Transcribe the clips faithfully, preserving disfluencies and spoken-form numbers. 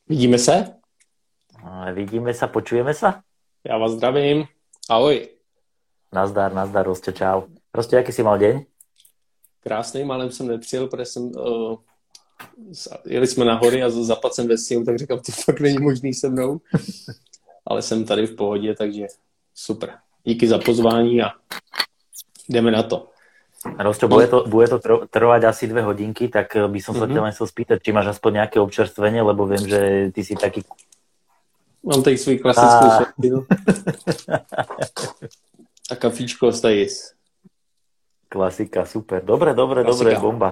Vidíme se? Vidíme sa, počujeme sa? Já vás zdravím. Ahoj. Nazdar, nazdar, Rostě, čau. Rostě, jaký si mal deň? Krásný, málem jsem nepřijel, protože jsem, uh, jeli jsme na hory a zapad jsem ve sněhu, tak říkám, to fakt není možný se mnou. Ale jsem tady v pohodě, takže super. Díky za pozvání a jdeme na to. Rostě, bude to, bude to trvať asi dve hodinky, tak by som sa mm-hmm. ťa len chcel spýtať, či máš aspoň nejaké občerstvenie, lebo viem, že ty si taký... Mám tady svůj klasickou a... světinu. A kafíčko z Tajis. Klasika, super. Dobre, dobre, Klasika. dobre, bomba.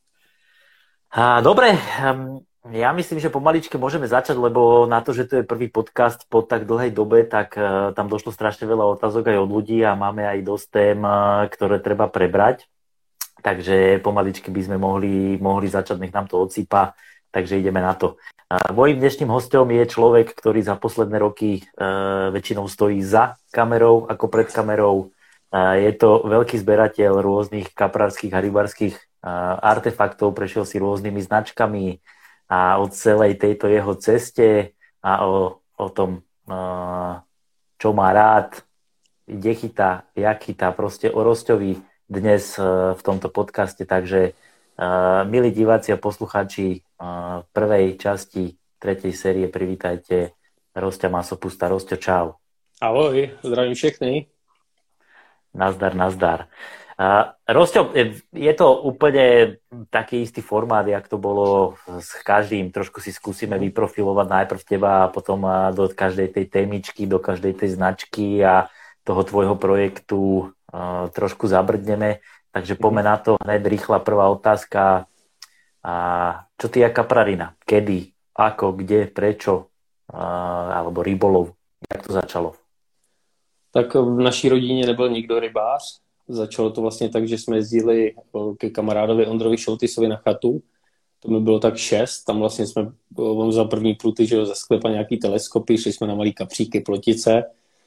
A, dobre, ja myslím, že pomaličke môžeme začať, lebo na to, že to je prvý podcast po tak dlhej dobe, tak uh, tam došlo strašne veľa otázok aj od ľudí a máme aj dosť tém, uh, ktoré treba prebrať. Takže pomaličky by sme mohli, mohli začať, nech nám to odsýpa. Takže ideme na to. Uh, mojím dnešným hosťom je človek, ktorý za posledné roky uh, väčšinou stojí za kamerou ako pred kamerou. Uh, je to veľký zberateľ rôznych kaprárskych a rybárskych uh, artefaktov, prešiel si rôznymi značkami a o celej tejto jeho ceste a o, o tom, uh, čo má rád, kde chytá, jak chytá, proste o Rosťovi dnes uh, v tomto podcaste. Takže uh, milí diváci a poslucháči uh, prvej časti tretej série, privítajte Rosťa Masopusta. Rosťo, čau. Ahoj, zdravím všechny. Nazdar, nazdar. Uh, Rosťo, je to úplne taký istý formát, jak to bolo s každým. Trošku si skúsime vyprofilovať najprv teba a potom do každej tej témičky, do každej tej značky a toho tvojho projektu uh, trošku zabrdneme. Takže poďme na to hneď rýchla prvá otázka. Uh, čo ty je kaprarina? Kedy? Ako? Kde? Prečo? Uh, alebo rybolov? Jak to začalo? Tak v naší rodině nebyl nikdo rybář. Začalo to vlastně tak, že jsme jezdili ke kamarádovi Ondrovi Šoltysovi na chatu. To mi bylo tak šest. Tam vlastně jsme, on vzal první pruty, že jo, ze sklepa nějaký teleskopy, šli jsme na malý kapříky, plotice.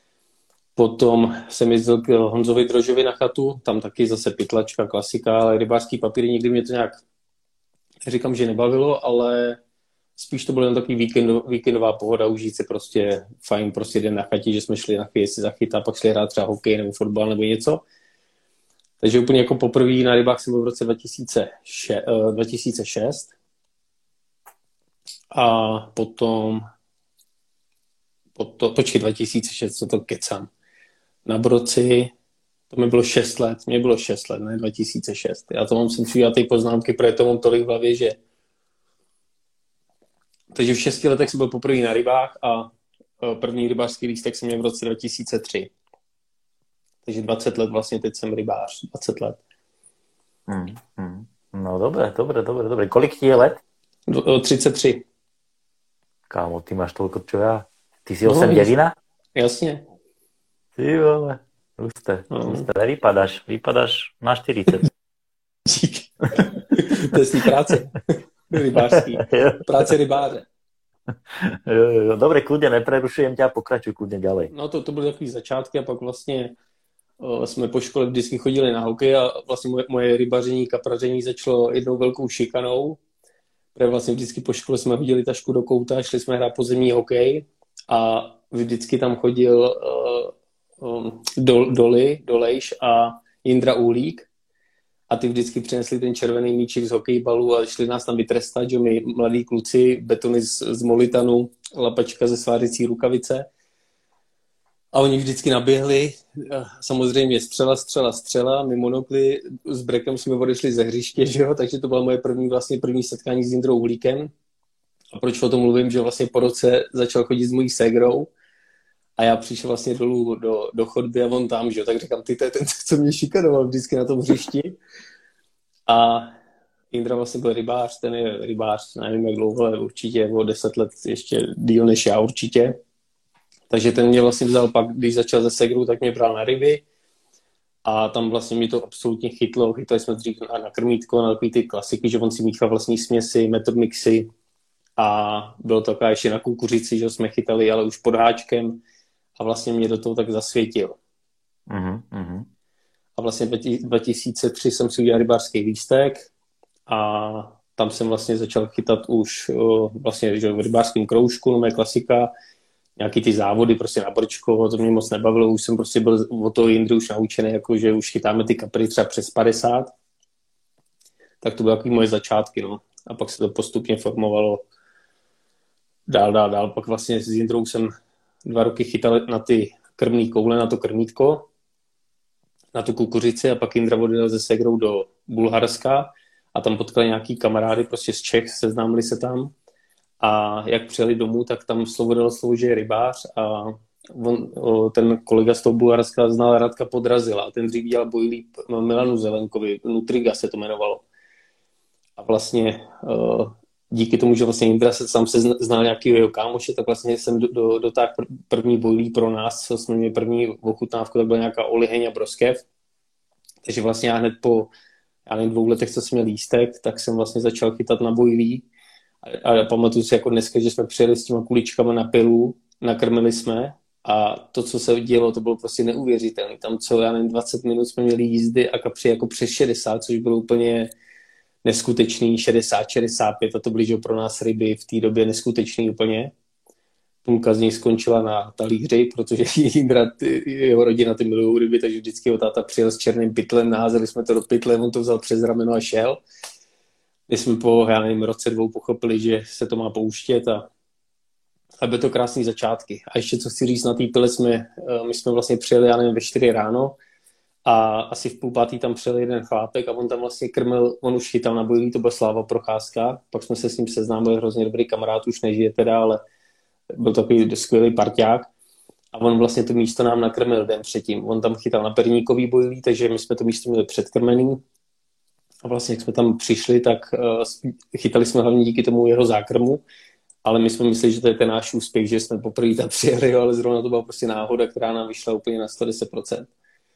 Potom jsem jezdil k Honzovi Drožovi na chatu, tam taky zase pytlačka, klasika, ale rybářský papíry nikdy mě to nějak, říkám, že nebavilo, ale spíš to bylo jen takový víkend, víkendová pohoda, užít si prostě fajn, prostě den na chatě, že jsme šli na chvíli si zachytat, pak šli hrát třeba hokej nebo fotbal nebo něco. Takže úplně jako poprvé na rybách jsem byl v roce dva tisíce šest a potom, potom počkej, dva tisíce šest, co to kecám, na Broci, to mi bylo šest let, mě bylo šest let, ne dva tisíce šest. Já to mám sem přijít ty poznámky, protože to mám tolik v hlavě, že takže v šesti letech jsem byl poprvé na rybách a první rybářský lístek jsem měl v roce dva tisíce tři. Takže dvacet let vlastně, teď jsem rybář, dvacet let. Hmm, hmm. No dobré, dobré, dobré, dobré. Kolik ti je let? třicet tři. Kámo, ty máš toľko, čo ja. Ty si osem devina? Jasně. Ty vole, husté, no. husté. Vypadáš, vypadáš na štyridsať. To je z práce. Rybářský. Práce rybáře. Jo, jo. Dobre, kľudne neprerušujem ťa, pokračuj kľudne ďalej. No to, to byly takový začátky a pak vlastně o, jsme po škole vždycky chodili na hokej a vlastně moje, moje rybaření, kapraření začalo jednou velkou šikanou, protože vlastně vždycky po škole jsme hodili tašku do kouta, šli jsme hrát pozemní hokej a vždycky tam chodil uh, um, do, Doly, Dolejš a Jindra Uhlík. A ty vždycky přinesli ten červený míček z hokejbalu a šli nás tam vytrestat, že my mladí kluci, betony z, z molitanu, lapačka ze svářicí rukavice. A oni vždycky naběhli, samozřejmě střela, střela, střela, my monokli, s brekem jsme odešli ze hřiště, že jo? Takže to bylo moje první, vlastně první setkání s Jindrou Uhlíkem. A proč o tom mluvím, že vlastně po roce začal chodit s mojí ségrou a já přišel vlastně dolů do, do chodby a on tam, že jo, tak říkám, ty to je ten, co mě šikanoval vždycky na tom hřišti. A Jindra vlastně byl rybář, ten je rybář, nevím jak dlouho, ale určitě o deset let ještě díl než já určitě. Takže ten mě vlastně vzal pak, když začal ze segrou, tak mě bral na ryby a tam vlastně mi to absolutně chytlo. Chytali jsme dřív na, na krmítko, na takový ty klasiky, že on si míchal vlastní směsi, method mixy a bylo to taková ještě na kukuřici, že jsme chytali, ale už pod háčkem. A vlastně mě do toho tak zasvětil. Uh-huh. A vlastně dva tisíce tři jsem si udělal rybářský lístek a tam jsem vlastně začal chytat už uh, vlastně že v rybářském kroužku, no moje klasika, nějaký ty závody prostě na brčko, to mě moc nebavilo, už jsem prostě byl od toho Jindry už naučený, jako že už chytáme ty kapry třeba přes padesát, tak to byly takový moje začátky, no. A pak se to postupně formovalo dál, dál, dál. Pak vlastně s Jindrou jsem dva roky chytal na ty krmný koule, na to krmítko, na tu kukuřici a pak Jindra odjel se segrou do Bulharska a tam potkali nějaký kamarády prostě z Čech, seznámili se tam a jak přijeli domů, tak tam slovo dalo slovo, že je rybář a on, ten kolega z toho Bulharska znal Radka Podrazila a ten dřív dělal bojlí Milanu Zelenkovi, Nutriga se to jmenovalo. A vlastně díky tomu, že vlastně Jindra se sám se znal nějakého jeho kámoše, tak vlastně jsem do, do, dotáhl první bojlí pro nás, co jsme měli první ochutnávku, tak byla nějaká oliheň a broskev. Takže vlastně já hned po já nevím, dvou letech, co jsem měl lístek, tak jsem vlastně začal chytat na bojlí. A, a pamatuju si jako dneska, že jsme přijeli s těma kuličkama na pilu, nakrmili jsme a to, co se dělo, to bylo prostě neuvěřitelné. Tam co, já nevím, dvacet minut jsme měli jízdy a kapři jako přes šedesát, což bylo úplně neskutečný, šedesát, šedesát pět a to byly, že pro nás ryby v té době neskutečný úplně. Půlka z nich skončila na talíři, protože Jindra, jeho rodina ty milují ryby, takže vždycky ho táta přijel s černým pytlem, naházeli jsme to do pytle, on to vzal přes rameno a šel. My jsme po, já nevím, roce dvou pochopili, že se to má pouštět a, a byly to krásné začátky. A ještě co chci říct, na té pile jsme, my jsme vlastně přijeli, já nevím, ve čtyři ráno a asi v půl pátý tam přijel jeden chlápek a on tam vlastně krmil, on už chytal na bojlí, to byl Sláva Procházka, pak jsme se s ním seznámili, hrozně dobrý kamarád, už nežije teda, ale byl takový skvělý parťák a on vlastně to místo nám nakrmil den předtím. On tam chytal na perníkový bojlí, takže my jsme to místo měli předkrmený a vlastně jak jsme tam přišli, tak uh, chytali jsme hlavně díky tomu jeho zákrmu, ale my jsme mysleli, že to je ten náš úspěch, že jsme poprvé tam přijeli, ale zrovna to byla prostě náhoda, která nám vyšla úplně na sto deset procent.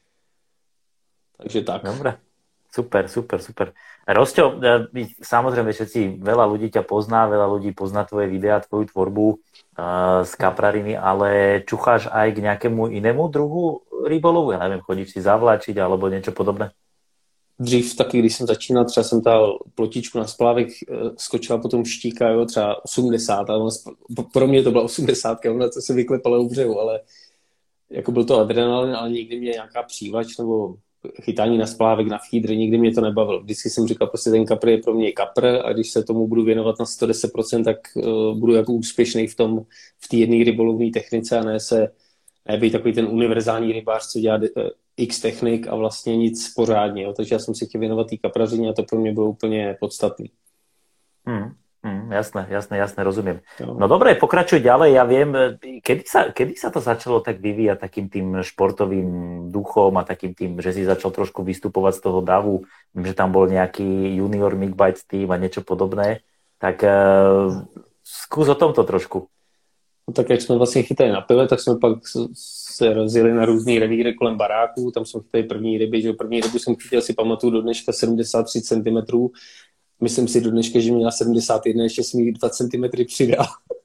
Takže tak. Dobre. Super, super, super. Rosťo, samozrejme všetci, veľa ľudí ťa pozná, veľa ľudí pozná tvoje videá, tvoju tvorbu uh, z kaprariny, ale čucháš aj k nejakému inému druhu rybolovu? Ja neviem, chodíš si zavlačiť alebo niečo podobné? Dřív taky, když jsem začínal, třeba jsem dal plotičku na splávek, skočila potom štíka, jo, třeba osmdesát, ale pro mě to byla osmdesátka, ona to se vyklepala u břehu, ale jako byl to adrenalin, ale nikdy mě nějaká přívač nebo chytání na splávek, na feedry, nikdy mě to nebavilo. Vždycky jsem říkal, prostě ten kapr je pro mě kapr a když se tomu budu věnovat na sto deset procent, tak uh, budu jako úspěšný v tom, v té jedné rybolovné technice a ne se, ne být takový ten univerzální rybář, co dělá uh, x technik a vlastně nic pořádně. Jo. Takže já jsem si chtěl věnovat té kaprařině a to pro mě bylo úplně podstatný. Hmm. Mm, jasné, jasné, jasné, rozumiem. No dobre, pokračuj ďalej. Ja viem, kedy sa, kedy sa to začalo tak vyvíjať takým tým športovým duchom a takým tým, že si začal trošku vystupovať z toho davu. Viem, že tam bol nejaký junior Mick Bites team a niečo podobné. Tak uh, skús o tomto trošku. No tak jak jsme vlastně chytali na pile, tak jsme pak se rozjeli na různý revíry kolem baráků. Tam jsme chytali první ryby, že první rybu jsem chytil, si pamatuju do dneška sedmdesát tři centimetrů. Myslím si do dneška, že měla sedmdesát jedna, ještě jsem jí dva centimetry přidal.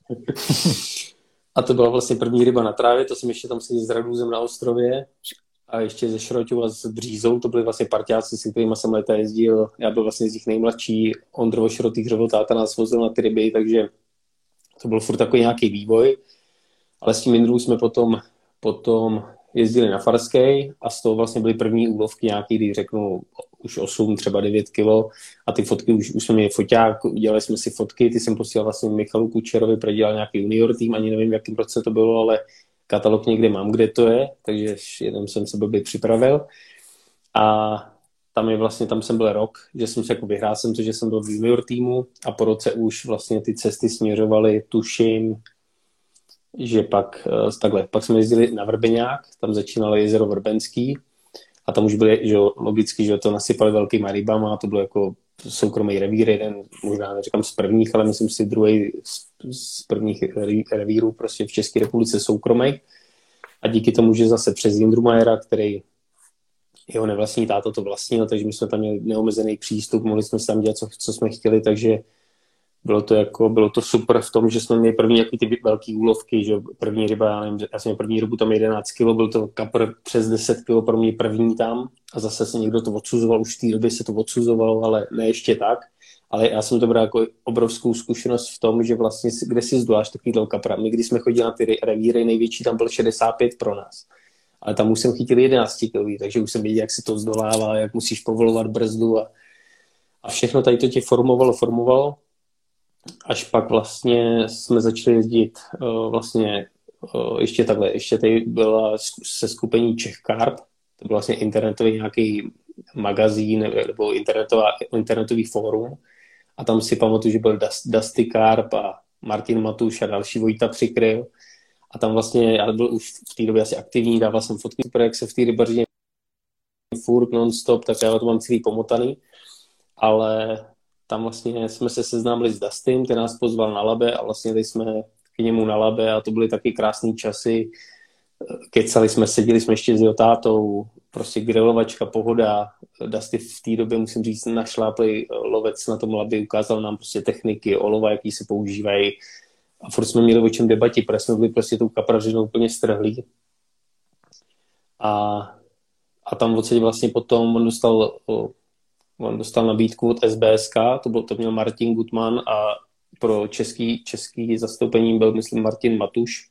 A to byla vlastně první ryba na trávě, to jsem ještě tam seděl s Radůzem na ostrově a ještě ze Šroťou a s Břízou, to byli vlastně parťáci, s kterými jsem leta jezdil. Já byl vlastně z nich nejmladší, Ondrovo Šrotý, Hřebel táta nás vozil na ty ryby, takže to byl furt takový nějaký vývoj. Ale s tím Jindrou jsme potom, potom jezdili na Farskej a z toho vlastně byly první úlovky nějaký, když řeknu už osm, třeba devět kilo a ty fotky, už, už jsme měli foťák, udělali jsme si fotky, ty jsem posílal vlastně Michalu Kučerovi, prodělal nějaký junior tým, ani nevím, v jakém roce to bylo, ale katalog někde mám, kde to je, takže jenom jsem se blbě připravil a tam je vlastně, tam jsem byl rok, že jsem se jako vyhrál jsem to, že jsem byl v junior týmu a po roce už vlastně ty cesty směřovaly, tuším, že pak takhle, pak jsme jezdili na Vrbeňák, tam začínalo jezero Vrbenský a tam už byly, že logicky, že to nasypali velkýma rybama a to bylo jako soukromý revír, jeden, možná neříkám z prvních, ale myslím si druhý z, z prvních revírů prostě v České republice soukromých. A díky tomu, že zase přes Jindru Majera, který jeho nevlastní táta to vlastnil, takže my jsme tam měli neomezený přístup, mohli jsme si tam dělat, co, co jsme chtěli, takže bylo to jako, bylo to super v tom, že jsme měli první jaký ty velký úlovky, že první ryba, já nevím, já jsem měl první rybu tam jedenáct kilo, byl to kapr přes deset kilo pro mě první tam a zase se někdo to odsuzoval, už v té době se to odsuzovalo, ale ne ještě tak. ale já jsem to bral jako obrovskou zkušenost v tom, že vlastně kde si zdoláš takovýhle kapra. My když jsme chodili na ty revíry, největší tam byl šedesát pět pro nás. Ale tam už jsem chytil jedenáct kilový, takže už jsem věděl, jak se to zdolává, jak musíš povolovat brzdu a, a všechno tady to tě formovalo, formovalo. Až pak vlastně jsme začali jezdit uh, vlastně uh, ještě takhle, ještě tady byla se skupení Czech Carb, to byl vlastně internetový nějaký magazín nebo internetová, internetový fórum a tam si pamatuju, že byl Dusty Carb a Martin Matuš a další Vojta Přikryl a tam vlastně, já byl už v té době asi aktivní, dával jsem fotky, super, jak se v té rybařině furt non-stop, tak já to mám celý pomotaný, ale tam vlastně jsme se seznámili s Dustym, ten nás pozval na Labe a vlastně jeli jsme k němu na Labe a to byly taky krásné časy. Kecali jsme, seděli jsme ještě s jeho tátou, prostě grilovačka, pohoda. Dusty v té době, musím říct, našláplý lovec na tom Labě, ukázal nám prostě techniky, olova, jaký se používají. A furt jsme měli o čem debati, protože jsme byli prostě tou kaprařinou úplně strhlí. A, a tam odsaď vlastně potom on dostal... On dostal nabídku od S B S K, to, byl, to měl Martin Gutman a pro český, český zastoupení byl, myslím, Martin Matuš.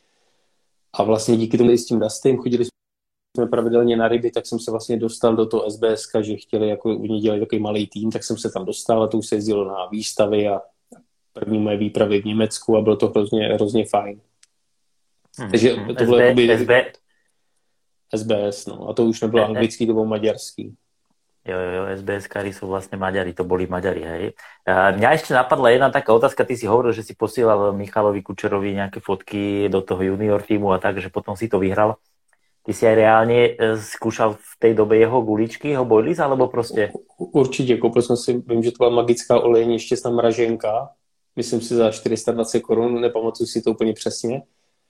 A vlastně díky tomu s tím Dustym chodili jsme pravidelně na ryby, tak jsem se vlastně dostal do toho S B S K, že chtěli, jako oni dělali takový malý tým, tak jsem se tam dostal a to už se jezdilo na výstavy a první moje výpravy v Německu a bylo to hrozně, hrozně fajn. Hmm. Takže to bylo jakoby... S B... S B S, no. A to už nebylo anglický, to bylo maďarský. Jo, jo, jo, es bé eskári sú vlastne Maďari, to boli Maďari, hej. A mňa ešte napadla jedna taká otázka, ty si hovoril, že si posielal Michalovi Kučerovi nejaké fotky do toho junior týmu a tak, že potom si to vyhral. Ty si aj reálne skúšal v tej dobe jeho guličky, jeho boilies, alebo proste? Určite, koupil som si, vím, že to byla magická olejní šťastná mraženka, myslím si za čtyři sta dvacet korun, nepamatuju si to úplně přesně.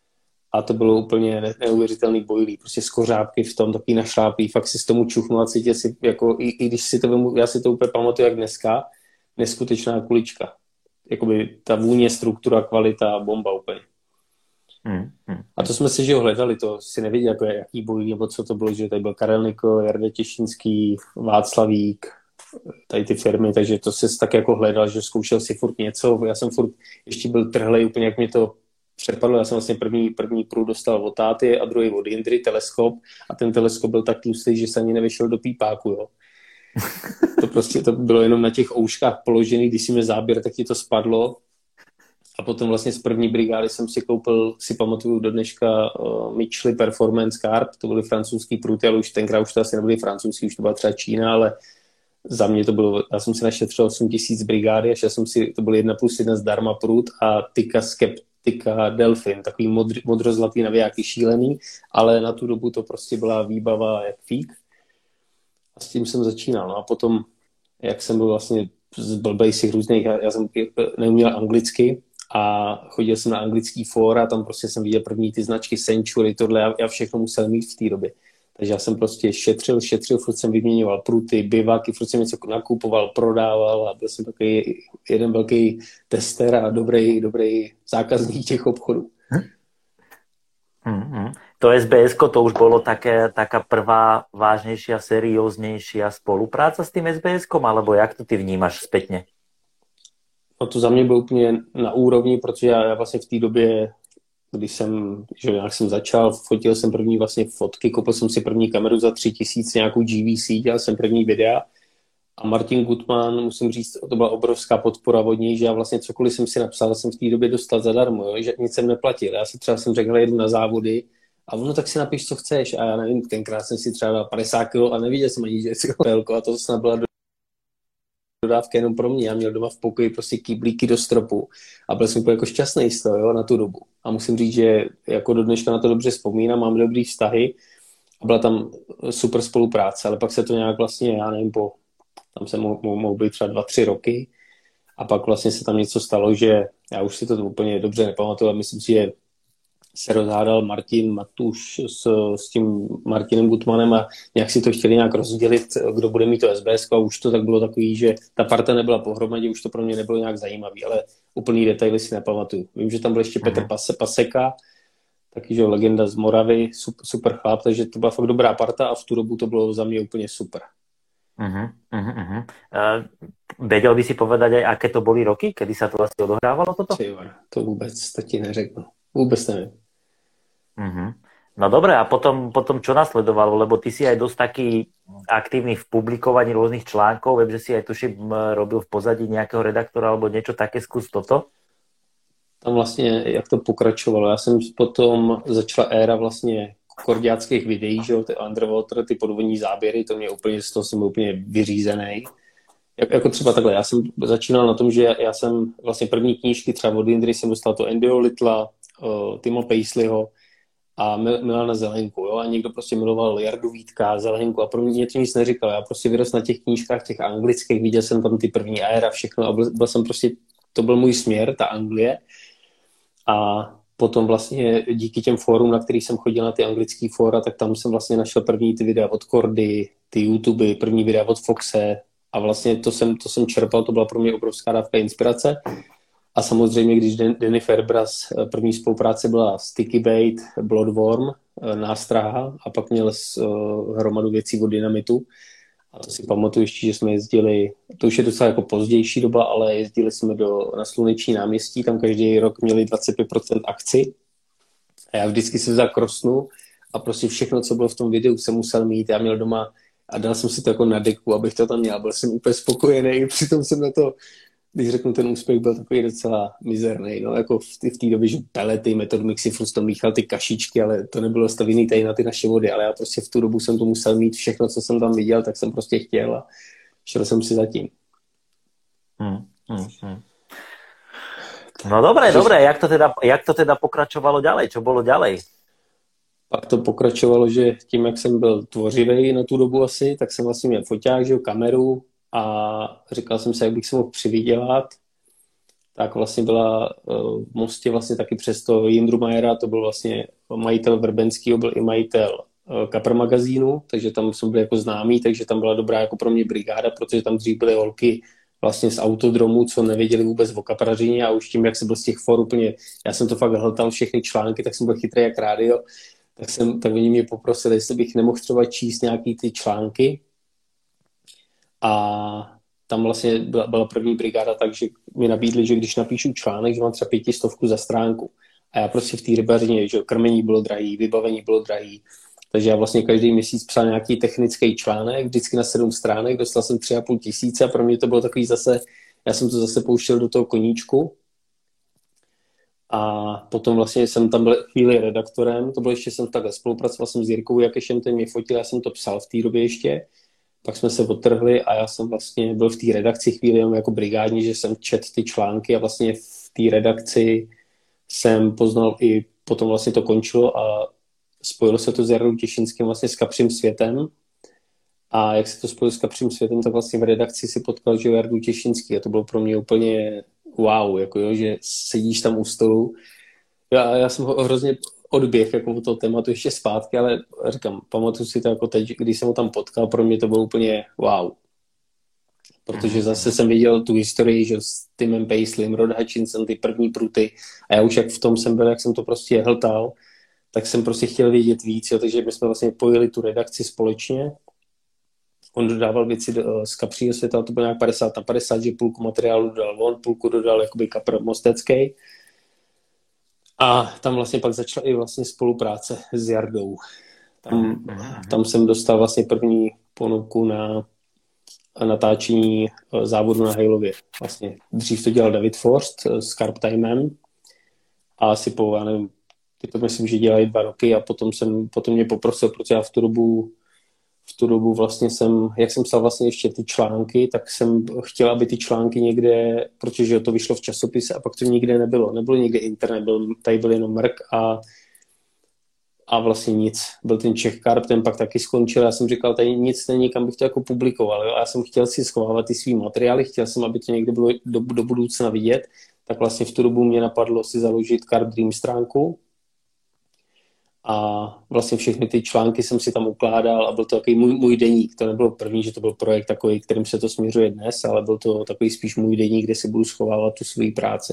A to bylo úplně neuvěřitelný bojlí, prostě skořápky v tom, taky našláplý, fakt si s tomu čuchnu a cítil si, jako, i, i když si to vemu, já si to úplně pamatuju jak dneska, neskutečná kulička. Jakoby ta vůně, struktura, kvalita, bomba úplně. Hmm, hmm. A to jsme si, že ho hledali, to si nevěděl, jako jaký bojlí, nebo co to bylo, že tady byl Karel Nikl, Jarda Těšínský, Václavík, tady ty firmy, takže to si tak jako hledal, že zkoušel si furt něco, já jsem furt ještě byl trhlej, úplně jak mě to přepadlo, já jsem vlastně první, první průd dostal od táty a druhý od Jindry, teleskop a ten teleskop byl tak tlustý, že se ani nevyšel do pípáku, jo. To prostě to bylo jenom na těch ouškách položený, když si mě záběr, tak ti to spadlo a potom vlastně z první brigády jsem si koupil, si pamatuju do dneška uh, Mitchell Performance Carp, to byly francouzský průty, ale už tenkrát už to asi nebyly francouzský, už to byla třeba Čína, ale za mě to bylo, já jsem si našetřil osm tisíc brigády a šel jsem si, to byl jedna plus jedna zdarma prut a Tika Skept Tika Delfin, takový modr, modrozlatý navijáky šílený, ale na tu dobu to prostě byla výbava jak fík. A s tím jsem začínal. No a potom, jak jsem byl vlastně z blbejsích různých, já, já jsem neuměl anglicky a chodil jsem na anglický fóra, tam prostě jsem viděl první ty značky Century, tohle, já, já všechno musel mít v té době. Takže já jsem prostě šetřil, šetřil, furt jsem vyměňoval pruty, bivaky, furt jsem něco nakupoval, prodával a byl jsem takový jeden velký tester a dobrý, dobrý zákazník těch obchodů. Mm-hmm. To es bé esko, to už bolo také, taká prvá vážnejšia, serióznejšia spolupráca s tým es bé eskom, alebo jak to ty vnímaš spätne? No to za mě bylo úplně na úrovni, protože já, já vlastně v té době když jsem, že nějak jsem začal, fotil jsem první vlastně fotky, koupil jsem si první kameru za tři tisíce, nějakou G V C, dělal jsem první videa a Martin Gutman, musím říct, to byla obrovská podpora od něj, že já vlastně cokoliv jsem si napsal, jsem v té době dostal zadarmo, jo, že nic jsem neplatil. Já si třeba jsem řekl, jedu na závody a ono tak si napiš, co chceš a já nevím, tenkrát jsem si třeba dal padesát kilo a neviděl jsem ani, že si pelko a to snad byla dodávka jenom pro mě. Já měl doma v pokoji prostě kýblíky do stropu a byl jsem jako šťastný z toho, jo, na tu dobu. A musím říct, že jako do dneška na to dobře vzpomínám, mám dobrý vztahy a byla tam super spolupráce, ale pak se to nějak vlastně, já nevím, po, tam se mohl, mohl být třeba dva, tři roky a pak vlastně se tam něco stalo, že já už si to úplně dobře nepamatuju, ale myslím si, že se rozhádal Martin Matuš s, s tím Martinem Gutmanem a nějak si to chtěli nějak rozdělit, kdo bude mít to es bé esko a už to tak bylo takový, že ta parta nebyla pohromadě, už to pro mě nebylo nějak zajímavý, ale úplný detaily si nepamatuju. Vím, že tam byl ještě Petr Pase, Paseka, taky, že legenda z Moravy, super, super chlap, takže to byla fakt dobrá parta a v tu dobu to bylo za mě úplně super. Uh-huh, uh-huh, uh-huh. Uh, vedel by si povedať aj, aké to boli roky, kedy sa to asi odohrávalo toto? Čivar, to vůbec, to ti neřeknu. Vůbec nevím. Uh-huh. No dobre, a potom, potom čo nasledovalo? Lebo ty si aj dosť taký aktívny v publikovaní rôznych článkov, viem, že si aj tuším robil v pozadí nejakého redaktora alebo niečo také, skús toto? Tam vlastně, jak to pokračovalo, já jsem potom začala éra vlastně korďáckých videí, že jo, ty underwater, ty podvodní záběry, to mě úplně, z toho jsem byl úplně vyřízený. Jak, jako třeba takhle, já jsem začínal na tom, že já jsem vlastně první knížky třeba od Indry jsem dostal to Andyho Littla, uh, Tima Paisleyho a Mil- Milana Zelenku, jo, a někdo prostě miloval Jardu Vítka, Zelenku a pro mě to nic neříkal. Já prostě vyrost na těch knížkách, těch anglických, viděl jsem tam ty první éra, všechno a byl, byl jsem prostě, to byl můj směr, ta Anglie. A potom vlastně díky těm fórům, na kterých jsem chodil na ty anglické fóra, tak tam jsem vlastně našel první ty videa od Kordy, ty YouTube, první videa od Foxe a vlastně to jsem, to jsem čerpal, to byla pro mě obrovská dávka inspirace. A samozřejmě, když Danny Fairbrass, první spolupráce byla Sticky Bait, Bloodworm, Nástraha a pak měl uh, hromadu věcí od Dynamitu. A to si pamatuju ještě, že jsme jezdili, to už je docela jako pozdější doba, ale jezdili jsme do, na Sluneční náměstí, tam každý rok měli dvacet pět procent akci. A já vždycky si vzal krosnu a prostě všechno, co bylo v tom videu, jsem musel mít. Já měl doma a dal jsem si to jako na deku, abych to tam měl. Byl jsem úplně spokojený, přitom jsem na to, když řeknu, ten úspěch byl takový docela mizerný. No, jako v té době, že pelety, Method Mixy, furt to míchal ty kašičky, ale to nebylo stavěný tady na ty naše vody, ale já prostě v tu dobu jsem to musel mít všechno, co jsem tam viděl, tak jsem prostě chtěl a šel jsem si za tím. Hmm, hmm, hmm. No dobré, dobré, jak to, teda, jak to teda pokračovalo ďalej? Čo bolo ďalej? Pak to pokračovalo, že tím, jak jsem byl tvořivý na tu dobu asi, tak jsem vlastně měl foťák, že jo, kameru a říkal jsem si, jak bych se mohl přivydělat. Tak vlastně byla v Mostě vlastně taky přes to Jindru Majera, to byl vlastně majitel Vrbenskýho, byl i majitel Kapr magazínu, takže tam jsem byl jako známý, takže tam byla dobrá jako pro mě brigáda, protože tam dřív byly holky vlastně z autodromu, co nevěděli vůbec o kaprařině a už tím, jak jsem byl z těch for úplně, já jsem to fakt hltal všechny články, tak jsem byl chytrý jak rádio, tak, jsem, tak oni mě poprosili, jestli bych nemohl třeba číst nějaký ty články a tam vlastně byla, byla první brigáda, takže mi nabídli, že když napíšu článek, že mám třeba pětistovku za stránku a já prostě v té rybařině, že krmení bylo drahý, vybavení bylo drahý, takže já vlastně každý měsíc psal nějaký technický článek, vždycky na sedm stránek, dostal jsem tři a půl tisíce a pro mě to bylo takový zase, já jsem to zase pouštěl do toho koníčku a potom vlastně jsem tam byl chvíli redaktorem, to bylo ještě jsem takhle spolupracoval jsem s Jirkou Jakešem, ten mě fotil, já jsem to psal v té době ještě, pak jsme se odtrhli a já jsem vlastně byl v té redakci chvíli jenom jako brigádní, že jsem čet ty články a vlastně v té redakci jsem poznal i, potom vlastně to končilo a spojilo se to s Jardou Těšínským vlastně s Kapřím světem a jak se to spojilo s Kapřím světem, tak vlastně v redakci si potkal, že Jardu Těšínský a to bylo pro mě úplně wow, jako jo, že sedíš tam u stolu. Já, já jsem ho hrozně odběh jako od toho tématu ještě zpátky, ale říkám, pamatuju si to jako teď, když jsem ho tam potkal, pro mě to bylo úplně wow. Protože zase jsem viděl tu historii, že s Timem Paisleym, Rod Hutchinson, ty první pruty a já už jak v tom jsem byl, jak jsem to prostě hltal, tak jsem prostě chtěl vědět víc, jo, takže my jsme vlastně pojili tu redakci společně. On dodával věci do, z Kapřího světa, to bylo nějak padesát na padesát, že půlku materiálu dodal on, půlku dodal jakoby Kapr Mostecký. A tam vlastně pak začala i vlastně spolupráce s Jardou. Tam, tam jsem dostal vlastně první ponuku na natáčení závodu na Hejlově. Vlastně dřív to dělal David Forst s Carp Timem a asi po, já nevím, ty to myslím, že dělají dva roky a potom, jsem, potom mě poprosil, protože já v tu dobu v tu dobu vlastně jsem, jak jsem psal vlastně ještě ty články, tak jsem chtěl, aby ty články někde, protože to vyšlo v časopise a pak to nikde nebylo. Nebylo nikde internet, byl, tady byl jenom mrk a, a vlastně nic. Byl ten Czech Carp, ten pak taky skončil. Já jsem říkal, tady nic není, kam bych to jako publikoval. Jo? A já jsem chtěl si schovávat ty svý materiály, chtěl jsem, aby to někde bylo do, do budoucna vidět. Tak vlastně v tu dobu mě napadlo si založit Carp Dream stránku. A vlastně všechny ty články jsem si tam ukládal a byl to takový můj, můj deník. To nebylo první, že to byl projekt takový, kterým se to směřuje dnes, ale byl to takový spíš můj deník, kde si budu schovávat tu svoji práci.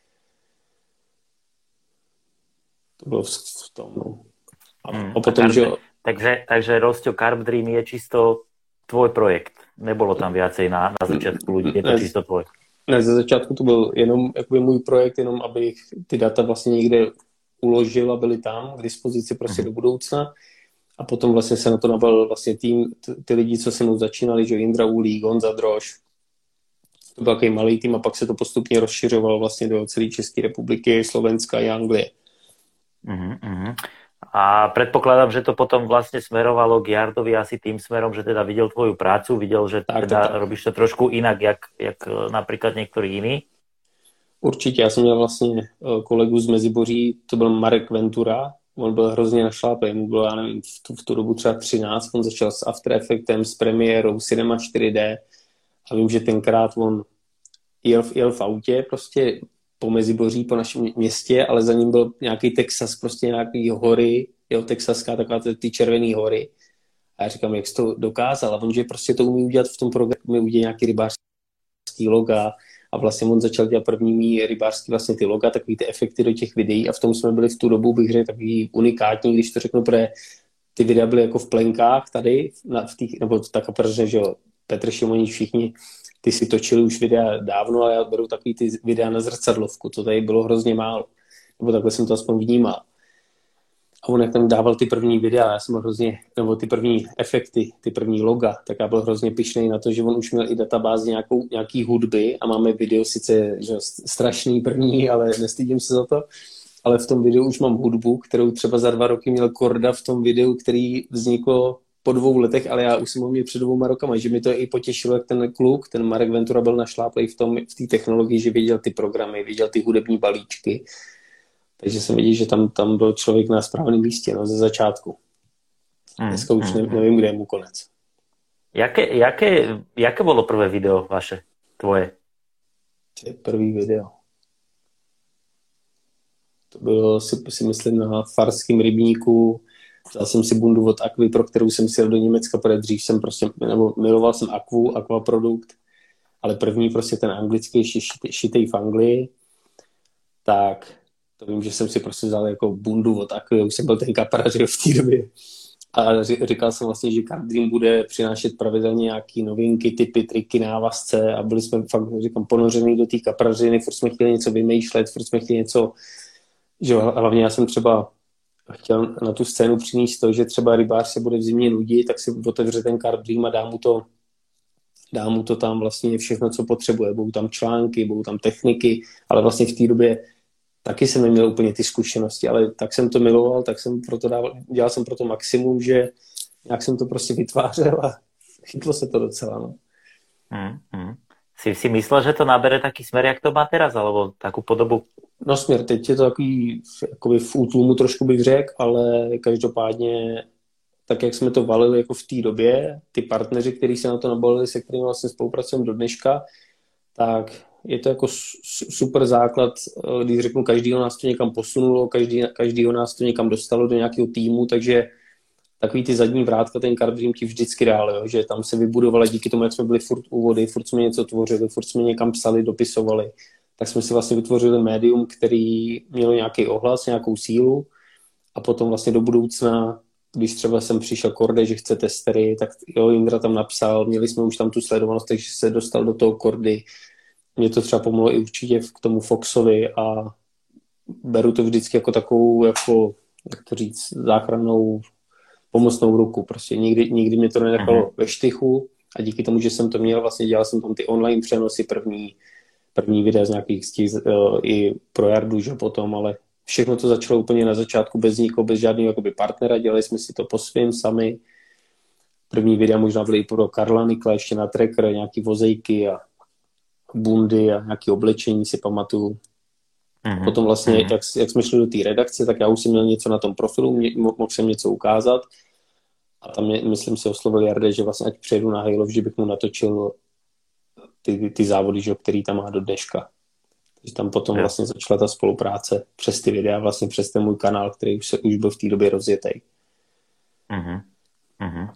To bylo v tom. No. A, hmm. a potom, a Carb, že... Takže, takže Rosťo, Carp Dream je čisto tvoj projekt. nebolo tam viacej na, na začiatku ľudí, je to ne, čisto tvoje? Ne, ze začátku to byl jenom jakoby můj projekt, jenom abych ty data vlastně někde uložil a byly tam k dispozici prostě do budoucna. A potom vlastně se na to nabalil vlastně tým, ty lidi, co se mnou začínali, že Jindra Ulík, Honza Drož. To byl takový malý tým a pak se to postupně rozšiřovalo vlastně do celé České republiky, Slovenska a Anglie. Uh-huh, uh-huh. A predpokladám, že to potom vlastne smerovalo k Jardovi asi tým smerom, že teda videl tvoju prácu, videl, že tak, teda tak, tak. robíš to trošku inak, jak, jak napríklad niektorí iní. Určitě, já jsem měl vlastně kolegu z Meziboří, to byl Marek Ventura, on byl hrozně našláplý, mu bylo, já nevím, v tu, v tu dobu třeba třináct, on začal s After Effectem, s premiérou, Cinema čtyři dé a vím, že tenkrát on jel, jel v autě prostě po Meziboří, po našem městě, ale za ním byl nějaký Texas, prostě nějaký hory, jo, texaská, taková ty červený hory. A já říkám, jak jsi to dokázal? A on, že prostě to umí udělat v tom programu, udělat nějaký rybářský loga. A vlastně on začal dělat první rybářský vlastně ty loga, takový ty efekty do těch videí a v tom jsme byli v tu dobu, bych řekl, takový unikátní, když to řeknu, protože ty videa byly jako v plenkách tady, v těch, nebo tak protože, že jo, Petr Šimonič, všichni, ty si točili už videa dávno, ale já beru takový ty videa na zrcadlovku, to tady bylo hrozně málo, nebo takhle jsem to aspoň vnímal. A on jak tam dával ty první videa, já jsem byl hrozně, nebo ty první efekty, ty první loga, tak já byl hrozně pyšnej na to, že on už měl i databázi nějakou, nějaký hudby a máme video sice že strašný první, ale nestydím se za to, ale v tom videu už mám hudbu, kterou třeba za dva roky měl Korda v tom videu, který vzniklo po dvou letech, ale já už jsem ho měl před dvouma rokama, že mi to i potěšilo, jak ten kluk, ten Marek Ventura byl našláplej v tom, v té technologii, že věděl ty programy, věděl ty hudební balíčky. Takže jsem viděl, že tam, tam byl člověk na správném místě, no, ze začátku. Dneska už ne, nevím, kde je mu konec. Jaké, jaké, jaké bylo prvé video vaše, tvoje? To je první video. To bylo, si, si myslím, na farském rybníku. Vzal jsem si bundu od Aquy, pro kterou jsem si jel do Německa, protože dřív jsem prostě, nebo miloval jsem Aquu, Aqua produkt, ale první prostě ten anglický šitej, šitej v Anglii, tak to vím, že jsem si prostě vzal jako bundu od Aquy, už jsem byl ten kapra, že v té době. A říkal jsem vlastně, že Card Dream bude přinášet pravidelně nějaký novinky, typy, triky, návazce a byli jsme fakt, říkám, ponořený do té kaprařiny, furt jsme chtěli něco vymýšlet, furt jsme chtěli něco, že hlavně já jsem třeba chtěl na tu scénu přinést to, že třeba rybář se bude v zimě nudit, tak si otevře ten Card Dream a dá mu to, dá mu to tam vlastně všechno, co potřebuje. Budou tam články, budou tam techniky, ale vlastně v té době taky jsem neměl úplně ty zkušenosti, ale tak jsem to miloval, tak jsem proto dával, dělal jsem pro to maximum, že nějak jsem to prostě vytvářel a chytlo se to docela. No. Hmm, hmm. Si, si myslel, že to nabere taký smer, jak to má teraz, alebo takú podobu? No směr, teď je to takový jakoby v útlumu trošku bych řekl, ale každopádně tak, jak jsme to valili jako v té době, ty partneři, kteří se na to nabalili, se kterými vlastně spolupracujeme do dneška, tak je to jako super základ, když řeknu, každýho nás to někam posunulo, každý, každýho nás to někam dostalo do nějakého týmu, takže takový ty zadní vrátka, ten Card Dream ti vždycky dál, jo, že tam se vybudovala díky tomu, jak jsme byli furt u vody, furt jsme něco tvořili, furt jsme někam psali, dopisovali, tak jsme si vlastně vytvořili médium, který mělo nějaký ohlas, nějakou sílu a potom vlastně do budoucna, když třeba jsem přišel Korde, že chce testery, tak jo, Jindra tam napsal, měli jsme už tam tu sledovanost, takže se dostal do toho Kordy. Mě to třeba pomohlo i určitě k tomu Foxovi a beru to vždycky jako takovou, jako, jak to říct, záchrannou pomocnou ruku. Prostě nikdy, nikdy mě to nenechalo uh-huh. ve štychu a díky tomu, že jsem to měl, vlastně dělal jsem tam ty online přenosy, první, první videa z nějakých stíz, uh, i pro Jardu, že potom, ale všechno to začalo úplně na začátku bez nikoho, bez žádného jakoby partnera, dělali jsme si to po svým sami. První videa možná byly i pro Karla Nikla, ještě na tracker, nějaký vozejky a bundy a nějaké oblečení si pamatuju. Mm-hmm. Potom vlastně, mm-hmm. jak, jak jsme šli do té redakce, tak já už jsem měl něco na tom profilu, mě, mohl jsem něco ukázat a tam mě, myslím si oslovil Jarde, že vlastně ať přejdu na Halo, že bych mu natočil ty, ty závody, že, který tam má do dneška. Takže tam potom yeah. vlastně začala ta spolupráce přes ty videa, vlastně přes ten můj kanál, který už, se, už byl v té době rozjetý. Mm-hmm. Mm-hmm.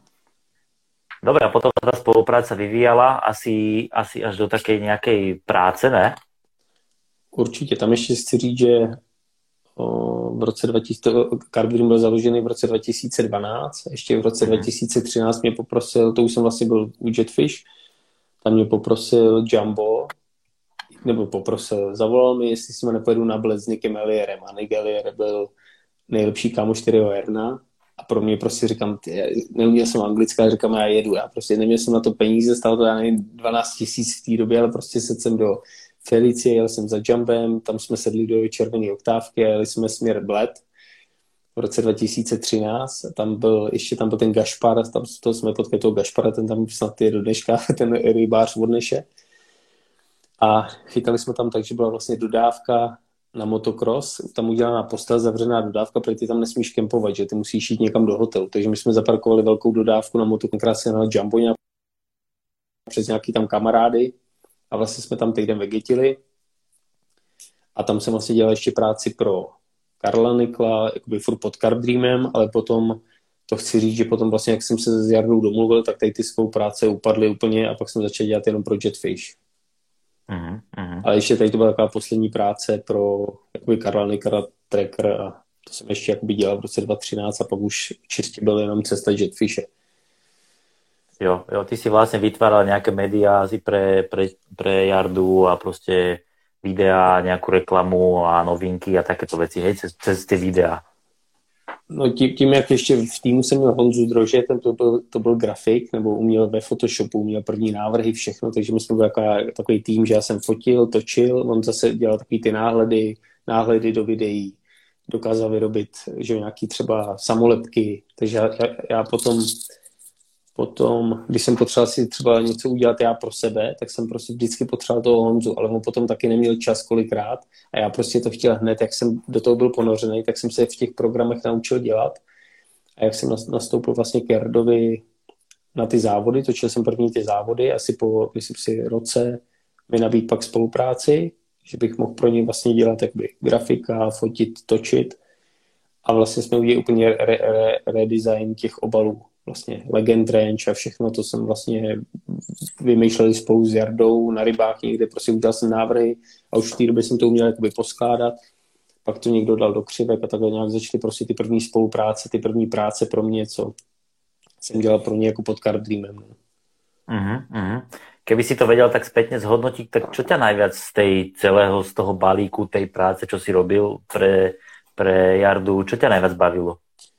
Dobre, a potom tá spolupráca vyvíjala asi, asi až do takej nejakej práce, ne? Určitě. Tam ještě chci říct, že o, v v roce dva tisíce, Carb Dream byl založený v roce dva tisíce dvanáct, ještě v roce dva tisíce třináct mě poprosil, to už jsem vlastně byl u Jetfish, tam mě poprosil Jumbo, nebo poprosil, zavolal mi, jestli si mě nepojedu na Bled s Nickem Ellierem a Nick Ellier byl nejlepší kámoš čtyřiho Erna a pro mě prostě říkám, ty, neuměl jsem anglicky, ale říkám, já jedu, já prostě neměl jsem na to peníze, stalo to já nevím dvanáct tisíc v té době, ale prostě sedl jsem do Felicie, jel jsem za Jumbem, tam jsme sedli do červené oktávky a jeli jsme směr Bled v roce dva tisíce třináct, tam byl, ještě tam byl ten Gašpar, tam to jsme potkali toho Gašpara, ten tam snad je do dneška, ten rybář od Neše. A chytali jsme tam tak, že byla vlastně dodávka na motocross, tam udělaná postel, zavřená dodávka, protože ty tam nesmíš kempovat, že ty musíš jít někam do hotelu. Takže my jsme zaparkovali velkou dodávku na motocross, krásně na Jumbo přes nějaký tam kamarády a vlastně jsme tam týden vegetili. A tam jsem vlastně dělal ještě práci pro Karla Nikla, jakoby furt pod Carb Dreamem, ale potom to chci říct, že potom vlastně, jak jsem se s Jardou domluvil, tak tady ty spolupráce upadly úplně a pak jsem začal dělat jenom pro Jetfish. Uh-huh, uh-huh. Ale ještě tady to byla taková poslední práce pro jakoby Karla Nikla Tracker a to jsem ještě jakoby dělal v roce dva tisíce třináct a pak už čistě byl jenom cesta Jetfishe. Jo, jo, ty si vlastne vytváral nejaké médiá asi pre, pre, pre Jardu a proste videá, nejakú reklamu a novinky a takéto veci, hej, cez, cez tie videá. No tím, tím, jak ještě v týmu jsem měl Honzu Drože, ten to byl, to byl grafik, nebo uměl ve Photoshopu, uměl první návrhy, všechno, takže my jsme byli taková, takový tým, že já jsem fotil, točil, on zase dělal takový ty náhledy, náhledy do videí, dokázal vyrobit, že nějaký třeba samolepky, takže já, já, já potom Potom, když jsem potřeboval si třeba něco udělat já pro sebe, tak jsem prostě vždycky potřeboval toho Honzu, ale on potom taky neměl čas kolikrát a já prostě to chtěl hned, jak jsem do toho byl ponořený, tak jsem se v těch programech naučil dělat a jak jsem nastoupil vlastně k Jardovi na ty závody, točil jsem první ty závody, asi po, myslím si, roce mi nabít pak spolupráci, že bych mohl pro ně vlastně dělat jakby grafika, fotit, točit a vlastně jsme udělali úplně re, re, redesign těch obalů. Vlastně Legend Range a všechno to jsem vlastně vymýšleli spolu s Jardou na rybách někde, prostě udělal jsem návrhy a už v té době jsem to uměl jakoby poskládat, pak to někdo dal do křivek a takhle nějak začaly prostě ty první spolupráce, ty první práce pro mě, co jsem dělal pro ně jako pod Carb Dreamem. Uh-huh, uh-huh. Keby si to vedel tak spätne zhodnotiť, tak čo ťa najviac z tej celého, z toho balíku, tej práce, čo si robil pre, pre Jardu, čo ťa najviac bavilo?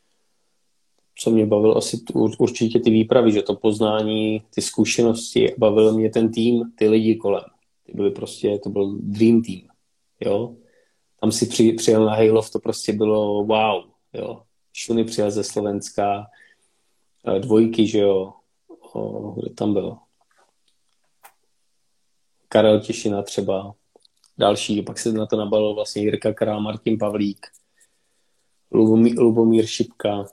Co mě bavilo asi určitě ty výpravy, že to poznání, ty zkušenosti, bavil mě ten tým, ty lidi kolem. Ty byly prostě, to byl dream team, jo. Tam si při, přijel na Hejlov, to prostě bylo wow, jo. Šuny přijel ze Slovenska, dvojky, že jo, o, kde tam byl? Karel Těšina třeba, další, pak se na to nabalil vlastně Jirka Král, Martin Pavlík, Lubomír, Lubomír Šipka,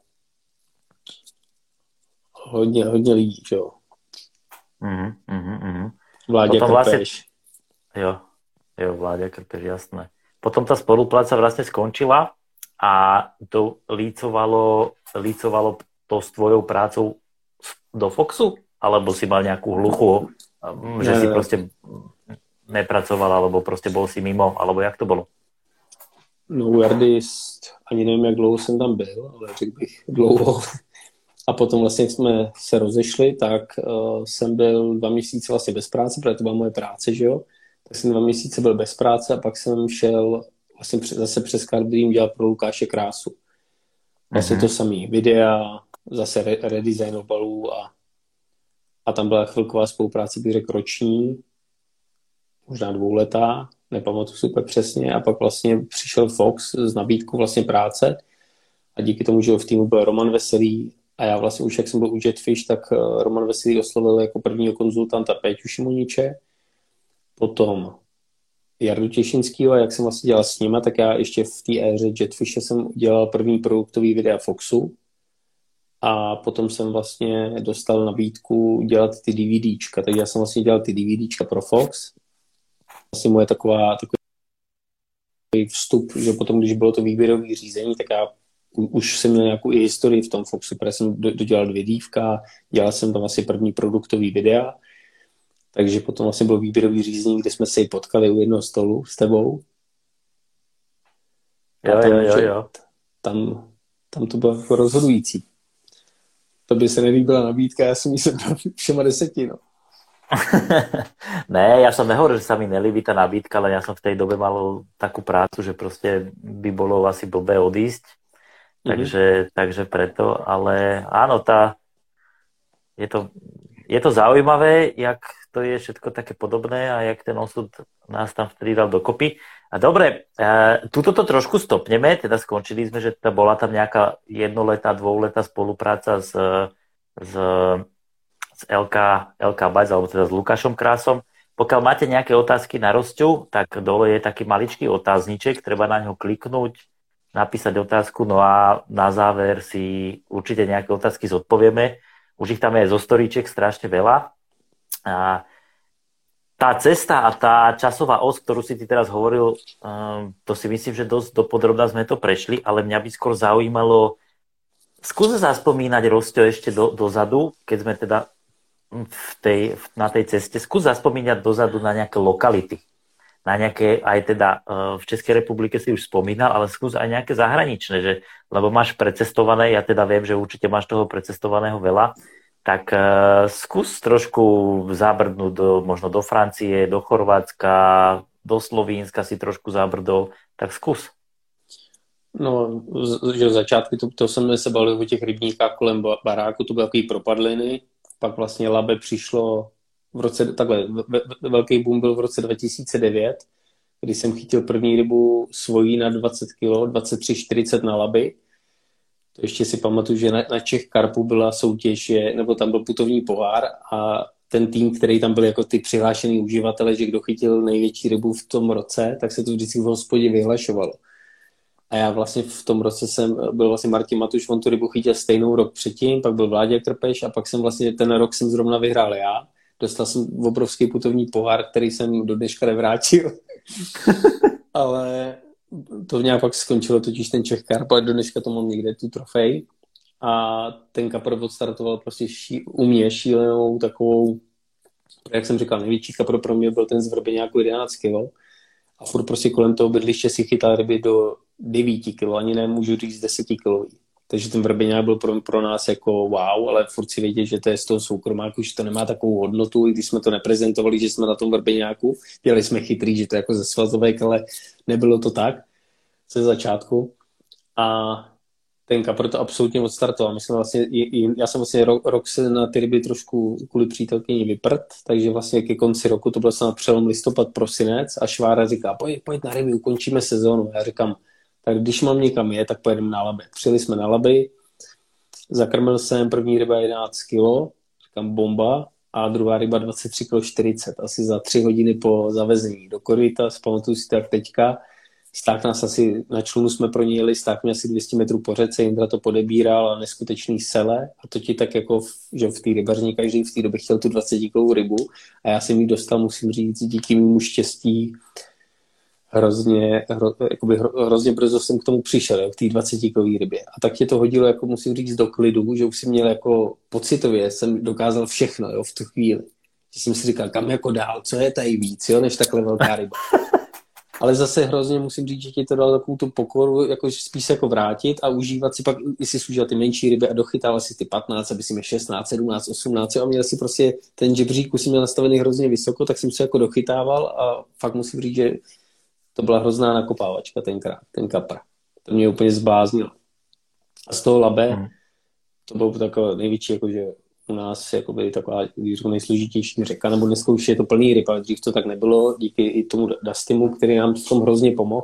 hodně, hodně lidí, že jo. Uh-huh, uh-huh. Vláďa Krpeš. Vlastne, jo, jo, Vláďa Krpeš, jasné. Potom tá spolupráca vlastne skončila a to lícovalo, lícovalo to s tvojou prácou do Foxu? Alebo si mal nejakú hluchu, že ne, si proste nepracoval, alebo proste bol si mimo, alebo jak to bolo? No u Jardy ani nevím, jak dlouho jsem tam byl, ale řekl bych dlouho. A potom vlastně, jak jsme se rozešli, tak uh, jsem byl dva měsíce vlastně bez práce, protože to byla moje práce, že jo. Tak jsem dva měsíce byl bez práce a pak jsem šel vlastně zase přes Carb Dream dělat pro Lukáše Krásu. Vlastně mm-hmm. to samý videa, zase re- redesign obalů a, a tam byla chvilková spolupráce, bych řekl roční, možná dvouletá, nepamatuji super přesně, a pak vlastně přišel Fox s nabídkou vlastně práce a díky tomu, že v týmu byl Roman Veselý a já vlastně už, jak jsem byl u Jetfish, tak Roman Veselý oslovil jako prvního konzultanta Péťu Šimoniče, potom Jardu Těšinskýho, a jak jsem vlastně dělal s nima, tak já ještě v té éře Jetfishe jsem dělal první produktový videa Foxu a potom jsem vlastně dostal nabídku dělat ty DVDčka, takže já jsem vlastně dělal ty DVDčka pro Fox. Vlastně moje taková, takový vstup, že potom, když bylo to výběrové řízení, tak já už jsem měl nějakou i historii v tom Foxu, protože jsem dodělal dvě dívka, dělal jsem tam asi první produktový videa, takže potom vlastně bylo výběrový řízení, kde jsme se potkali u jednoho stolu s tebou. Jo, tam, jo, jo, jo. Tam, tam to bylo jako rozhodující. To by se nelíbila nabídka, já jsem jí sebral všema deseti, no. Ne, ja som nehovoril, že sa mi nelíbi tá nabídka, ale ja som v tej dobe mal takú prácu, že proste by bolo asi blbé odísť. Mm-hmm. Takže, takže preto, ale áno, tá, je to, je to zaujímavé, jak to je všetko také podobné a jak ten osud nás tam vtedy dal dokopy. A dobre, e, tuto to trošku stopneme, teda skončili sme, že teda bola tam nejaká jednoletá, dvouletá spolupráca s, s z el ká, el ká Bajs, alebo teda s Lukášom Krásom. Pokiaľ máte nejaké otázky na Rosťu, tak dole je taký maličký otázniček, treba na ňo kliknúť, napísať otázku, no a na záver si určite nejaké otázky zodpovieme. Už ich tam je zo storíček strašne veľa. A tá cesta a tá časová os, ktorú si ty teraz hovoril, um, to si myslím, že dosť dopodrobná sme to prešli, ale mňa by skôr zaujímalo, skús zaspomínať, Rosťo, ešte do, dozadu, keď sme teda v tej, na tej ceste, skús zaspomínať dozadu na nejaké lokality. Na nejaké, aj teda v Českej republike si už spomínal, ale skús aj nejaké zahraničné, že, lebo máš precestované, ja teda viem, že určite máš toho precestovaného veľa, tak uh, skús trošku zabrdnúť do, možno do Francie, do Chorvátska, do Slovínska si trošku zabrdol, tak skús. No, že v začátku to, to jsme se bavili o těch rybníkách kolem baráku, to byly takový propadliny. Pak vlastně Labe přišlo v roce, takhle, velký boom byl v roce dva tisíce devět, kdy jsem chytil první rybu svojí na dvacet kilo, dvacet tři čtyřicet na Laby. To ještě si pamatuju, že na, na Čech Karpu byla soutěž, nebo tam byl putovní pohár a ten tým, který tam byl jako ty přihlášený uživatele, že kdo chytil největší rybu v tom roce, tak se to vždycky v hospodě vyhlašovalo. A já vlastně v tom roce jsem, byl vlastně Martin Matuš, on tu rybu chytil stejnou rok předtím, pak byl Vláďa Krpeš a pak jsem vlastně ten rok jsem zrovna vyhrál já. Dostal jsem obrovský putovní pohár, který jsem do dneška nevrátil. Ale to nějak pak skončilo totiž ten Czech Carp, ale do dneška to mám někde tu trofej. A ten kapr odstartoval prostě ší, u mě šílenou takovou, jak jsem říkal, největší kapr pro mě byl ten z Vrbeňáku jedenáct kilo. A furt prostě kolem toho bydliště si chytal ryby do devět kilo, ani nemůžu říct deset kilový. Takže ten Vrbeňák byl pro, pro nás jako wow, ale furt si vědět, že to je z toho soukromáku, že to nemá takovou hodnotu, i když jsme to neprezentovali, že jsme na tom Vrbeňáku, dělali jsme chytrý, že to je jako ze svazovek, ale nebylo to tak ze začátku. A ten kapr to absolutně odstartoval. My jsme vlastně, já jsem vlastně rok, rok se na ty ryby trošku kvůli přítelkyni vyprt, takže vlastně ke konci roku, to byl snad přelom listopad, prosinec a Švára říká, pojď, pojď na ryby, ukončíme sezónu. Já říkám, tak když mám někam je, tak pojedeme na Labe. Přijeli jsme na Laby, zakrmil jsem první ryba jedenáct kilo, říkám bomba, a druhá ryba dvacet tři celá čtyřicet, asi za tři hodiny po zavezení do koryta, zpamatuju si to jak teďka. Sták nás asi, na člunu jsme pro ní jeli, sták mě asi dvě stě metrů po řece, Jindra to podebíral a neskutečný sele a to ti tak jako, že v té rybařině každý v té době chtěl tu dvacetikilovou rybu a já jsem ji dostal, musím říct, díky mému štěstí hrozně, hro, jakoby hro, hrozně brzo jsem k tomu přišel, jo, k té dvacetikilový rybě a tak tě to hodilo, jako musím říct, do klidu, že už si měl jako pocitově, jsem dokázal všechno, jo, v tu chvíli. Že jsem si říkal, kam jako dál, co je tady víc, jo, než takhle velká ryba. Ale zase hrozně musím říct, že ti to dalo takovou tu pokoru, jako spíš se jako vrátit a užívat si pak, jestli si užíval ty menší ryby a dochytával si ty patnáct, aby si měl šestnáct, sedmnáct, osmnáct a měl si prostě ten žebřík, už si měl nastavený hrozně vysoko, tak jsem se jako dochytával a fakt musím říct, že to byla hrozná nakopávačka tenkrát, ten kapr. To mě úplně zbláznilo. A z toho Labe, hmm. to bylo takové největší, jakože u nás jakoby taková nejsložitější řeka, nebo dneska už je to plný ryb, ale dřív to tak nebylo, díky i tomu Dustimu, který nám v tom hrozně pomohl.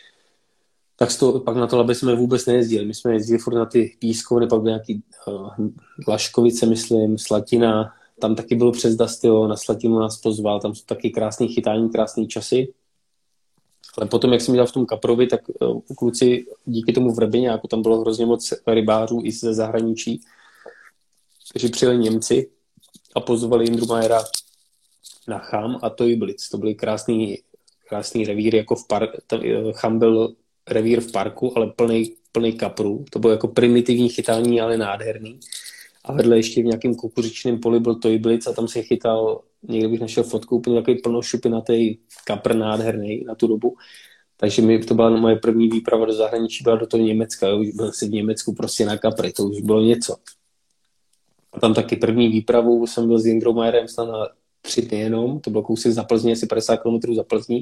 Tak to, pak na to Labe jsme vůbec nejezdili. My jsme jezdili furt na ty pískovny, pak byly nějaký uh, Laškovice, myslím, Slatina, tam taky bylo přes Dustilo, na Slatinu nás pozval, tam jsou taky krásný chytání, krásný časy. Ale potom, jak jsem dělal v tom kaprovi, tak uh, kluci díky tomu Vrbeňáku, tam bylo hrozně moc rybářů i ze zahraničí, takže přijeli Němci a pozvali Jindru Majera na Cham a Tojblic. To byly krásný, krásný revíry, jako v parku. Cham byl revír v parku, ale plný, plný kaprů. To bylo jako primitivní chytání, ale nádherný. A vedle ještě v nějakém kukuřičném poli byl Tojblic a tam se chytal, někde bych našel fotku, úplně takový plnošupinatý kapr nádherný na tu dobu. Takže mi, to byla moje první výprava do zahraničí, byla do toho Německa. Už byl jsem v Německu prostě na kapry, to už bylo něco. A tam taky první výpravu jsem byl s Jindrou Majerem snad na tři dny jenom, to bylo kousek za Plzní, asi padesát kilometrů za Plzní.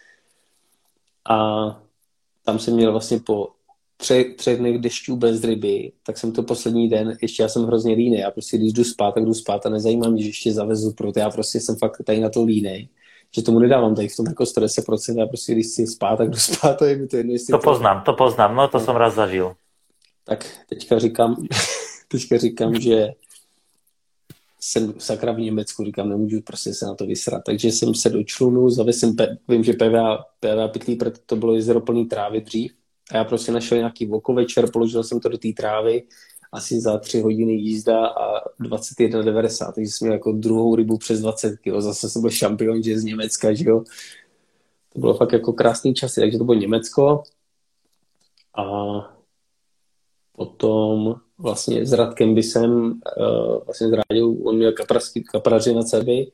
A tam jsem měl vlastně po třech, třech dnech dešťů bez ryby, tak jsem to poslední den, ještě já jsem hrozně línej, já prostě když jdu spát, tak jdu spát a nezajímá mě, že ještě zavezu, proto já prostě jsem fakt tady na to línej, že tomu nedávám tady v tom jako sto deset procent, já prostě když chci spát, tak jdu spát a je mi to jedno, To poznám, to poznám, no to no. Jsem raz zažil. Tak teďka říkám, teďka říkám, že jsem sakra v Německu, říkám, nemůžu prostě se na to vysrat. Takže jsem se do člunu, zavěl jsem, pe- vím, že P V A, P V A Pytlí, protože to bylo jezero plný trávy dřív. A já prostě našel nějaký vokovečer, položil jsem to do té trávy, asi za tři hodiny jízda a dvacet jedna devadesát, takže jsem měl jako druhou rybu přes dvacet kilo. Zase jsem byl šampion, že z Německa, že jo. To bylo fakt jako krásný časy, takže to bylo Německo. A potom vlastně s Radkem Bisem, uh, vlastně s Ráďou, on měl kaprařky, kapraři na Cebi.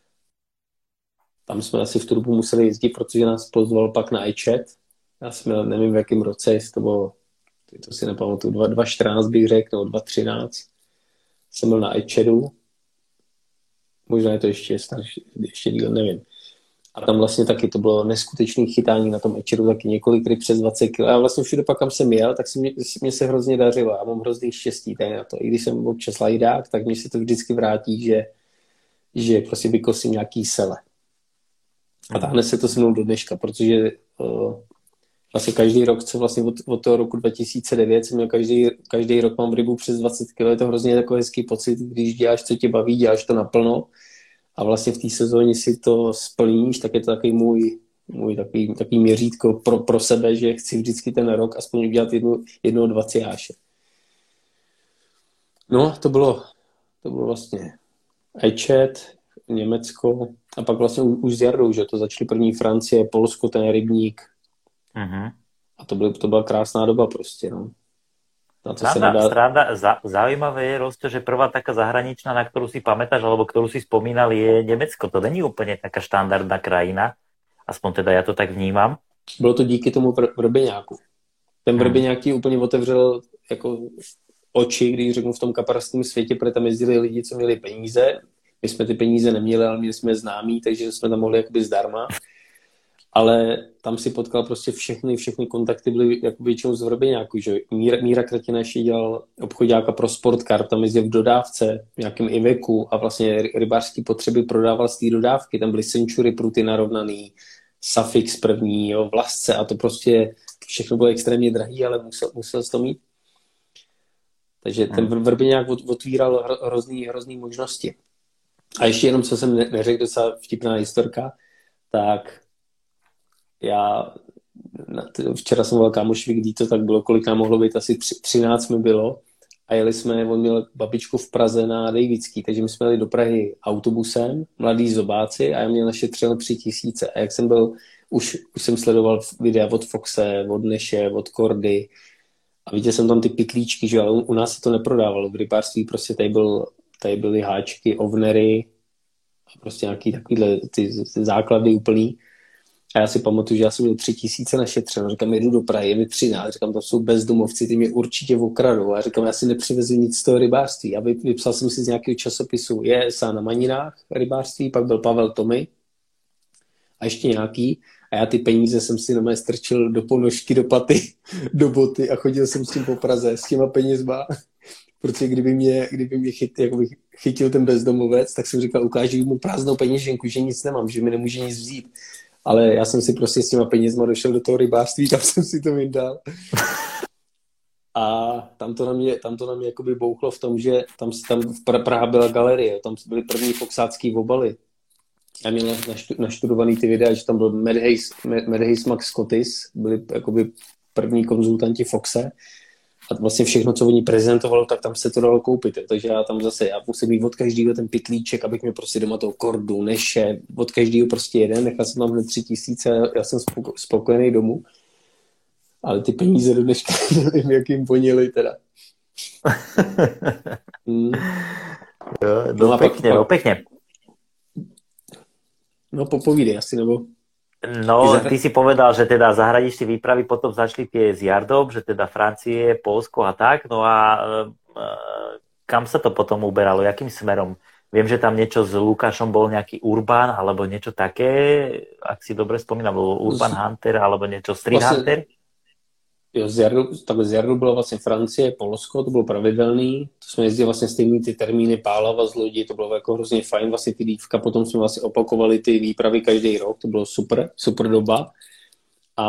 Tam jsme asi v tu dobu museli jezdit, protože nás pozval pak na iChat. Já jsem měl, nevím v jakém roce, jestli to bylo, to si nepamatuju, dva tisíce čtrnáct bych řekl, nebo dva tisíce třináct. Jsem byl na iChatu. Možná je to ještě starší, ještě díl, nevím. A tam vlastně taky to bylo neskutečné chytání na tom iChatu, taky několik ryb přes dvacet kilo. A vlastně všude pak, kam jsem jel, tak se mě, mě se hrozně dařilo. Já mám hrozný štěstí tady na to. I když jsem občas lajdák, tak mi se to vždycky vrátí, že, že prostě vykosím nějaký sele. A táhne se to se mnou do dneška, protože uh, vlastně každý rok, co vlastně od, od toho roku dva tisíce devět jsem měl každý, každý rok mám rybu přes dvacet kilo. Je to hrozně takový hezký pocit, když děláš, co tě baví, děláš to naplno. A vlastně v té sezóně si to splníš, tak je to takový můj, můj takový, takový měřítko pro, pro sebe, že chci vždycky ten rok aspoň udělat jednu, jednou dvacet. No, to bylo, to bylo vlastně iChat, Německo a pak vlastně už s Jardou, že to začaly první Francie, Polsko, ten rybník. Uh-huh. A to, byl, to byla krásná doba prostě, no. Sranda, nedá... sranda, zaujímavé je, Rosto, že prvá taká zahraničná, na ktorú si pamätáš, alebo ktorú si spomínal, je Německo. To není úplně taká štandardná krajina, aspoň teda ja to tak vnímam. Bylo to díky tomu vrbeňáku. Ten vrbeňák ti úplně otevřel jako oči, když řeknu v tom kaparském světě, protože tam jezdili lidi, co měli peníze. My jsme ty peníze neměli, ale měli jsme známí, takže jsme tam mohli jakoby zdarma. Ale tam si potkal prostě všechny, všechny kontakty byly jako většinou z vrbeňáku, že Míra, Míra Kratina ještě dělal obchodáka pro Sportkar, tam jezdil v dodávce, v nějakém Iveku a vlastně rybářské potřeby prodával z té dodávky, tam byly Century pruty narovnaný, Safix první, jo, Vlasce a to prostě všechno bylo extrémně drahý, ale musel, musel to mít. Takže ten vrbeňák otvíral hrozný, hrozný možnosti. A ještě jenom, co jsem neřekl, docela vtipná historka, tak já, včera jsem volal kámošovi k Dito, tak bylo, kolik nám mohlo být, asi třináct mi bylo a jeli jsme, on měl babičku v Praze na Davidský, takže my jsme jeli do Prahy autobusem, mladý zobáci a já měl našetřeno tři tisíce a jak jsem byl, už, už jsem sledoval videa od Foxe, od Neše, od Kordy a viděl jsem tam ty pitlíčky, že ale u, u nás se to neprodávalo, v rybářství prostě tady, byl, tady byly háčky, ovnery a prostě nějaký takovýhle ty, ty základy úplný. A já si pamatuju, že já jsem měl tři tisíce našetřeno. Říkám, jedu do Prahy, je mi třináct. Říkám, to jsou bezdomovci, ty mě určitě okradou. A říkám, já si nepřivezu nic z toho rybářství. A vypsal jsem si z nějakého časopisu J S A na Maninách rybářství, pak byl Pavel Tomy a ještě nějaký. A já ty peníze jsem si na strčil do ponožky, do paty, do boty a chodil jsem s tím po Praze s těma penězma. Protože kdyby mě, kdyby mě chyt, jakoby chytil ten bezdomovec, tak jsem říkal, ukážu mu prázdnou peněženku, že nic nemám, že mi nemůže nic vzít. Ale já jsem si prostě s těma penězma došel do toho rybářství, tam jsem si to vyndal. A tam to na mě, tam to na mě jakoby bouchlo v tom, že tam, tam v Praha byla galerie, tam byly první foxácký obaly. Já měl naštudovaný ty videa, že tam byl Mad Hayes, Mad Hayes Max Scottis, byli jakoby první konzultanti Foxe. A vlastně všechno, co oni prezentovalo, tak tam se to dalo koupit. Takže já tam zase, já musím mít od každého ten pytlíček, abych měl prostě doma toho Kordu, Neše, od každého prostě jeden. Nechal jsem tam hned tři tisíce, já jsem spoko, spokojený domů. Ale ty peníze do dneška nevím, jak jim poněli teda. hmm. Jo, no, no pěkně, no pěkně. No popovídej asi, nebo... No, ty si povedal, že teda zahraničné výpravy potom začali tie s Jardom, že teda Francie, Polsko a tak, no a e, kam sa to potom uberalo, jakým smerom? Viem, že tam niečo s Lukášom bol nejaký Urban, alebo niečo také, ak si dobre spomínam, bol Urban Hunter, alebo niečo Street vlastne, Hunter? Jo, z Jardu, takhle z Jardu byla vlastně Francie, Polsko, to bylo pravidelný, to jsme jezdili vlastně stejný ty termíny Pálava z lodi, to bylo jako hrozně fajn, vlastně ty dívka, potom jsme vlastně opakovali ty výpravy každý rok, to bylo super, super doba. A,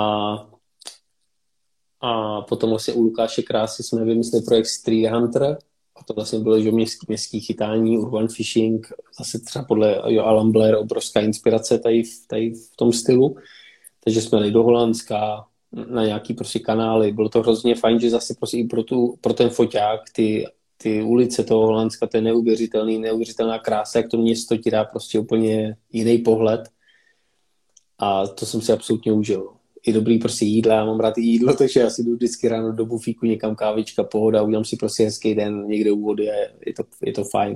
a potom vlastně u Lukáše Krásy jsme vymysleli projekt Street Hunter, a to vlastně bylo, že městský, městský chytání, urban fishing, zase třeba podle jo, Alan Blair, obrovská inspirace tady, tady v tom stylu, takže jsme jeli do Holandska, na nějaký prostě kanály. Bylo to hrozně fajn, že zase prostě i pro, tu, pro ten foťák ty, ty ulice toho Holandska, to je neuvěřitelný, neuvěřitelná krása, jak to město ti dá prostě úplně jiný pohled. A to jsem si absolutně užil. I dobrý prostě jídla, já mám rád i jídlo, takže já si jdu vždycky ráno do bufíku, někam kávička, pohoda, udělám si prostě hezký den někde u vody a je to, je to fajn.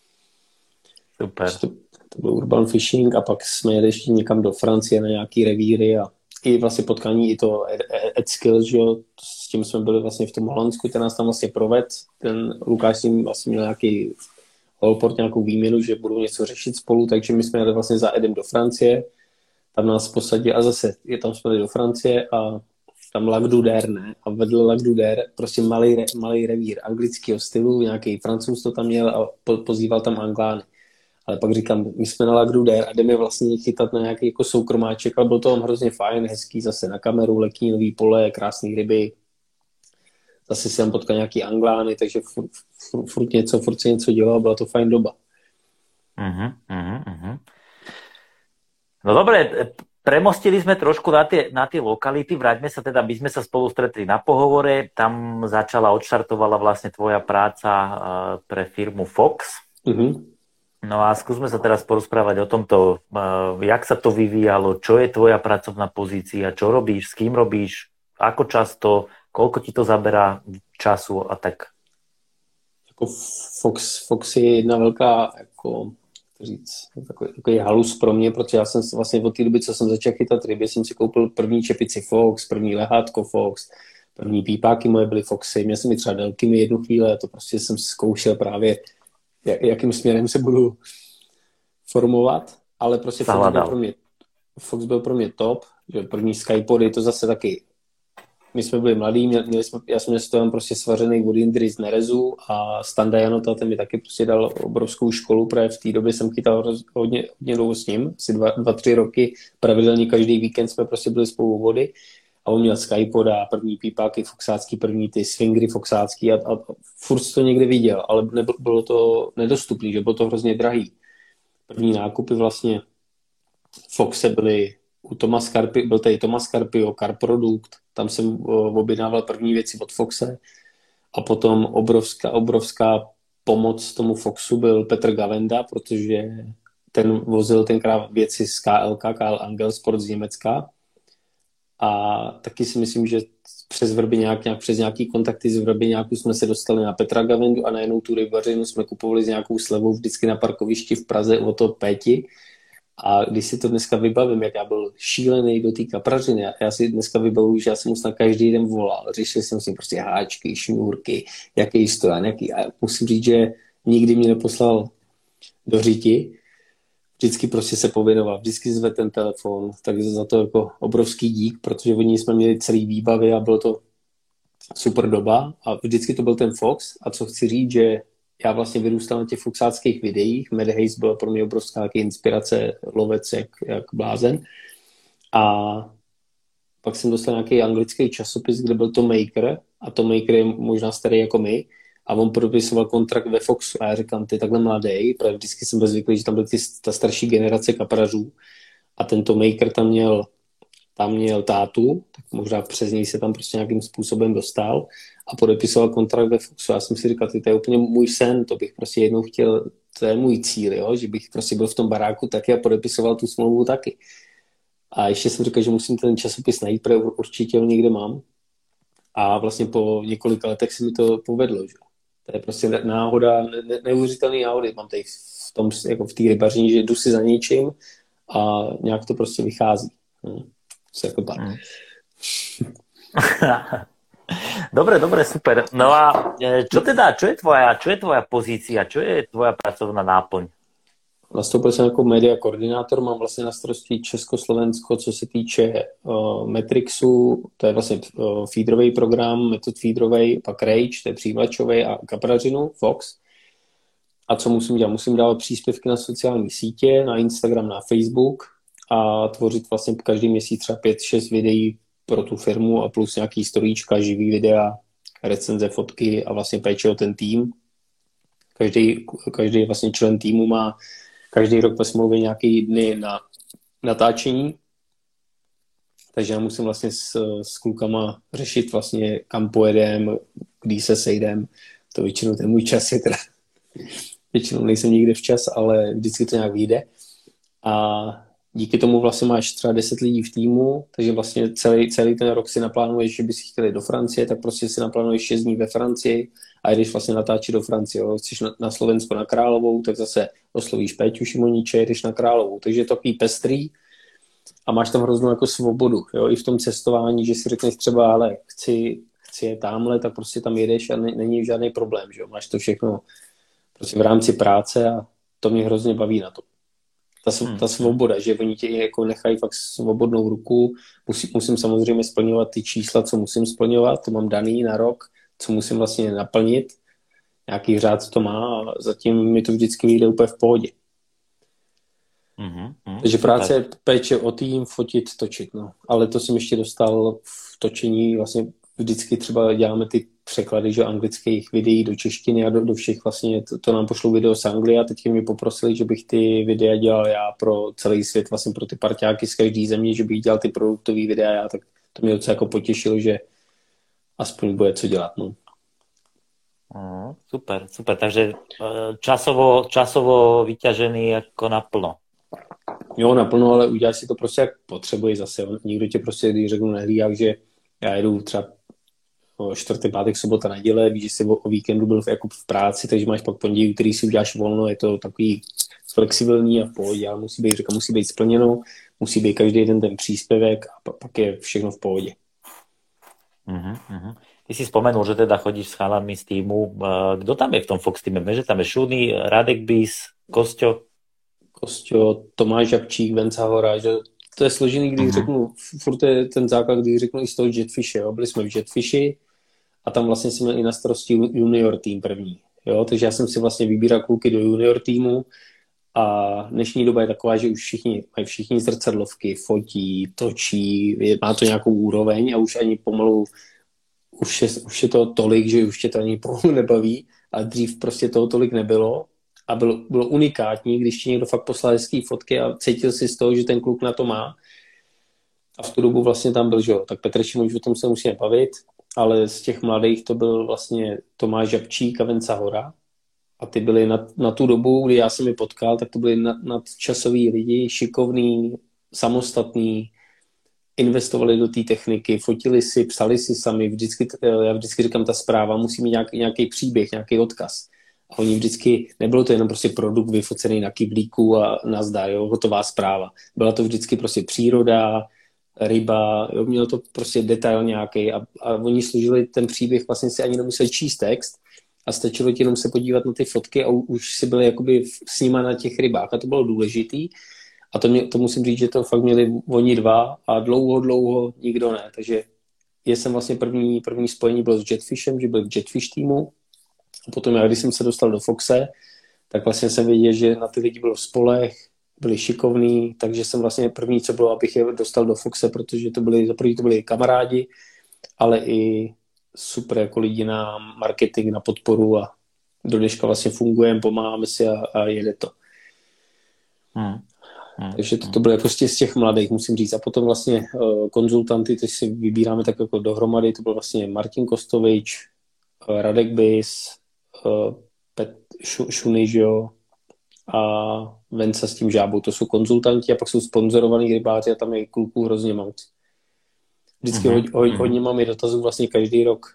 Super. To, to byl urban fishing a pak jsme jeli ještě někam do Francie na nějaký revíry a i vlastně potkání i to Ed Skills, že jo, s tím jsme byli vlastně v tom Holandsku, ten nás tam vlastně proved, ten Lukáš s ním vlastně měl nějaký holport, nějakou výměnu, že budou něco řešit spolu, takže my jsme jeli vlastně za Edem do Francie, tam nás posadili a zase je tam jsme jeli do Francie a tam Lac d'Uder, ne, a vedle Lac d'Uder prostě malý, malý revír anglického stylu, nějaký Francouz to tam měl a po, pozýval tam Anglány. Ale pak říkám, my jsme na Lac d'Uder a jdeme vlastně chytat na nějaký jako soukromáček, ale bylo to tam hrozně fajn, hezký zase na kameru, leknínový pole, krásný ryby. Zase si tam potkal nějaký Anglány, takže furt, furt, furt něco, furt se něco dělalo, byla to fajn doba. Uh-huh, uh-huh, uh-huh. No dobre, premostili sme trošku na tie, na tie lokality, vráťme sa teda, my sme sa spolu stretli na pohovore, tam začala, odštartovala vlastne tvoja práca pre firmu Fox. Uh-huh. No a skúsme sa teraz porozprávať o tomto, uh, jak sa to vyvíjalo, čo je tvoja pracovná pozícia, čo robíš, s kým robíš, ako často, koľko ti to zaberá času a tak. Jako Fox, Fox je jedna velká, jako, říct, takový, takový halus pro mě, protože já jsem vlastně od té doby, co jsem začal chytat ryby, jsem si koupil první čepici Fox, první lehátko Fox, první pípáky moje byly Foxy, měl jsem i třeba delkými jednu chvíli a to prostě jsem zkoušel právě jakým směrem se budu formovat, ale prostě Fox byl, pro mě, Fox byl pro mě top, že první Skypody, to zase taky, my jsme byli mladí, měli jsme, já jsem měl tam prostě svařený od Indry z Nerezu a Standa Janota, ten mi taky prostě dal obrovskou školu, protože v té době jsem chytal hodně, hodně dlouho s ním, asi dva, dva, tři roky, pravidelně každý víkend jsme prostě byli spolu u vody a on měl Skypoda, první pípáky foxácký, první ty swingry foxácký a, a furt to někde viděl, ale nebylo, bylo to nedostupný, že bylo to hrozně drahý. První nákupy vlastně Foxe byly u Thomas Carpi, byl tady Thomas Carpio, Car Product, tam jsem objednával první věci od Foxe a potom obrovská, obrovská pomoc tomu Foxu byl Petr Gavenda, protože ten vozil tenkrát věci z K L K, K L Angel Sport z Německa. A taky si myslím, že přes Vrbyňák, nějak, přes nějaký kontakty z Vrbyňáku jsme se dostali na Petra Gavendu a najednou tu rybařinu jsme kupovali s nějakou slevou vždycky na parkovišti v Praze o to Péti. A když si to dneska vybavím, jak já byl šílený do té kaprařiny, já si dneska vybavuju, že já jsem mu snad každý den volal, řešil jsem si prostě háčky, šňůrky, jaký stojan, jaký. A musím říct, že nikdy mě neposlal do řiti, vždycky prostě se pověnoval, vždycky zve ten telefon, takže za to jako obrovský dík, protože oni jsme měli celý výbavy a bylo to super doba a vždycky to byl ten Fox a co chci říct, že já vlastně vyrůstal na těch foxáckých videích, Mad Haze byla pro mě obrovská inspirace, lovec jak, jak blázen a pak jsem dostal nějaký anglický časopis, kde byl Tom Maker a Tom Maker je možná starý jako my a on podepisoval kontrakt ve Foxu a já říkám, ty takhle mladý, protože vždycky jsem byl zvyklý, že tam byl ty, ta starší generace kaprařů a tento Maker tam měl, tam měl tátu, tak možná přes něj se tam prostě nějakým způsobem dostal a podepisoval kontrakt ve Foxu. Já jsem si říkal, ty, to je úplně můj sen, to bych prostě jednou chtěl, to je můj cíl, jo? Že bych prostě byl v tom baráku taky a podepisoval tu smlouvu taky. A ještě jsem říkal, že musím ten časopis najít, protože určitě ho někde mám. A vlastně po několika letech se mi to povedlo, že? To je prostě náhoda, ne, neuvěřitelný náhody. Mám tady v tom, jako v té rybařině, že jdu si za něčím a nějak to prostě vychází. Hm. Se jako tak. Mm. Dobre, dobre, super. No a čo teda, čo je tvoja, čo je tvoja pozícia, čo je tvoja pracovná náplň? Nastoupil jsem jako media koordinátor, mám vlastně na starosti Československo, co se týče uh, Metrixu, to je vlastně uh, feederový program, metod feederový, pak Rage, to je přijímačový a kaprařinu, Fox. A co musím dělat? Musím dávat příspěvky na sociální sítě, na Instagram, na Facebook a tvořit vlastně každý měsíc třeba pět šest videí pro tu firmu a plus nějaký storíčka, živý videa, recenze, fotky a vlastně péče o ten tým. Každý, každý vlastně člen týmu má každý rok ve smlouvě nějaký dny na natáčení, takže já musím vlastně s, s klukama řešit vlastně, kam pojedem, kdy se sejdem. To většinou ten můj čas je teda, většinou nejsem nikde včas, ale vždycky to nějak vyjde. A díky tomu vlastně máš třeba deset lidí v týmu, takže vlastně celý, celý ten rok si naplánuješ, že bys chtěli do Francie, tak prostě si naplánuješ šest dní ve Francii a jdeš vlastně natáčet do Francie. Jo. Chceš na, na Slovensko na Královou, tak zase oslovíš Péťu Šimoniče, jdeš na Královou. Takže je to takový pestrý a máš tam hroznou jako svobodu. Jo. I v tom cestování, že si řekneš třeba, ale chci, chci je tamhle, tak prostě tam jedeš a ne, není žádný problém. Že jo. Máš to všechno prostě v rámci práce a to mě hrozně baví na to. Ta, ta svoboda, že oni tě jako nechají fakt svobodnou ruku. Musí, musím samozřejmě splňovat ty čísla, co musím splňovat, to mám daný na rok, co musím vlastně naplnit. Nějaký řád to má a zatím mi to vždycky vyjde úplně v pohodě. Mm-hmm, mm, Takže práce je péče o tým, fotit, točit. No. Ale to jsem ještě dostal v točení, vlastně vždycky třeba děláme ty překlady, že anglických videí do češtiny a do, do všech vlastně, to, to nám pošlo video z Anglie a teď mi poprosili, že bych ty videa dělal já pro celý svět, vlastně pro ty parťáky z každé země, že bych dělal ty produktový videa já, tak to mě docela jako potěšilo, že aspoň bude co dělat. No. Mm, super, super, takže časovo, časovo vyťažený jako naplno. Jo, naplno, ale uděláš si to prostě jak potřebuješ zase. Nikdo tě prostě, když řeknu nehlídá, že já jedu třeba čtvrtek, pátek, sobota, neděle, víš, že jsi o, o víkendu byl v, jako v práci, takže máš pak pondělí, který si uděláš volno, je to takový flexibilní a v pohodě, ale musí být, říkám, musí být splněno, musí být každý den ten příspěvek a pak je všechno v pohodě. Uh-huh, uh-huh. Ty si spomenul, že teda chodíš s chalami z týmu. Kdo tam je v tom Fox týme? Že tam je Šuny, Radek Bis, Kosťo? Kosťo, Tomáš Žabčík, Venca Hora, že to je složený, když uh-huh. řeknu, furt je ten základ, když řeknu i z toho Jetfishe, jo. Byli jsme v Jetfishi a tam vlastně jsme měli i na starosti junior tým první, jo, takže já jsem si vlastně vybíral kluky do junior týmu a dnešní doba je taková, že už všichni mají všichni zrcadlovky, fotí, točí, je, má to nějakou úroveň a už ani pomalu, už je, už je to tolik, že už tě to ani pomalu nebaví a dřív prostě toho tolik nebylo. A bylo, bylo unikátní, když ti někdo fakt poslal hezký fotky a cítil si z toho, že ten kluk na to má. A v tu dobu vlastně tam byl, že jo, tak Petr Šimonič, o tom se musíme bavit, ale z těch mladých to byl vlastně Tomáš Žabčík a Venca Hora. A ty byli na, na tu dobu, kdy já jsem je potkal, tak to byli nad, nadčasoví lidi, šikovní, samostatní, investovali do té techniky, fotili si, psali si sami, vždycky, já vždycky říkám, ta zpráva musí mít nějaký, nějaký příběh, nějaký odkaz. A oni vždycky, nebylo to jenom prostě produkt vyfocený na kyblíku a nazdar, jo, hotová zpráva. Byla to vždycky prostě příroda, ryba, jo, mělo to prostě detail nějaký a, a oni služili ten příběh, vlastně si ani nemuseli číst text a stačilo ti jenom se podívat na ty fotky a už si byli jakoby s nima na těch rybách a to bylo důležitý. A to, mě, to musím říct, že to fakt měli oni dva a dlouho, dlouho nikdo ne. Takže já jsem vlastně první, první spojení bylo s Jetfishem, že byl v Jetfish týmu. A potom já, když jsem se dostal do Foxe, tak vlastně jsem věděl, že na ty lidi bylo spolech, byli šikovní, takže jsem vlastně první, co bylo, abych je dostal do Foxe, protože to byli, za první to byli kamarádi, ale i super jako lidi na marketing, na podporu a do dneška vlastně fungujeme, pomáháme si a, a jede to. Hmm. Hmm. Takže to, to bylo prostě z těch mladých, musím říct. A potom vlastně uh, konzultanty, teď si vybíráme tak jako dohromady, to byl vlastně Martin Kostovič, uh, Radek Bis, uh, Pet, Šu, Šuny, jo, a Venca s tím Žábou. To jsou konzultanti a pak jsou sponzorovaný rybáři a tam je kluků hrozně moc. Vždycky mm-hmm. hodně, hodně mám i dotazů vlastně každý rok.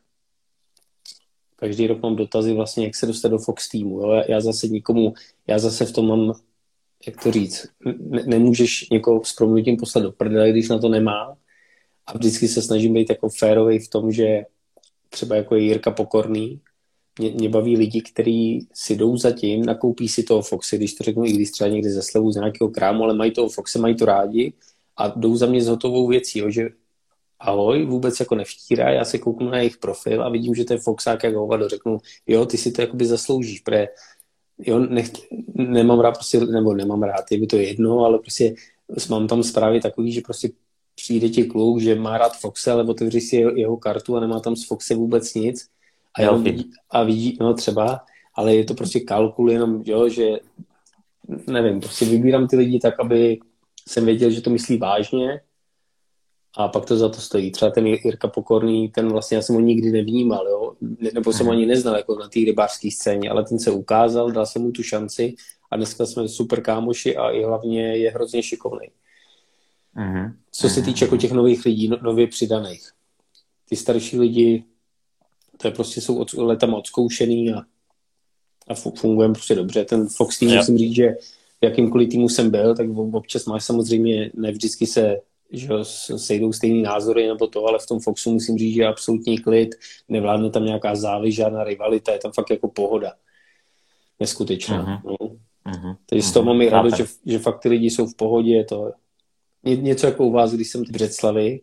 Každý rok mám dotazy vlastně, jak se dostat do Fox týmu. Jo. Já zase nikomu, já zase v tom mám jak to říct, ne, nemůžeš někoho s prominutím poslat do prdele, když na to nemá. A vždycky se snažím být jako férovej v tom, že třeba jako je Jirka Pokorný, mě, mě baví lidi, kteří si jdou za tím, nakoupí si toho Foxe, když to řeknu, i když třeba někdy ze slevu z nějakého krámu, ale mají toho Foxe, mají to rádi a jdou za mě s hotovou věcí, jo, že ahoj, vůbec jako nevštírá, já se kouknu na jejich profil a vidím, že to je Foxák jak hovado, řeknu, jo, ty si to jakoby zasloužíš, protože jo, nech, nemám rád prostě, nebo nemám rád, je by to jedno, ale prostě mám tam zprávy takový, že prostě přijde ti kluk, že má rád Foxe, ale otevří si jeho, jeho kartu a nemá tam z Foxe vůbec nic a, jenom vidí, a vidí, no třeba, ale je to prostě kalkul jenom, jo, že nevím, prostě vybírám ty lidi tak, aby jsem věděl, že to myslí vážně a pak to za to stojí. Třeba ten Jirka Pokorný, ten vlastně já jsem ho nikdy nevnímal, jo? Nebo jsem ho ani neznal jako na té rybářské scéně, ale ten se ukázal, dal jsem mu tu šanci a dneska jsme super kámoši a i hlavně je hrozně šikovnej. Mm-hmm. Co se týče jako těch nových lidí, no, nově přidaných. Ty starší lidi, to je prostě jsou od, letama odzkoušený a, a fungujeme prostě dobře. Ten Fox tým, musím říct, že v jakýmkoliv týmu jsem byl, tak občas máš samozřejmě, ne vždycky se že sejdou stejný názory nebo to, ale v tom Foxu musím říct, že je absolutní klid, nevládne tam nějaká záviš, žádná rivalita, je tam fakt jako pohoda. Neskutečná. Uh-huh. No. Uh-huh. Takže z toho mám i radost, že, že fakt ty lidi jsou v pohodě, je to něco jako u vás, když jsem v Břeclavi.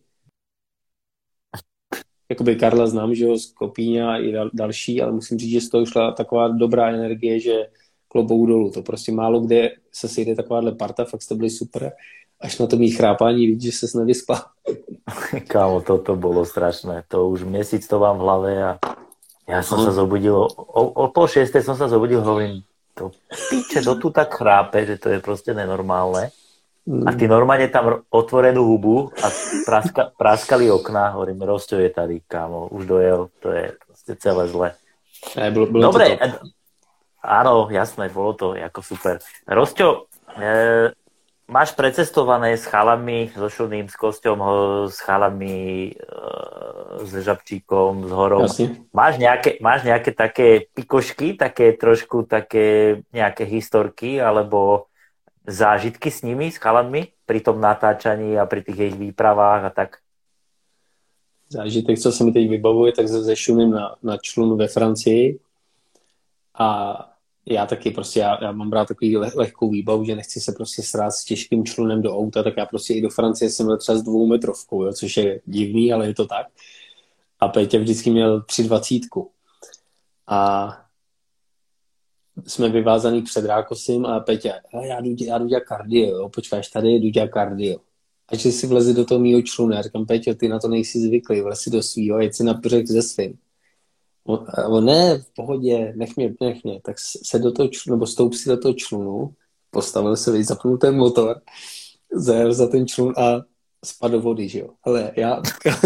Jakoby Karla znám, že jo, z Kopíňa i dal, další, ale musím říct, že z toho šla taková dobrá energie, že klobouk dolů. To prostě málo kde se sejde takováhle parta, fakt jste byli super. Až na to mý chrápání vidíš, že ses nevyspal. Kámo, toto bolo strašné. To už měsíc to mám v hlave a ja som sa zobudil, o, o pol šiestej som sa zobudil, hovorím, to píče, to tu tak chrápe, že to je proste nenormálne. A ty normálne tam otvorenú hubu a praska, praskali okná, hovorím, Rosťo je tady, kámo, už dojel, to je proste celé zle. Aj, bolo, bolo Dobre, to áno, jasné, bolo to ako super. Rosťo, e, máš precestované s chalami, so Šuným, s Kosťom, s chalami, s Žabčíkom, s Horou. Máš nejaké, máš nejaké také pikošky, také trošku také nejaké historky, alebo zážitky s nimi, s chalami, pri tom natáčaní a pri tých ich výpravách a tak? Zážitek, co se mi teď vybavuje, tak se Šunym na, na člunu ve Francii a já taky prostě, já, já mám rád takový leh, lehkou výbavu, že nechci se prostě srát s těžkým člunem do auta, tak já prostě i do Francie jsem byl třeba s dvoumetrovkou, jo, což je divný, ale je to tak. A Péťa vždycky měl tři dvacítku. A jsme vyvázaný před Rákosem a Péťa, já jdu, já jdu dělat kardio, jo, počkáš tady, jdu dělat kardio. A že si vleze do toho mýho člunu, já říkám, Péťo, ty na to nejsi zvyklý, vlez si do svýho, jeď si na břeh ze svým. On, on ne, v pohodě, nech mě, nech mě. Tak se do toho člunu, nebo stoup si do toho člunu, postavil se, zapnul ten motor, zajel za ten člun a spadl do vody, že jo. Ale já...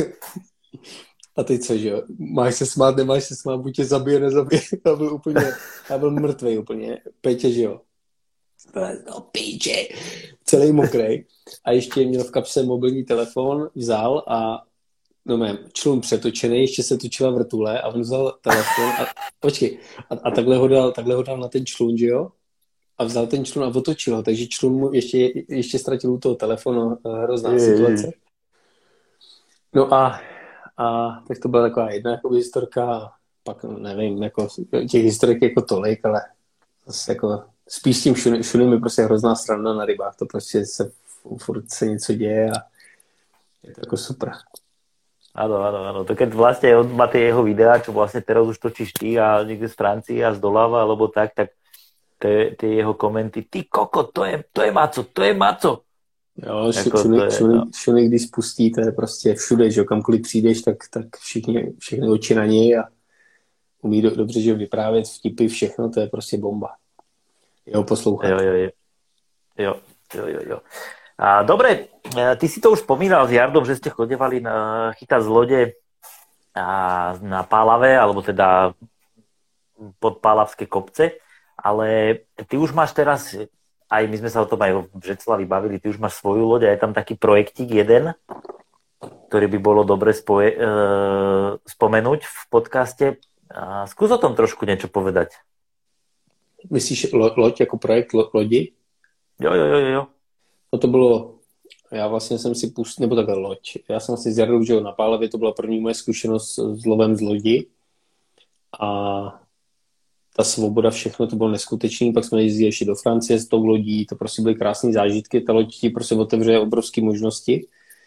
A teď co, že jo? Máš se smát, nemáš se smát, buď tě zabije, nezabije. Já byl úplně, já byl mrtvej úplně. Pétě, že jo. No píče. Celý mokrej. A ještě měl v kapse mobilní telefon, vzal a no mém, člun přetočený, ještě se točila vrtule a on vzal telefon a počkej, a, a takhle, ho dal, takhle ho dal na ten člun, že jo? A vzal ten člun a otočil ho, takže člun mu ještě, ještě ztratil u toho telefonu, hrozná je, situace. Je. No a, a tak to byla taková jedna jako historka, pak nevím, jako těch historik jako tolik, ale zase jako spíš s tím šunem, šunem je prostě hrozná strana na rybách, to prostě se furt se něco děje a je to jako super. Áno, áno, áno. To keď vlastne on má tie jeho videá, čo vlastne teraz už točíš ty a niekde z Francii a z doľava, alebo tak, tak tie, tie jeho komenty, ty koko, to je, to je maco, to je maco. Jo, Šuny, když spustí, to je prostě všude, že kamkoliv přijdeš, tak, tak všichni, všechny oči na něj a umí do, dobře, že vyprávět vtipy, všechno, to je prostě bomba. Jeho poslouchat. Jo, jo, jo. Jo, jo, jo, jo. A, dobre, ty si to už spomínal s Jardom, že ste chodevali na chytať z lode a na Pálave, alebo teda pod Pálavské kopce, ale ty už máš teraz, aj my sme sa o tom aj v Břeclavi bavili, ty už máš svoju loď a je tam taký projektík jeden, ktorý by bolo dobre spoje, e, spomenúť v podcaste. A skús o tom trošku niečo povedať. Myslíš lo, loď ako projekt lo, lodi? Jo, jo, jo, jo. No to bylo, já vlastně jsem si pustil, nebo takhle loď. Já jsem si zjadl, že na Pálavě to byla první moje zkušenost s lovem z lodi. A ta svoboda, všechno to bylo neskutečný. Pak jsme jezdili ještě do Francie s tou lodí, to prostě byly krásné zážitky. Ta loď ti prostě otevře obrovské možnosti.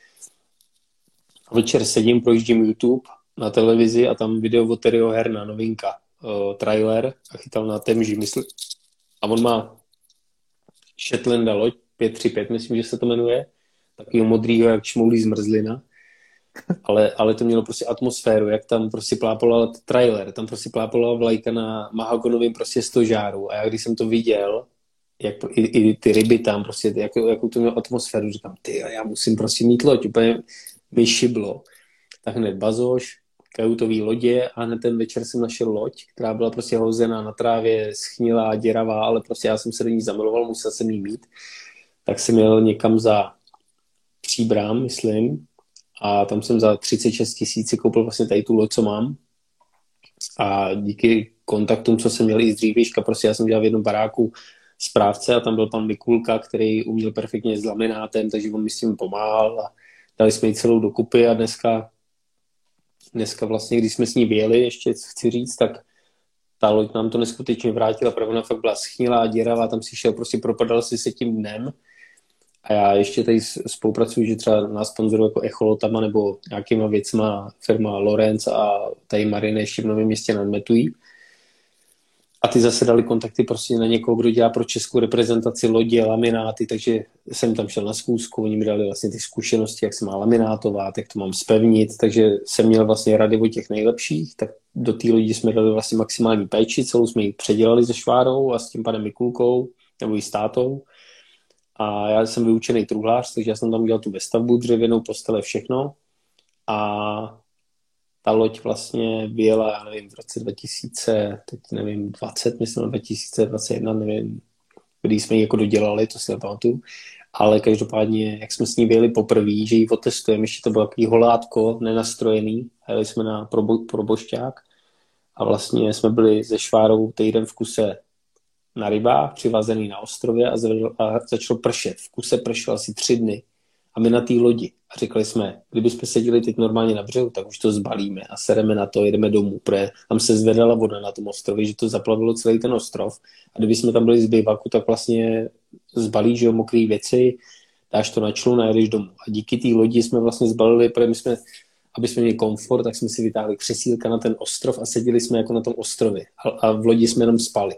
A večer sedím, projíždím YouTube na televizi a tam video od Terryho Herna, novinka, uh, trailer a chytal na Temži, myslím. A on má Shetlanda loď, pět tři pět, myslím, že se to jmenuje, takovýho modrýho, jak šmoulí zmrzlina. Ale, ale to mělo prostě atmosféru, jak tam prostě plápala trailer, tam prostě plápala vlajka na mahagonovým prostě stožáru a já když jsem to viděl, jak i, i ty ryby tam prostě, jak, jakou to mělo atmosféru, říkám, ty, já musím prostě mít loď, úplně mi šiblo. Tak hned bazoš, kajutový lodě a hned ten večer jsem našel loď, která byla prostě hozená na trávě, schnilá, děravá, ale prostě já jsem se do ní zamiloval, musel jsem jí mít. Tak jsem jel někam za Příbram, myslím, a tam jsem za třicet šest tisíc koupil vlastně tady tu loď, co mám. A díky kontaktům, co jsem měl i z dřívějška, prostě já jsem dělal v jednom baráku správce a tam byl pan Mikulka, který uměl perfektně s laminátem, takže on mi s tím pomáhal a dali jsme ji celou dokupy a dneska, dneska vlastně, když jsme s ní vyjeli, ještě chci říct, tak ta loď nám to neskutečně vrátila, protože ona fakt byla schnilá, děravá, tam si šel, prostě propadal si se tím dnem. A já ještě tady spolupracuji, že třeba nás sponzorují jako echolotama nebo nějakýma věcma firma Lorenz a tady Marine ještě v Novém Městě nadmetují. A ty zase dali kontakty prostě na někoho, kdo dělá pro českou reprezentaci lodě, lamináty, takže jsem tam šel na zkoušku, oni mi dali vlastně ty zkušenosti, jak se má laminátovat, jak to mám spevnit, takže jsem měl vlastně rady o těch nejlepších, tak do té lodi jsme dali vlastně maximální péči, celou jsme ji předělali se Švárou a s tím panem Mikulkou, nebo i s tátou. A já jsem vyučený truhlář, takže já jsem tam udělal tu vestavbu, dřevěnou postele, všechno. A ta loď vlastně vyjela, já nevím, v roce dva tisíce, teď nevím, dvacet, myslím, dva tisíce dvacet jedna, nevím, kdy jsme ji jako dodělali, to si nepamatuju. Ale každopádně, jak jsme s ní vyjeli poprvé, že ji otestujeme, ještě to bylo takový holátko, nenastrojený, a jeli jsme na probo, probošťák a vlastně jsme byli se Švárou týden v kuse na rybách, přivázený na ostrově a, zvedl, a začalo pršet. V kuse pršelo asi tři dny. A my na té lodi. A řekli jsme, kdybychom seděli teď normálně na břehu, tak už to zbalíme a sereme na to, jedeme domů, protože tam se zvedala voda na tom ostrově, že to zaplavilo celý ten ostrov. A kdyby jsme tam byli z bivaku, tak vlastně zbalíš, že jo, mokrý věci, dáš to na člun a jedeš domů. A díky té lodi jsme vlastně zbalili, protože my jsme, aby jsme měli komfort, tak jsme si vytáhli křesílka na ten ostrov a seděli jsme jako na tom ostrově. A, a v lodi jsme jenom spali.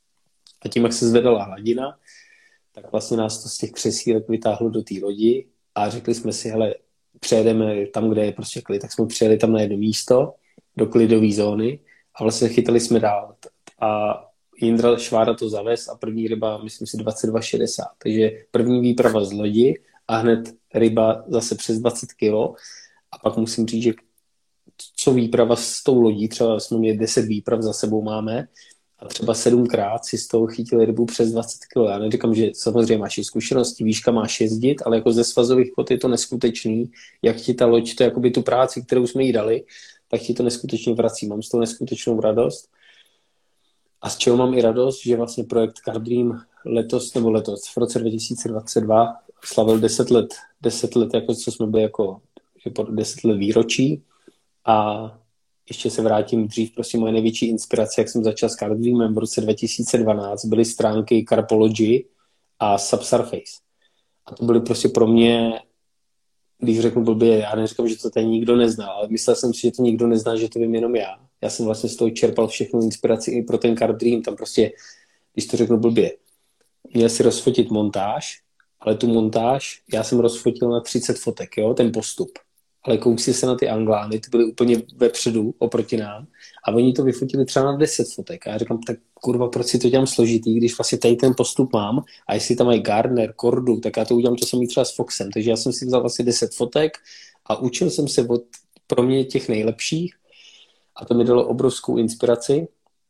A tím, jak se zvedala hladina, tak vlastně nás to z těch křesílek vytáhlo do té lodi a řekli jsme si, hele, přejedeme tam, kde je prostě klid. Tak jsme přijeli tam na jedno místo, do klidové zóny a vlastně chytali jsme dál. A Jindra Švára to zavez a první ryba, myslím si, dvacet dva šedesát. Takže první výprava z lodi a hned ryba zase přes dvacet kilo. A pak musím říct, že co výprava s tou lodí, třeba jsme měli deset výprav za sebou máme, a třeba sedmkrát si z toho chytili rybu přes dvacet kilo. Já neříkám, že samozřejmě máš i zkušenosti, víš, kam máš jezdit, ale jako ze svazových vod je to neskutečný, jak ti ta loď, to je jakoby tu práci, kterou jsme jí dali, tak ti to neskutečně vrací. Mám z toho neskutečnou radost. A z čeho mám i radost, že vlastně projekt Carp Dream letos, nebo letos, v roce dva tisíce dvacet dva slavil deset let, deset let, jako co jsme byli jako deset let výročí a ještě se vrátím dřív, prostě moje největší inspirace, jak jsem začal s Carp Dreamem v roce dva tisíce dvanáct, byly stránky Carpology a Subsurface. A to byly prostě pro mě, když řeknu blbě, já neříkám, že to tady nikdo nezná, ale myslel jsem si, že to nikdo nezná, že to vím jenom já. Já jsem vlastně z toho čerpal všechnu inspiraci i pro ten Carp Dream, tam prostě, když to řeknu blbě, měl si rozfotit montáž, ale tu montáž já jsem rozfotil na třicet fotek, jo, ten postup. Ale kouk si se na ty Anglány, ty byly úplně vepředu oproti nám a oni to vyfotili třeba na deset fotek. A já říkám, tak kurva, proč si to dělám složitý, když vlastně tady ten postup mám a jestli tam mají Gardner, Kordu, tak já to udělám to samý třeba s Foxem. Takže já jsem si vzal vlastně deset fotek a učil jsem se od pro mě těch nejlepších a to mi dalo obrovskou inspiraci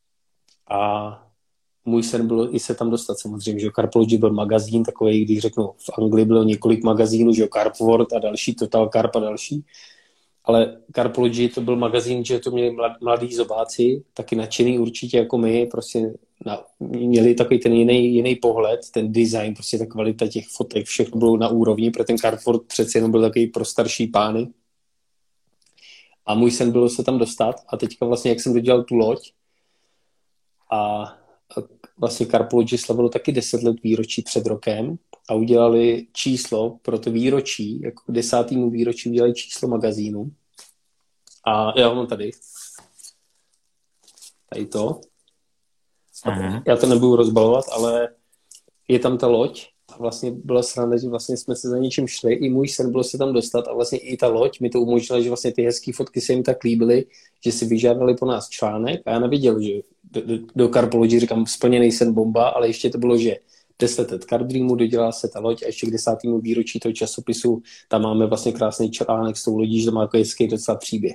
a můj sen bylo i se tam dostat samozřejmě, že Carpology byl magazín takový, když řeknu, v Anglii bylo několik magazínů, že Carp World a další, Total Carp a další. ale Carpology to byl magazín, že to měli mladí zobáci, taky nadšený určitě jako my, prostě na, měli takový ten jiný, jiný pohled, ten design, prostě ta kvalita těch fotek, všechno bylo na úrovni, protože ten Carrefour přece jenom byl takový pro starší pány. A můj sen bylo se tam dostat a teďka vlastně, jak jsem dodělal tu loď a vlastně Carpology slavilo taky deset let výročí před rokem a udělali číslo pro to výročí, jako k desátýmu výročí udělali číslo magazínu. A já ho mám tady. Tady to. Uh-huh. Já to nebudu rozbalovat, ale je tam ta loď a vlastně byla sranda, že vlastně jsme se za něčím šli. I můj sen bylo se tam dostat a vlastně i ta loď mi to umožnila, že vlastně ty hezké fotky se jim tak líbily, že si vyžádali po nás článek a já neviděl, že do, do, do Carpology říkám splněný sen bomba, ale ještě to bylo, že deset let Car Dreamu, dodělala se ta loď a ještě k desátýmu výročí toho časopisu tam máme vlastně krásný článek s tou lodí, že to má jako hezký docela příběh.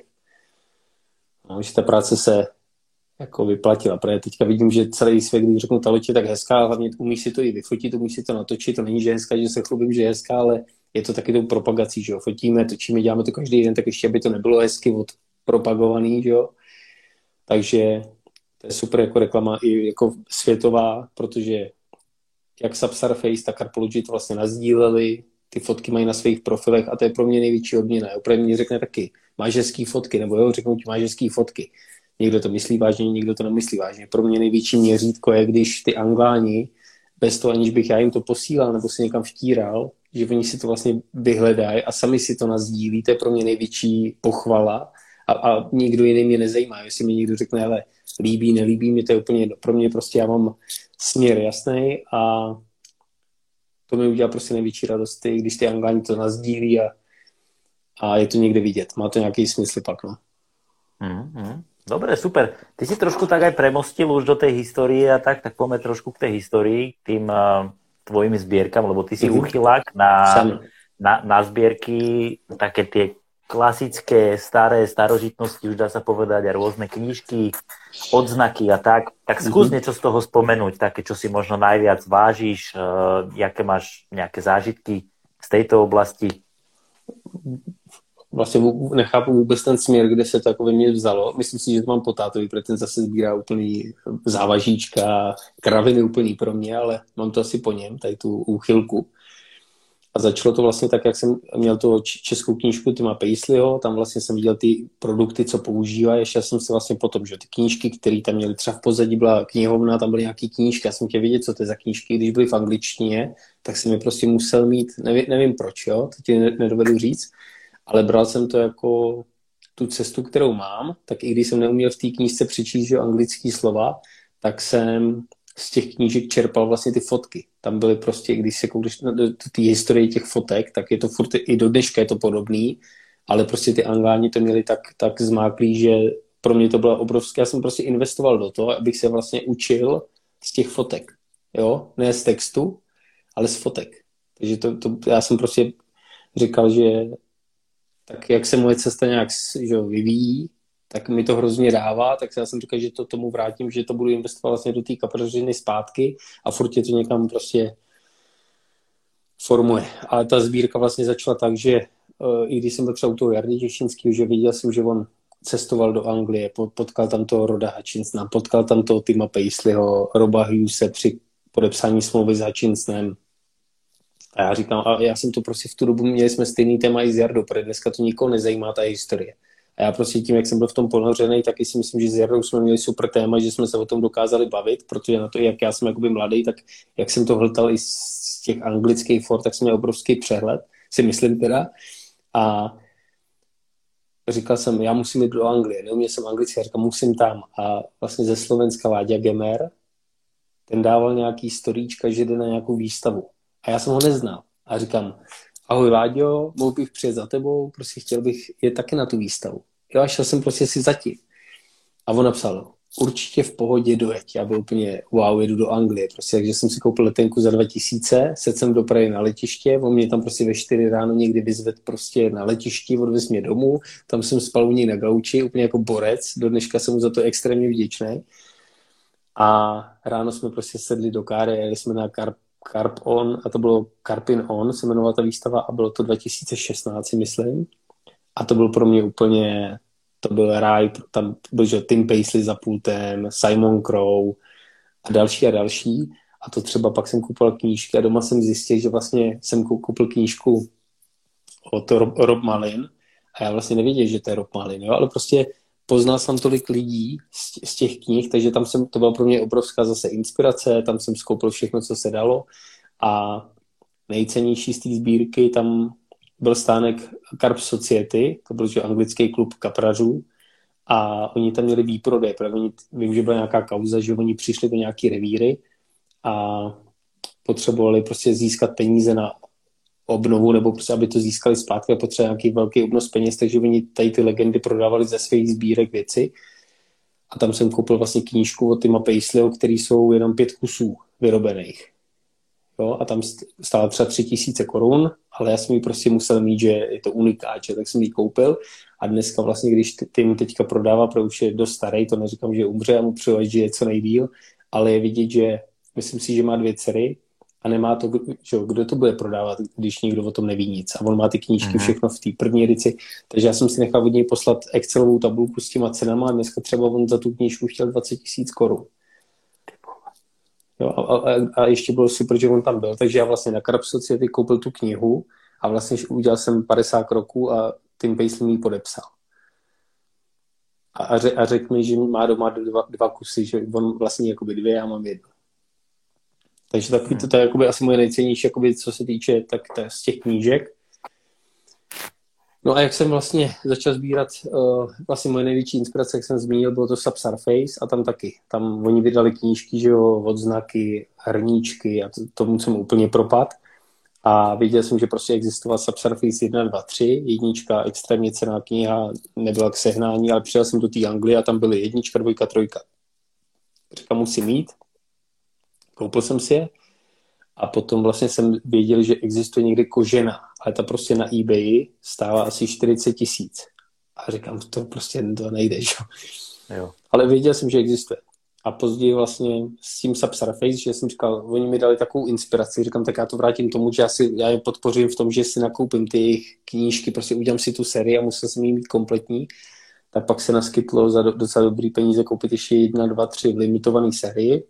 No, že ta práce se jako vyplatila, protože teďka vidím, že celý svět, když řeknu, ta loď je tak hezká, hlavně umíš si to i vyfotit, umíš si to natočit, to není, že je hezká, že se chlubím, že je hezká, ale je to taky tou propagací, že jo, fotíme, točíme, děláme to každý den, tak ještě, aby to nebylo hezky odpropagovaný, že jo, takže to je super jako reklama i jako světová, protože jak Subsurface, tak Carpology to vlastně nazdíleli, ty fotky mají na svých profilech a to je pro mě největší odměna. Opravdu mě řekne taky, máš hezký fotky, nebo jo, řeknou ti, máš hezký fotky. Někdo to myslí vážně, někdo to nemyslí vážně. Pro mě největší měřítko je, když ty Angláni, bez toho, aniž bych já jim to posílal nebo si někam vtíral, že oni si to vlastně vyhledají a sami si to nazdílí, to je pro mě největší pochvala a, a nikdo jiný mě nezajímá. Jestli mi někdo řekne, hele, líbí, nelíbí, mě to je úplně jedno. Pro mě prostě já mám směr jasný a to mi udělá prostě největší radost, když ty Angláni to nazdílí a, a je to někde vidět. Má to nějaký smysl pak, no. Mm-hmm. Dobre, super. Ty si trošku tak aj premostil už do tej histórie a tak, tak poďme trošku k tej histórii, k tým uh, tvojim zbierkam, lebo ty si mm-hmm. uchylák na, na, na zbierky, také tie klasické, staré starožitnosti, už dá sa povedať, a rôzne knižky, odznaky a tak. Tak skús mm-hmm. niečo z toho spomenúť, také, čo si možno najviac vážiš, uh, jaké máš nejaké zážitky z tejto oblasti. Vlastně nechápu vůbec ten směr, kde se to jako ve mně vzalo. Myslím si, že to mám po tátovi, protože ten zase sbírá úplný závažíčka, kraviny úplný pro mě, ale mám to asi po něm, tady tu úchylku. A začalo to vlastně tak, jak jsem měl tu českou knížku Tima Paisleyho, tam vlastně jsem viděl ty produkty, co používá, ještě jsem se vlastně potom, že ty knížky, které tam měly, třeba v pozadí byla knihovna, tam byly nějaký knížky, já jsem chtěl vědět, co to je za knížky, když byly v angličtině, tak jsem je prostě musel mít, nevím, nevím proč, jo, to ti nedovedu říct. Ale bral jsem to jako tu cestu, kterou mám, tak i když jsem neuměl v té knížce přečíst že anglický slova, tak jsem z těch knížek čerpal vlastně ty fotky. Tam byly prostě, když se koukneš na té historii těch fotek, tak je to furt, i do dneška je to podobný, ale prostě ty Angláni to měli tak, tak zmáklý, že pro mě to bylo obrovské. Já jsem prostě investoval do toho, abych se vlastně učil z těch fotek. Jo? Ne z textu, ale z fotek. Takže to, to, já jsem prostě říkal, že tak jak se moje cesta nějak že, vyvíjí, tak mi to hrozně dává, tak já jsem říkal, že to tomu vrátím, že to budu investovat vlastně do té kaprařiny zpátky a furt je to někam prostě formuje. Ale ta sbírka vlastně začala tak, že uh, i když jsem byl třeba u toho Jardy Těšinského, že viděl jsem, že on cestoval do Anglie, potkal tam toho Roda Hutchinsona, potkal tam toho Tima Paisleyho, Roba Hughese při podepsání smlouvy s Hutchinsonem. A já říkám, a já jsem to prostě v tu dobu, měli jsme stejný téma i s Jardou, protože dneska to nikoho nezajímá, ta historie. A já prostě tím, jak jsem byl v tom ponořený, taky si myslím, že s Jardou jsme měli super téma, že jsme se o tom dokázali bavit, protože na to, jak já jsem jakoby mladý, tak jak jsem to hltal i z těch anglických for, tak jsem měl obrovský přehled, si myslím teda. A říkal jsem, já musím jít do Anglie, neuměl jsem anglicky, já říkám, musím tam. A vlastně ze Slovenska Láďa Gemer, ten dával nějaký storíčka, že jde na nějakou výstavu. A já jsem ho neznal. A říkám, ahoj Láďo, mohl bych přijet za tebou, prostě chtěl bych jet taky na tu výstavu. Jo, a šel jsem prostě si zatím. A on napsal, určitě v pohodě dojeď. Já byl úplně, wow, jedu do Anglie. Prostě, takže jsem si koupil letenku za dva tisíce, sedl jsem do Prahy na letiště, on mě tam prostě ve čtyři ráno někdy vyzvedl prostě na letišti, odvez mě domů, tam jsem spal u něj na gauči, úplně jako borec, do dneška jsem mu za to extrémně vděčný. A ráno jsme prostě sedli do káry, jeli jsme na Carp, Carp On, a to bylo Carpin On, se jmenovala ta výstava, a bylo to dva tisíce šestnáct, myslím. A to byl pro mě úplně, to byl ráj, tam byl že Tim Paisley za pultem, Simon Crowe a další a další. A to třeba pak jsem koupil knížky a doma jsem zjistil, že vlastně jsem koupil knížku od Rob, Rob Malin a já vlastně nevěděl, že to je Rob Malin, jo? Ale prostě poznal jsem tolik lidí z, z těch knih, takže tam jsem, to byla pro mě obrovská zase inspirace, tam jsem skoupil všechno, co se dalo a nejcennější z té sbírky tam byl stánek Carp Society, to byl že anglický klub kaprařů a oni tam měli výprodej, protože oni, vím, že byla nějaká kauza, že oni přišli do nějaký revíry a potřebovali prostě získat peníze na obnovu, nebo prostě, aby to získali zpátky a potřebovali nějaký velký obnos peněz, takže oni tady ty legendy prodávali ze svých sbírek věci a tam jsem koupil vlastně knížku od Tima Paisleyho, který jsou jenom pět kusů vyrobených. Jo, a tam stála třeba tři tisíce korun, ale já jsem ji prostě musel mít, že je to unikát, že, tak jsem ji koupil a dneska vlastně, když Tim teďka prodává, protože už je dost starý, to neříkám, že umře a mu přeju, že je co nejdýl, ale je vidět, že myslím si, že má dvě dcery a nemá to, že, kdo to bude prodávat, když nikdo o tom neví nic. A on má ty knížky všechno v té první edici, takže já jsem si nechal od něj poslat Excelovou tabulku s těma cenama a dneska třeba on za tu knížku chtěl dvacet tisíc korun. Jo, a, a, a ještě bylo super, že on tam byl, takže já vlastně na Carp Society koupil tu knihu a vlastně udělal jsem padesát kroků a Tim Paisley mi podepsal. A, a, řek, a řekl mi, že má doma dva, dva kusy, že on vlastně jakoby dvě, já mám jedno. Takže takový to, to je jakoby asi moje nejcennější, jakoby, co se týče tak, tak z těch knížek. No a jak jsem vlastně začal sbírat, uh, vlastně moje největší inspirace, jak jsem zmínil, bylo to Subsurface a tam taky. Tam oni vydali knížky, že jo, odznaky, hrníčky a to, tomu jsem úplně propad. A viděl jsem, že prostě existoval Subsurface jedna, dva, tři, jednička, extrémně cenná kniha, nebyla k sehnání, ale přijel jsem do té Anglie a tam byly jednička, dvojka, trojka. Říkám, musím mít. Koupil jsem si je. A potom vlastně jsem věděl, že existuje někde kožena, ale ta prostě na eBay stála asi čtyřicet tisíc. A říkám, to prostě to nejde, že? Jo. Ale věděl jsem, že existuje. A později vlastně s tím Subsurface, že jsem říkal, oni mi dali takovou inspiraci, říkám, tak já to vrátím tomu, že já, si, já je podpořím v tom, že si nakoupím ty jejich knížky, prostě udělám si tu sérii a musel jsem jí mít kompletní. Tak pak se naskytlo za do, docela dobrý peníze koupit ještě jedna, dva, tři v limitované sérii.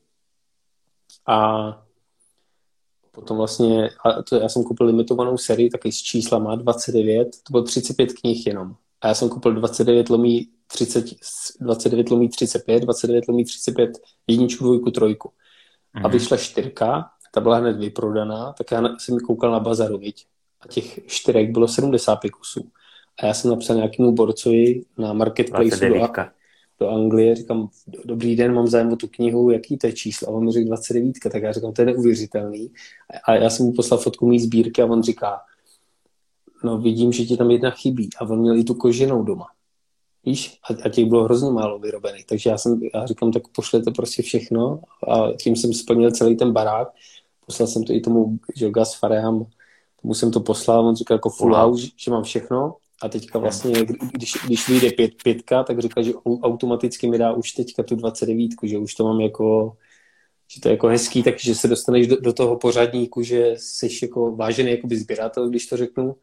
A potom vlastně, a to já jsem koupil limitovanou sérii, taky s číslama dvacet devět, to bylo třicet pět knih jenom. A já jsem koupil dvacet devět lomí třicet, dvacet devět lomí třicet pět, dvacet devět lomí třicet pět, jedničku, dvojku, trojku. Mm-hmm. A vyšla čtyřka, ta byla hned vyprodaná, tak já jsem koukal na bazaru, viď? A těch čtyřek bylo sedmdesát pět kusů. A já jsem napsal nějakému borcovi na marketplace do, do Anglie, říkám, dobrý den, mám zájem o tu knihu, jaký to je číslo? A on mi řekl dvacet devět, tak já říkám, to je neuvěřitelný. A já jsem mu poslal fotku mý sbírky a on říká, no vidím, že ti tam jedna chybí. A on měl i tu koženou doma. Víš? A, a těch bylo hrozně málo vyrobených. Takže já jsem, já říkám, tak pošlete prostě všechno. A tím jsem splnil celý ten barák. Poslal jsem to i tomu, že Gus Fareham, tomu jsem to poslal, on říkal jako full house, že mám všechno. A teďka vlastně, když, když vyjde pět, pětka, tak říkal, že automaticky mi dá už teďka tu dvacet devět, že už to mám jako, že to je jako hezký, takže se dostaneš do, do toho pořadníku, že jsi jako vážený jakoby sběratel, když to řeknu.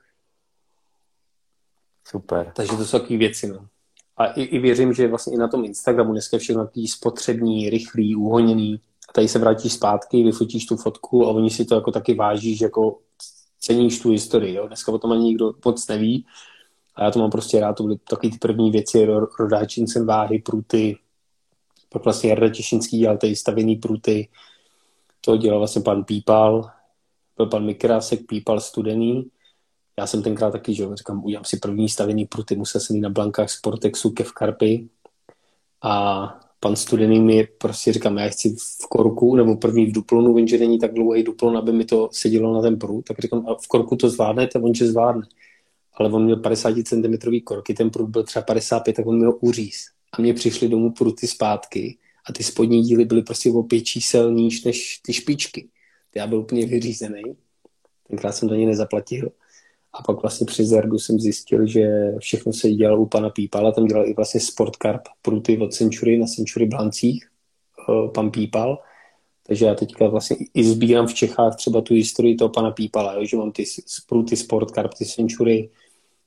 Super. Takže to jsou takové věci, no. A i, i věřím, že vlastně i na tom Instagramu dneska je všechno takový spotřební, rychlý, uhoněný. A tady se vrátíš zpátky, vyfotíš tu fotku a oni si to jako taky váží, že jako ceníš tu historii, jo. Dneska o tom ani nikdo moc neví. A já to mám prostě rád, to byly takové ty první věci, rodáčincem váhy, pruty, pak vlastně Jarda Těšinský dělal tady stavěný pruty, to dělal vlastně pan Pípal, byl pan Mikrásek, Pípal studený. Já jsem tenkrát taky, že říkám, udělám si první stavěný pruty, musel jsem jít na blankách Sportexu ke v Karpy a pan studený mi prostě říkám, já chci v korku nebo první v duplonu, vím, že není tak dlouhý duplon, aby mi to sedělo na ten prut, tak říkám, a v korku to zvládnete, on že zvládne. Ale on měl padesát centimetrů korky, ten prut byl třeba padesát pět, tak on měl uříz. A mně přišly domů pruty zpátky a ty spodní díly byly prostě o pět čísel níž než ty špičky. Já byl úplně vyřízený. Tenkrát jsem to ani nezaplatil. A pak vlastně při Zerdu jsem zjistil, že všechno se dělalo u pana Pípala. Tam dělal i vlastně Sportcarp pruty od Century na Century Blancích. Pan Pípal. Takže já teďka vlastně i sbírám v Čechách třeba tu historii toho pana Pípala, jo? Že mám ty pruty Sportcarp, ty Century,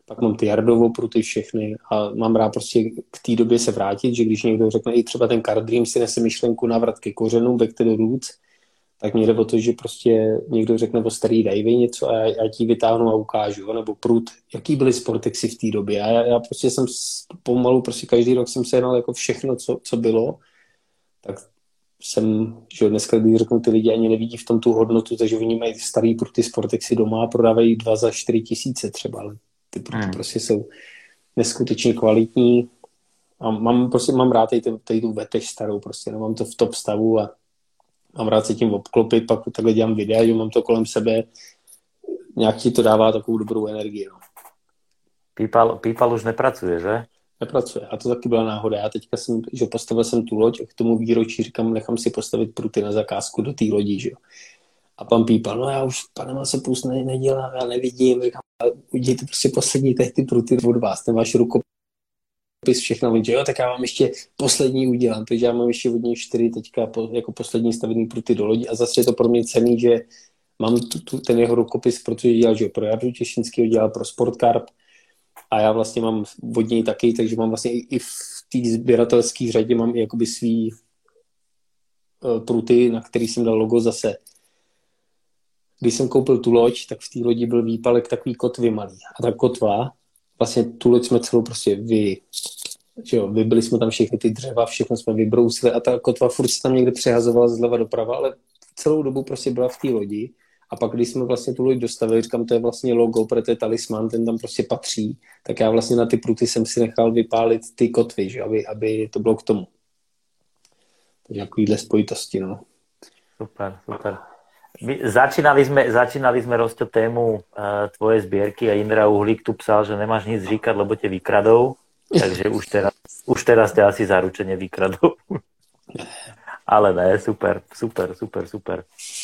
pak mám ty Jardovo pruty všechny a mám rád prostě k té době se vrátit, že když někdo řekne, i třeba ten Card Dream si nese myšlenku návrat ke kořenům, back to the roots, tak mě jde o to, že prostě někdo řekne o starý Davey něco a já, já ti vytáhnu a ukážu, nebo prut, jaký byly Sportexy v té době. A já, já prostě jsem pomalu, prostě každý rok jsem se jednal jako všechno, co, co bylo, tak jsem, že dneska, když řeknu, ty lidi ani nevidí v tom tu hodnotu, takže oni mají starý pruty Sportexy doma a prodávají dva za čtyři tisíce třeba, ale ty pruty hmm. prostě jsou neskutečně kvalitní a mám, prostě mám rád tady, tady tu vetež starou, prostě, no, mám to v top stavu a mám rád se tím obklopit, pak takhle dělám videa, že mám to kolem sebe, nějak ti to dává takovou dobrou energii. No. Pípal, Pípal už nepracuje, že? Nepracuje. A to taky byla náhoda. Já teďka jsem, že postavil jsem tu loď a k tomu výročí říkám, nechám si postavit pruty na zakázku do té lodi, že jo. A pan Pípal, no já už Panama se plus ne, nedělám, já nevidím, říkám, udějte prostě poslední těch ty pruty od vás, ten váš rukopis, všechno, že jo, tak já vám ještě poslední udělám, takže já mám ještě od něj čtyři teďka po, jako poslední stavený pruty do lodi a zase je to pro mě cenný, že mám tu, tu, ten jeho rukopis, protože dělal, že jo, pro Jardu Těšinskýho, dělal pro Sportcarp a já vlastně mám od něj taky, takže mám vlastně i, i v té sběratelské řadě mám i jakoby svý uh, pruty, na který jsem dal logo zase. Když jsem koupil tu loď, tak v té lodi byl výpalek takový kotvy malý. A ta kotva, vlastně tu loď jsme celou prostě vy, že jo, vybili jsme tam všechny ty dřeva, všechno jsme vybrousili a ta kotva furt se tam někde přehazovala zleva doprava, ale celou dobu prostě byla v té lodi. A pak, když jsme vlastně tu loď dostavili, říkám, to je vlastně logo, protože to je talisman, ten tam prostě patří, tak já vlastně na ty pruty jsem si nechal vypálit ty kotvy, že, aby, aby to bylo k tomu. Takže takovýhle spojitosti, no. Super, super. My začínali sme, začínali sme Rosťo tému uh, tvoje zbierky a Indra Uhlík tu psal, že nemáš nic říkať, lebo te vykradou, takže už teraz, už teraz te asi zaručene vykradou. Ale ne, super, super, super, super.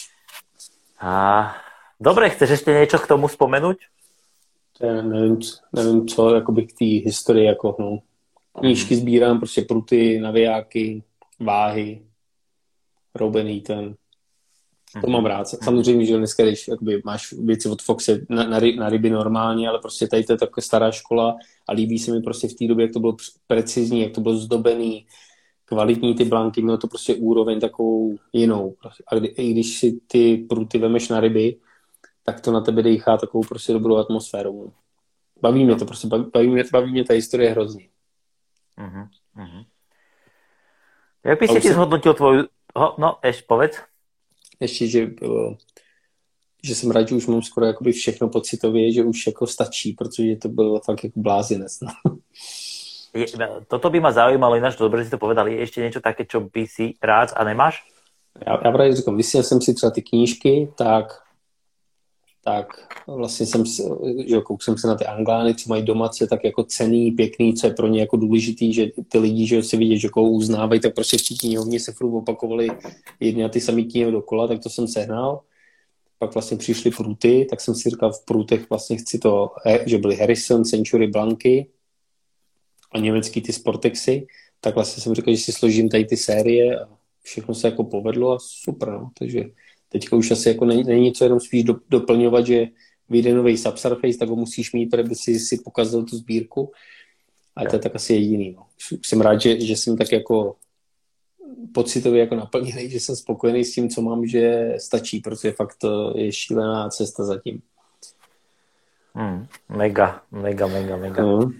A dobre, chceš ešte niečo k tomu spomenúť? Ja neviem, neviem co, jakoby k té historii, jako no. Knížky sbírám, prostě pruty, navijáky, váhy, roubený ten. To mám rád. Samozřejmě, že dneska, když jakoby, máš věci od Foxe na, na, na ryby normálně, ale prostě tady to je taková stará škola a líbí se mi prostě v té době, jak to bylo precizní, jak to bylo zdobený, kvalitní ty blanky, mělo to prostě úroveň takovou jinou. A kdy, i když si ty pruty vemeš na ryby, tak to na tebe dýchá takovou prostě dobrou atmosféru. Baví mě to prostě, baví mě, baví mě ta historie hrozně. Uh-huh, uh-huh. Jak by si ti zhodnotil tvoju... No, ešte povedz. Ještě, že, že jsem rád, že už mám skoro jakoby všechno pocitově, že už jako stačí, protože to bylo fakt jako blázinec. No. Je, toto by ma zaujímalo, ináč dobre si to povedali, je ešte niečo také, čo by si rád a nemáš? Já, já právě říkám, vysněl jsem si třeba ty knížky, tak, tak vlastně jsem, že kouk jsem se na ty Anglány, co mají doma, co je tak jako cenný, pěkný, co je pro ně jako důležitý, že ty lidi, že si vidět, že koho uznávají, tak prostě v té knihovně se furt opakovali jedny a ty samý knihy dokola, tak to jsem sehnal. Pak vlastně přišly pruty, tak jsem si říkal, v prutech vlastně chci to, že byly Harrison, Century, Blanky a německý ty Sportexy, tak vlastně jsem říkal, že si složím tady ty série a všechno se jako povedlo a super, no. Takže teďka už asi jako není, není co jenom spíš do, doplňovat, že vyjde nový Subsurface, tak ho musíš mít, protože by si, si pokazil tu sbírku. A to je tak asi jediný. No. Jsem rád, že, že jsem tak jako pocitově jako naplněný, že jsem spokojený s tím, co mám, že stačí, protože fakt to je šílená cesta zatím. Hmm, mega, mega, mega, mega. Mm.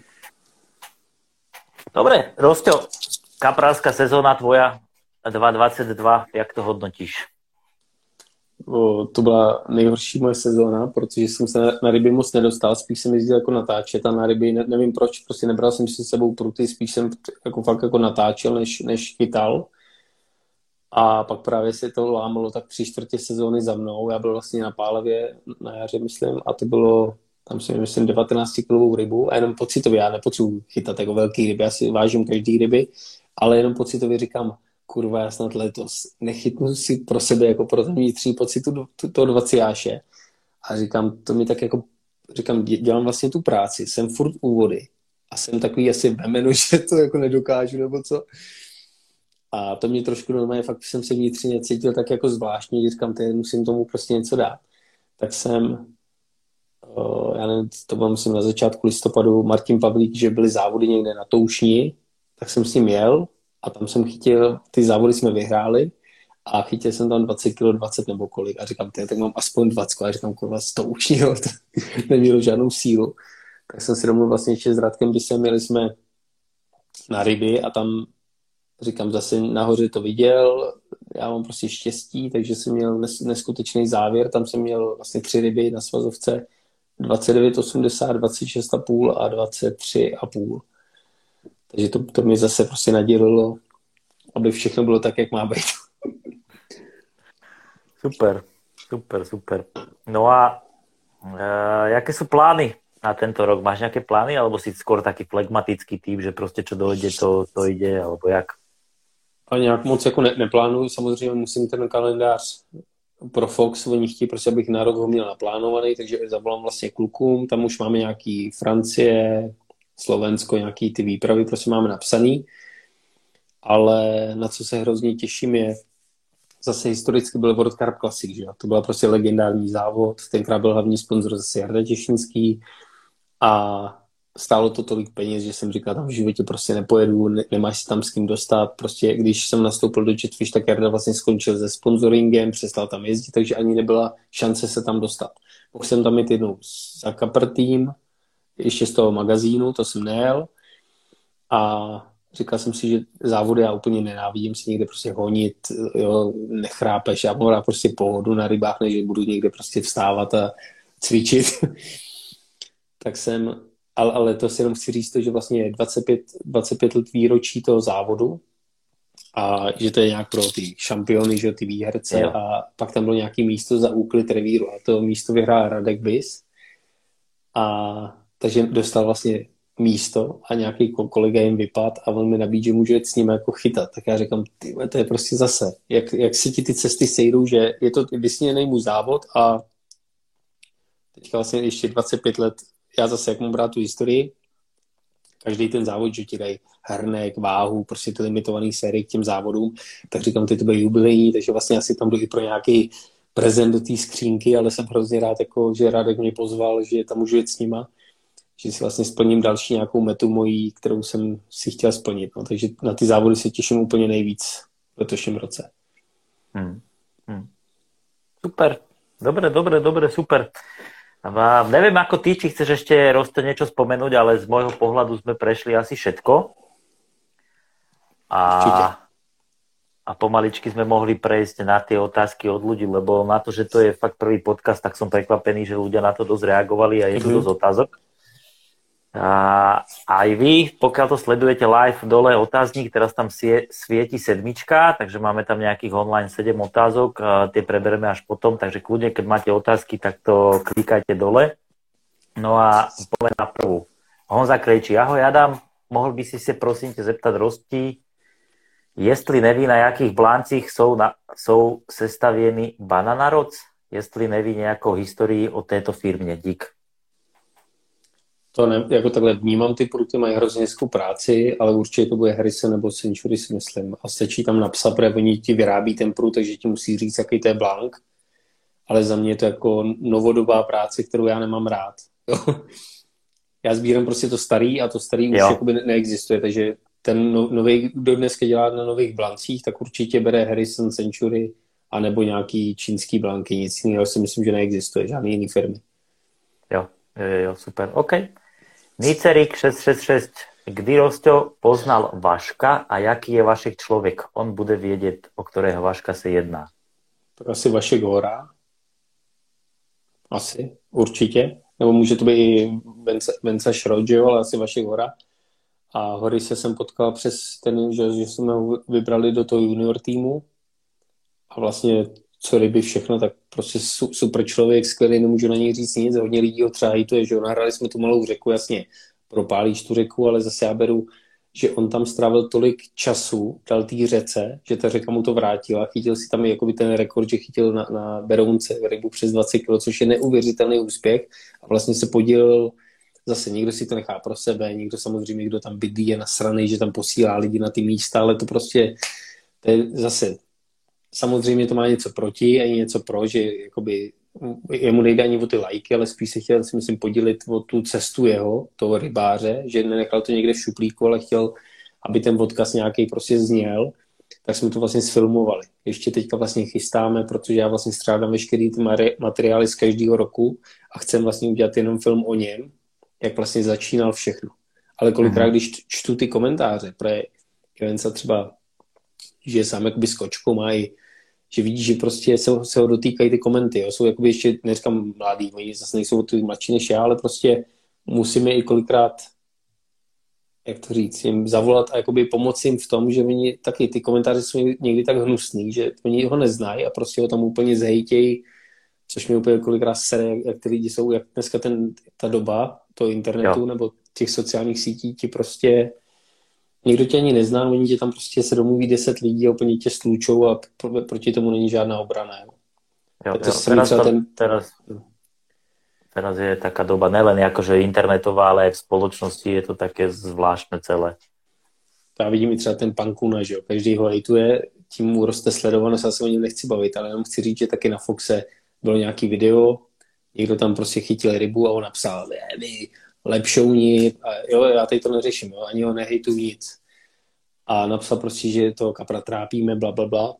Dobre, Rosťo, kaprálska sezóna tvoja dva dvacet dva, jak to hodnotíš? O, to byla nejhorší moje sezóna, protože jsem se na, na ryby moc nedostal, spíš jsem jezdil jako natáčet a na ryby, ne, nevím proč, prostě nebral jsem si s sebou pruty, spíš jsem jako fakt jako natáčel, než, než chytal. A pak právě se to lámalo tak tři čtvrtě sezóny za mnou, já byl vlastně na Pálavě na jaře, myslím, a to bylo, tam si myslím, devatenáctikilovou rybu a jenom pocitově, já nepotřebuji chytat jako velký ryby, já si vážím každý ryby, ale jenom pocitově říkám, kurva, já snad letos nechytnu si pro sebe jako pro ten vnitřní pocit toho dvacíáše. A říkám, to mi tak jako, říkám, dělám vlastně tu práci, jsem furt u vody a jsem takový asi vemenu, že to jako nedokážu nebo co. A to mě trošku normálně, fakt jsem se vnitřně cítil tak jako zvláštně, že říkám, teď musím tomu prostě něco dát. Tak jsem já nevím, to bylo myslím na začátku listopadu, Martin Pavlík, že byly závody někde na Toušni, tak jsem s ním jel a tam jsem chytil, ty závody jsme vyhráli a chytil jsem tam dvacet kilo, dvacet nebo kolik a říkám, tak mám aspoň dvacet a říkám, kurva, z Toušni, jo, to nemělo žádnou sílu. Tak jsem si domluvil vlastně ještě s Radkem, když jsme měli jsme na ryby a tam říkám, zase nahoře to viděl, já mám prostě štěstí, takže jsem měl neskutečný závěr, tam jsem měl vlastně tři ryby na svazovce, dvacet devět osmdesát, dvacet šest a půl a dvacet tři a půl. Takže to, to mi zase prostě nadělilo, aby všechno bylo tak, jak má být. Super, super, super. No a uh, jaké sú plány na tento rok? Máš nejaké plány, alebo si skôr taký flegmatický typ, že prostě čo dojde, to, to ide, alebo jak? A nějak moc jako ne, neplánuju, samozřejmě musím ten kalendář pro Fox, oni chtějí prostě, abych na rok ho měl naplánovaný, takže zavolám vlastně klukům, tam už máme nějaký Francie, Slovensko, nějaký ty výpravy prostě máme napsaný, ale na co se hrozně těším je, zase historicky byl World Cup Classic, že jo? To byla prostě legendární závod, tenkrát byl hlavní sponzor zase Jarda Těšinský a stálo to tolik peněz, že jsem říkal, tam v životě prostě nepojedu, ne, nemáš si tam s kým dostat, prostě když jsem nastoupil do Jetfish, tak Jarda vlastně skončil se sponsoringem, přestal tam jezdit, takže ani nebyla šance se tam dostat. Mohl jsem tam jít jednou za Kaprtým, ještě z toho magazínu, to jsem nejel a říkal jsem si, že závody já úplně nenávidím si někde prostě honit, jo, nechrápeš, já mám rád prostě pohodu na rybách, než budu někde prostě vstávat a cvičit. Tak jsem, ale, ale to si jenom chci říct to, že vlastně je dvacet pět, dvacet pět let výročí toho závodu a že to je nějak pro ty šampiony, že ty výherce jo. A pak tam bylo nějaký místo za úklid revíru a to místo vyhrál Radek Bis a takže dostal vlastně místo a nějaký kolega jim vypad a on mi nabídl, že můžu jet s ním jako chytat. Tak já říkám, ty, to je prostě zase, jak, jak si ti ty cesty sejdou, že je to vysněný můj závod a teďka vlastně ještě dvacet pět let, já zase jak mám brát tu historii, každý ten závod, že ti dají hrnek, váhu, prostě ty limitovaný série k těm závodům, tak říkám, ty to bude jubilejní, takže vlastně asi tam jdu i pro nějaký prezent do té skřínky, ale jsem hrozně rád, jako, že Radek mě pozval, že tam můžu jet s nima, že si vlastně splním další nějakou metu mojí, kterou jsem si chtěl splnit. No, takže na ty závody se těším úplně nejvíc v letošním roce. Hmm. Hmm. Super. Dobre, dobre, dobre, super. A neviem ako ty, či chceš ešte Roste niečo spomenúť, ale z môjho pohľadu sme prešli asi všetko. A, a pomaličky sme mohli prejsť na tie otázky od ľudí, lebo na to, že to je fakt prvý podcast, tak som prekvapený, že ľudia na to dosť reagovali a je to mm-hmm. dosť otázok. A aj vy, pokiaľ to sledujete live, dole otáznik, teraz tam sie, svieti sedmička, takže máme tam nejakých online sedem otázok, tie prebereme až potom, takže kľudne, keď máte otázky, tak to klikajte dole. No a poďme na prvú. Honza Krejčí, ahoj Adam, mohl by si se prosím tě zeptat Rosti, jestli neví, na jakých bláncích jsou, na, jsou sestavěny Bananarods, jestli neví nějakou historii o této firmě, dík. To ne, jako takhle vnímám, ty pruty mají hrozně hezkou práci, ale určitě to bude Harrison nebo Century, si myslím. A stačí tam napsat, protože oni ti vyrábí ten prut, takže ti musí říct, jaký to je blank. Ale za mě je to jako novodobá práce, kterou já nemám rád. Já sbírám prostě to starý a to starý už jakoby neexistuje, takže ten no, nový, kdo dneska dělá na nových blancích, tak určitě bere Harrison, Century a nebo nějaký čínský blanky. Nic jiného si myslím, že neexistuje, žádný jiný firmy. Jo, jo, jo, super, OK. Nicerik šesť šesť šesť. Kdy Rosťo poznal Vaška a jaký je Vašek člověk? On bude vědět, o kterého Vaška se jedná. Tak asi Vašek Hora. Asi, určitě. Nebo může to být i Venca Šrod, ale asi Vašek Hora. A Hory se jsem potkal přes ten, že, že jsme ho vybrali do toho junior týmu. A vlastně co ryby všechno, tak prostě super člověk, skvělý, nemůžu na něj říct nic, hodně lidí ho třeba hejtuje, že nahrali jsme tu malou řeku, jasně, propálíš tu řeku, ale zase já beru, že on tam strávil tolik času, dal té řece, že ta řeka mu to vrátila, chytil si tam jakoby ten rekord, že chytil na, na Berounce rybu přes dvacet kilo, což je neuvěřitelný úspěch a vlastně se podílel, zase někdo si to nechá pro sebe, někdo samozřejmě, kdo tam bydlí, je nasranej, že tam posílá lidi na ty místa, ale to prostě, to je zase samozřejmě to má něco proti a něco pro, že jakoby jemu nejde ani o ty lajky, ale spíš se chtěl, si myslím, podělit o tu cestu jeho, toho rybáře, že nenechal to někde v šuplíku, ale chtěl, aby ten odkaz nějaký prostě zněl, tak jsme to vlastně sfilmovali. Ještě teďka vlastně chystáme, protože já vlastně střádám veškerý ty materiály z každého roku a chcem vlastně udělat jenom film o něm, jak vlastně začínal všechno. Ale kolikrát, mm-hmm. když čtu ty komentáře, protože Joensa třeba, že je sám jakoby s kočkou, má i, že vidí, že prostě se, se ho dotýkají ty komenty. Jo. Jsou jakoby ještě, neříkám mladý, oni zase nejsou ty mladší než já, ale prostě musíme i kolikrát, jak to říct, jim zavolat a jakoby pomoci jim v tom, že oni taky ty komentáře jsou někdy tak hnusný, že oni ho neznají a prostě ho tam úplně zhejtějí, což mi úplně kolikrát sere, jak, jak ty lidi jsou, jak dneska ten, ta doba toho internetu jo. nebo těch sociálních sítí ti prostě někdo tě ani nezná, oni tě tam prostě se domluví deset lidí a úplně tě stlučou a pro, proti tomu není žádná obrana. Jo. Jo, jo, teraz, to, ten... teraz, teraz je taká doba nelen akože internetová, ale aj v spoločnosti je to také zvláštne celé. Já vidím i třeba ten pan Kuna, že jo, každý ho hejtuje, tím mu roste sledovanost, já se o něm nechci bavit, ale jenom chci říct, že taky na Foxe bylo nějaký video, někdo tam prostě chytil rybu a on napsal, vy lepšouni, a jo, já tady to neřeším, jo, ani ho nehejtu nic. A napsal prostě, že to kapra trápíme, bla, bla, bla.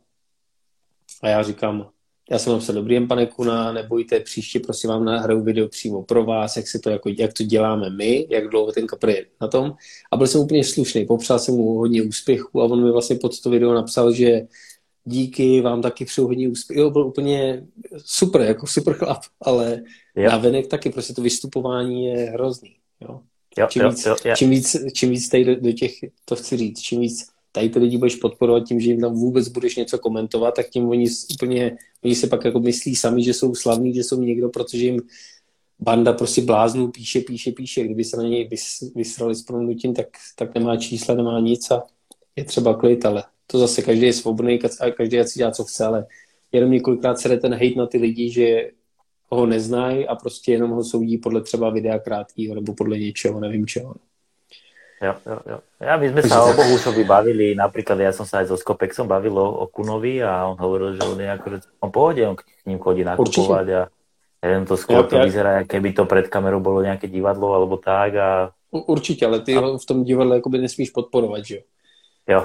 A já říkám, já jsem napsal, dobrý den, pane Kuna, nebojte, příště prostě vám nahraju video přímo pro vás, jak, se to, jako, jak to děláme my, jak dlouho ten kapr je na tom. A byl jsem úplně slušný, popřál jsem mu hodně úspěchu a on mi vlastně pod to video napsal, že díky, vám taky přeju hodně úspěch. Jo, byl úplně super, jako super chlap, ale jo. Navenek taky prostě to vystupování je hrozný. Jo? Jo, čím, jo, víc, jo, jo. čím víc, čím víc tady do, do těch, to chci říct, čím víc tady ty lidi budeš podporovat tím, že jim tam vůbec budeš něco komentovat, tak tím oni úplně, oni se pak jako myslí sami, že jsou slavní, že jsou někdo, protože jim banda prostě bláznů píše, píše, píše. Kdyby se na něj vys, vysrali s promluvím, tak, tak nemá čísla, nemá nic a je třeba klid, ale to zase každý je svobodný a každý si dělá, co chce, ale jenom několikrát se jde ten hejt na ty lidi, že ho neznají a prostě jenom ho soudí podle třeba videa krátkýho nebo podle něčeho, nevím čeho. Jo, jo, jo. Ja, my sme sa o Bohušovi bavili, napríklad ja som sa aj so Skopexom bavil o, o Kunovi a on hovoril, že on je akože on pohode, on k ním chodí nakupovať a neviem, to skôr to vyzerá, keby to pred kamerou bolo nejaké divadlo alebo tak a... Určitě, ale ty ho v tom divadle jakoby nesmíš podporovat, že jo? Jo.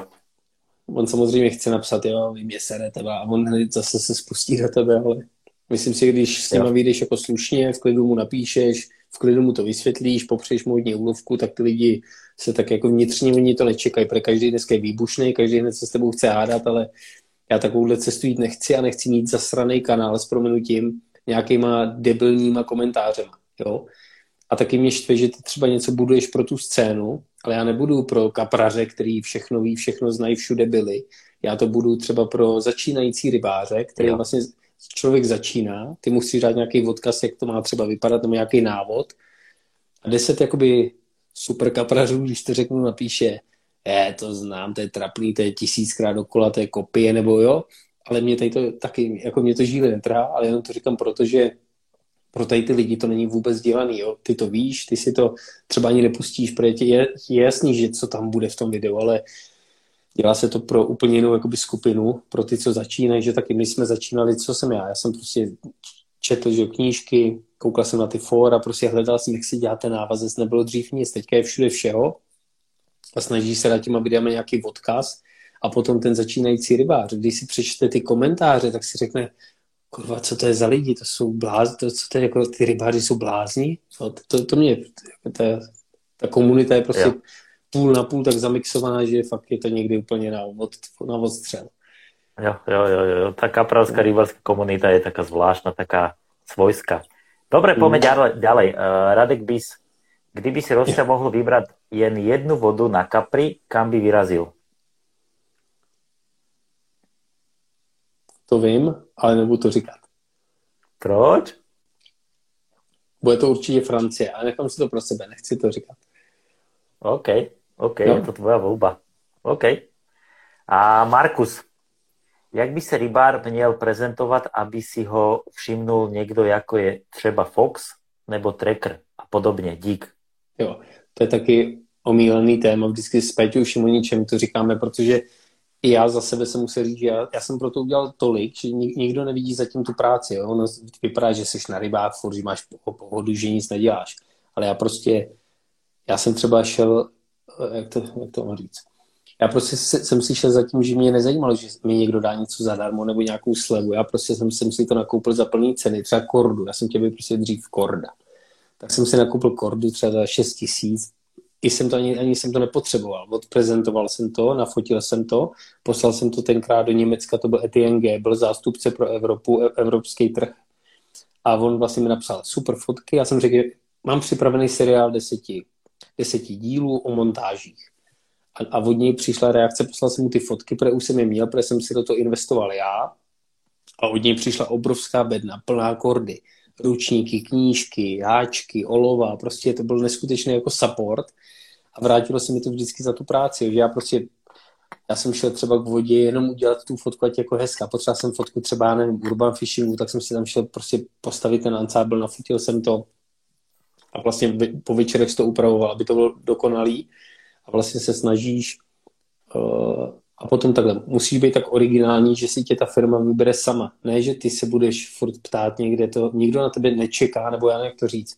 On samozřejmě chce napsat, jo, vy mě serete a on hned zase se spustí do tebe, ale myslím si, když s nima vyjdeš jako slušně, v klidu mu napíšeš, v klidu mu to vysvětlíš, popřejš mu hodně úlovku, tak ty lidi se tak jako vnitřně oni to nečekají, protože každý dneska je výbušný, každý hned se s tebou chce hádat, ale já takovouhle cestu jít nechci a nechci mít zasraný kanál s prominutím nějakýma debilníma komentářema, jo. A taky mě štve, že ty třeba něco buduješ pro tu scénu, ale já nebudu pro kapraře, který všechno ví, všechno znají, všude byli. Já to budu třeba pro začínající rybáře, který jo. Vlastně člověk začíná, ty musíš dát nějaký odkaz, jak to má třeba vypadat, nebo nějaký návod. A deset jakoby super kaprařů, když to řeknu, napíše, je, to znám, to je trapný, to je tisíckrát dokola, to je kopie, nebo jo, ale mě tady to taky, jako mě to žíle netrhá, ale jenom to říkám proto, že pro tady ty lidi to není vůbec dělaný, jo. Ty to víš, ty si to třeba ani nepustíš, protože je, je jasný, že co tam bude v tom videu, ale dělá se to pro úplně jinou jakoby skupinu, pro ty, co začínají, že taky my jsme začínali, co jsem já, já jsem prostě četl, že knížky, koukal jsem na ty fóra, prostě hledal jsem, jak si dělat ten návazec, nebylo dřív nic, teďka je všude všeho a snaží se dát těma videama nějaký odkaz a potom ten začínající rybář, když si přečte ty komentáře, tak si řekne, kurva, co to je za lidi, to jsou blázni, to, co to je, jako ty rybáři jsou blázni, no, to, to mě, ta, ta komunita je prostě jo. Půl na půl tak zamixovaná, že fakt je to někdy úplně na, od, na odstřel. Jo, jo, jo, jo, tá kapralská rybárska komunita je taká zvláštna, taká svojská. Dobre, poďme mm. ďalej. ďalej. Uh, Radek Bis, kdyby si Rosťa mohl vybrať jen jednu vodu na kapri, kam by vyrazil? To vím, ale nebudu to říkat. Proč? Bude to určitě Francie, ale nechám si to pro sebe, nechci to říkat. OK, OK, no. Je to tvoja voľba. OK. A Markus, jak by sa rybár měl prezentovat, aby si ho všimnul někdo, jako je třeba Fox nebo Tracker a podobně? Dík. Jo, to je taky omílený téma, vždycky s Peťou Šimoničem to říkáme, protože i já za sebe jsem musel říct, že já, já jsem pro to udělal tolik, že nik, nikdo nevidí zatím tu práci. Jo? Ono vypadá, že jsi na rybách, furt, že máš pohodu, že nic neděláš. Ale já prostě, já jsem třeba šel, jak to, jak to mám říct, já prostě jsem si šel za tím, že mě nezajímalo, že mi někdo dá něco zadarmo nebo nějakou slevu. Já prostě jsem, jsem si to nakoupil za plný ceny, třeba kordu. Já jsem chtěl být prostě dřív korda. Tak jsem si nakoupil kordu třeba za šest tisíc. I jsem to ani, ani jsem to nepotřeboval. Odprezentoval jsem to, nafotil jsem to, poslal jsem to tenkrát do Německa, to byl Etienne G, byl zástupce pro Evropu, evropský trh. A on vlastně mi napsal super fotky. Já jsem řekl, mám připravený seriál deseti, deseti dílů o montážích. A, a od něj přišla reakce, poslal jsem mu ty fotky, protože už jsem je měl, protože jsem si do toho investoval já. A od něj přišla obrovská bedna, plná kordy, ručníky, knížky, háčky, olova, prostě to byl neskutečný jako support a vrátilo se mi to vždycky za tu práci, že já prostě, já jsem šel třeba k vodě jenom udělat tu fotku, ať jako hezká, potřeboval jsem fotku třeba, nevím, urban fishingu, tak jsem si tam šel prostě postavit ten ansábl, nafotil jsem to a vlastně po večerech to upravoval, aby to bylo dokonalý a vlastně se snažíš uh, a potom takhle, musíš být tak originální, že si tě ta firma vybere sama. Ne, že ty se budeš furt ptát někde, to nikdo na tebe nečeká, nebo já nevím, jak to říct.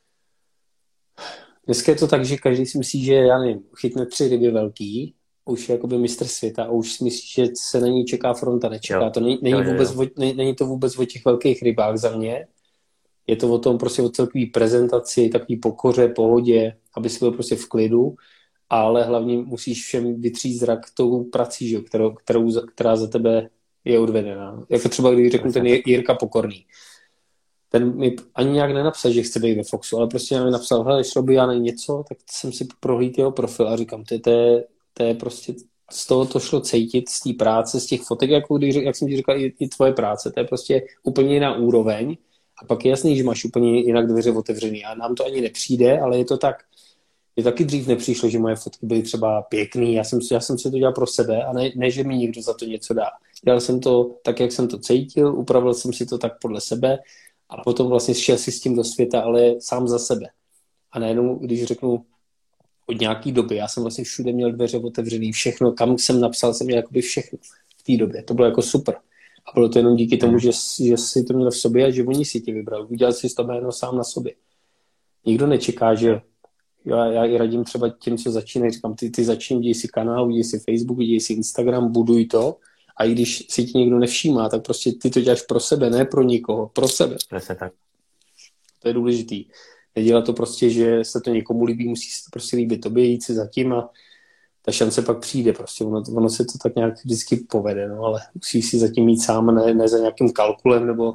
Dneska je to tak, že každý si myslí, že já nevím, chytne tři ryby velký, už je jakoby mistr světa a už si myslí, že se na ní čeká fronta, nečeká. Jo. To není, není, jo, vůbec jo. O, není, není to vůbec o těch velkých rybách za mě. Je to o tom prostě o celkový prezentaci, takový pokoře, pohodě, aby si byl prostě v klidu. Ale hlavně musíš všem vytřít zrak tou prací, že? Kterou, kterou, která za tebe je odvedená. Jako třeba, když řeknu ten Jirka Pokorný. Ten mi ani nějak nenapsal, že chce být ve Foxu, ale prostě mi napsal, hele, šlo by já na něco, tak jsem si prohlídl jeho profil a říkám, to je, to je, to je prostě, z toho to šlo cítit, z té práce, z těch fotek, jako když, jak jsem ti říkal, i, i tvoje práce, to je prostě úplně jiná úroveň a pak je jasný, že máš úplně jinak dveře otevřený a nám to ani nepřijde, ale je to tak. Mně taky dřív nepřišlo, že moje fotky byly třeba pěkný, já jsem, já jsem si to dělal pro sebe a ne, ne, že mi někdo za to něco dá. Dělal jsem to tak, jak jsem to cítil, upravil jsem si to tak podle sebe a potom vlastně šel si s tím do světa, ale sám za sebe. A najednou, když řeknu od nějaký doby, já jsem vlastně všude měl dveře otevřený, všechno, kam jsem napsal, jsem měl jakoby všechno v té době. To bylo jako super. A bylo to jenom díky tomu, že, že si to měl v sobě a že oni si tě vybrali. Udělal si to jméno sám na sobě. Nikdo nečeká, že Já, já i radím třeba těm, co začínají, říkám, ty, ty začínají, děj si kanál, děj si Facebook, děj si Instagram, buduj to a i když si ti někdo nevšímá, tak prostě ty to děláš pro sebe, ne pro nikoho, pro sebe. Přesně tak. To je důležitý. Nedělat to prostě, že se to někomu líbí, musí se to prostě líbit tobě, jít si zatím a ta šance pak přijde prostě. Ono, ono se to tak nějak vždycky povede, no, ale musíš si zatím mít sám, ne, ne za nějakým kalkulem nebo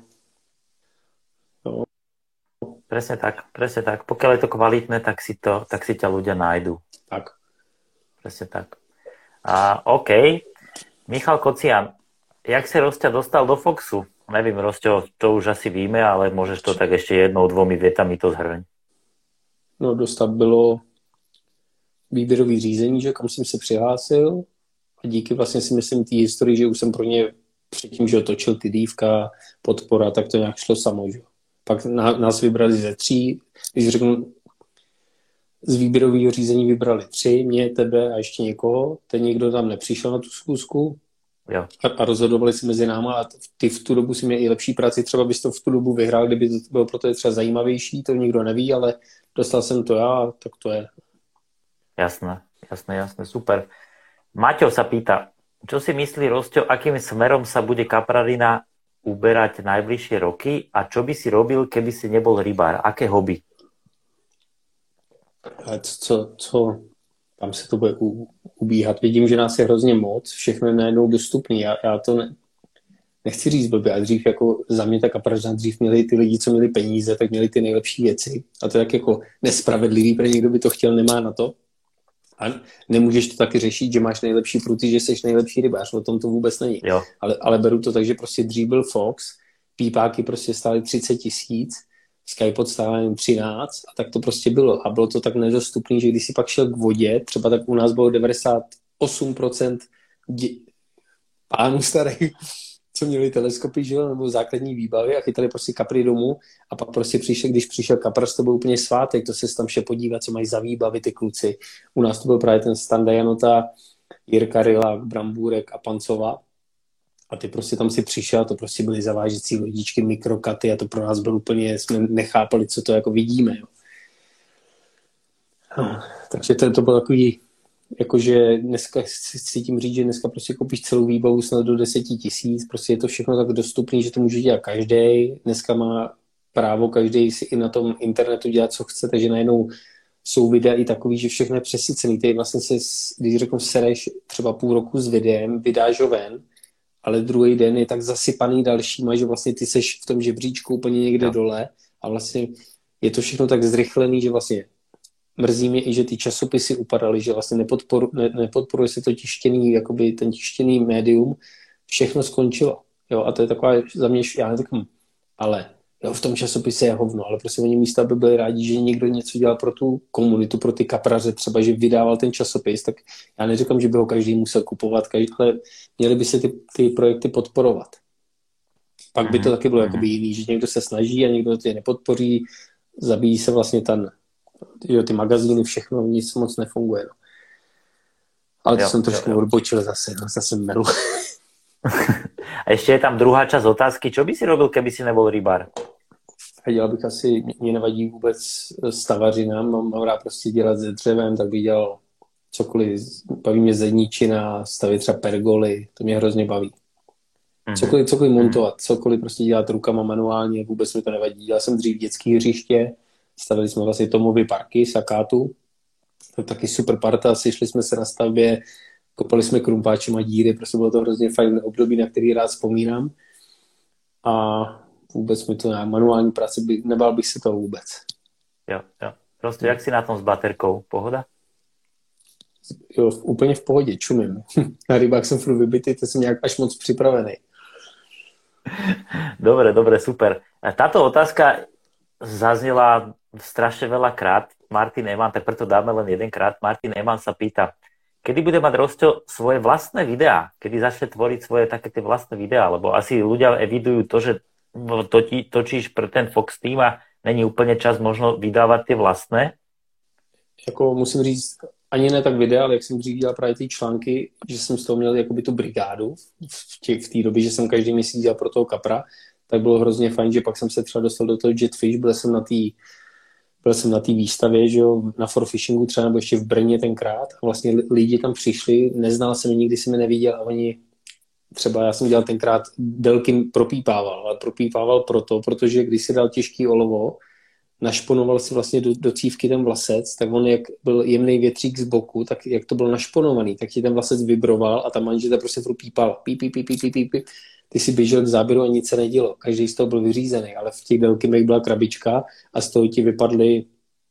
no. Presne tak, presne tak. Pokiaľ je to kvalitné, tak si, to, tak si ťa ľudia nájdu. Tak. Presne tak. A, OK. Michal Kocian, jak si Rosťa dostal do Foxu? Nevím, Rosťo, to už asi víme, ale môžeš to tak ešte jednou, dvomi větami to zhrň. No, dostat bylo výběrový řízení, že kam jsem se přihlásil a díky vlastně si myslím té historii, že už jsem pro ně předtím, že točil ty dívka, podpora, tak to nějak šlo samo, že pak nás vybrali ze tří, když řeknu, z výběrového řízení vybrali tři, mě, tebe a ještě někoho, ten někdo tam nepřišel na tu schůzku jo. A, a rozhodovali si mezi náma a ty v tu dobu si měl i lepší práci, třeba bys to v tu dobu vyhrál, kdyby to bylo pro to třeba zajímavější, to nikdo neví, ale dostal jsem to já, tak to je. Jasné, jasné, jasné, super. Maťo sa pýta, čo si myslí Rosťo, akým smerom sa bude Kaprarina uberať najbližšie roky a čo by si robil, keby si nebol rybár? Aké hobby? A co, co, tam se to bude u, ubíhat. Vidím, že nás je hrozně moc, všechno je najednou dostupný. Já, já to ne, nechci říct blbě, a dřív jako za mě ta Kaprařina, dřív měli ty lidi, co měli peníze, tak měli ty nejlepší věci. A to je tak jako nespravedlivý, protože někdo by to chtěl, nemá na to. A nemůžeš to taky řešit, že máš nejlepší pruty, že jsi nejlepší rybář, o tom to vůbec není. Ale, ale beru to tak, že prostě dřív byl Fox, pípáky prostě stály třicet tisíc, Skypod stál jen třináct a tak to prostě bylo. A bylo to tak nedostupný, že když si pak šel k vodě, třeba tak u nás bylo devadesát osm procent dě- pánů starých, co měli teleskopy, že jo, nebo základní výbavy a chytali prostě kapry domů a pak prostě přišel, když přišel kapras, to byl úplně svátek, to se tam vše podívat, co mají za výbavy ty kluci. U nás to byl právě ten Standa Janota, Jirka Rylák, Brambůrek a Pancova. A ty prostě tam si přišel, to prostě byly zavážecí lodičky, mikrokaty a to pro nás bylo úplně, jsme nechápali, co to jako vidíme. Jo. No, takže to, to bylo takový, jakože dneska si tím říct, že dneska prostě koupíš celou výbavu snad do deseti tisíc, prostě je to všechno tak dostupný, že to může dělat každý. Dneska má právo každý si i na tom internetu dělat, co chce, takže najednou jsou videa i takový, že všechno je přesycený. Ty vlastně se, když řeknu, sereš třeba půl roku s videem, vydáš ho ven, ale druhý den je tak zasypaný dalšíma, že vlastně ty seš v tom žebříčku úplně někde no. dole a vlastně je to všechno tak zrychlený, že vlastně mrzí mě i, že ty časopisy upadaly, že vlastně nepodporu, ne, nepodporuje se to tištěný, jakoby ten tištěný médium, všechno skončilo. Jo, a to je taková za mě, já netakím, ale jo, v tom časopise je hovno, ale prostě oni místa by byli rádi, že někdo něco dělal pro tu komunitu, pro ty kapraře, třeba, že vydával ten časopis, tak já neříkám, že by ho každý musel kupovat, každý, ale měli by se ty, ty projekty podporovat. Pak by to taky bylo jakoby jiný, že někdo se snaží a někdo to nepodpoří, zabíjí se vlastně ten, jo, ty magazíny, všechno, nic moc nefunguje. No. Ale to jo, jsem trošku odbočil zase, no, zase melu. A ještě je tam druhá část otázky. Čo by si robil, keby si nebol rybár? Dělal bych asi, mě nevadí vůbec stavařina, mám, mám rád prostě dělat se dřevem, tak bych dělal cokoliv, baví mě zedničina, stavit třeba pergoly, to mě hrozně baví. Cokoliv, cokoliv montovat, cokoliv prostě dělat rukama manuálně, vůbec mi to nevadí. Dělal jsem dřív dětský hřiště, stavili jsme vlastně Tomovy parky, Sakátu, to je taky super parta, sešli jsme se na stavbě, kopali jsme krumpáčem a díry, prostě bylo to hrozně fajn období, na který rád vzpomínám. A vůbec mi to ne, manuální práce, by, nebál bych se toho vůbec. Jo, jo. Prostě jak si na tom s baterkou? Pohoda? Jo, úplně v pohodě, čumím. Na rybách jsem furt vybitý, to jsem nějak až moc připravený. Dobre, dobre, super. Táto otázka zaznela strašne veľa krát. Martin Eman, tak preto dáme len jedenkrát. Martin Eman sa pýta, kedy bude mať Rosťo svoje vlastné videá? Kedy začne tvoriť svoje také tie vlastné videá? Lebo asi ľudia evidujú to, že točí, točíš pre ten Fox Team a není úplne čas možno vydávať tie vlastné? Jako musím říct, ani ne tak videa, ale jak jsem dřív dělal právě ty články, že jsem z toho měl jakoby tu brigádu v té v době, že jsem každý měsíc dělal pro toho kapra, tak bylo hrozně fajn, že pak jsem se třeba dostal do toho Jetfish, byl jsem na té byl jsem na té výstavě, že jo, na forfishingu třeba, nebo ještě v Brně tenkrát a vlastně lidi tam přišli, neznal jsem je, nikdy jsem je neviděl a oni třeba, já jsem dělal tenkrát, Delkin propípával, ale propípával proto, protože když si dal těžký olovo, našponoval si vlastně do, do cívky ten vlasec, tak on jak byl jemný větřík z boku, tak jak to byl našponovaný, tak ti ten vlasec vibroval a ta manžeta prostě furt pípala. Píp, píp, píp, píp, píp, píp. Ty si běžel k záběru a nic se nedělo. Každý z toho byl vyřízený, ale v těch Delkinech byla krabička a z toho ti vypadly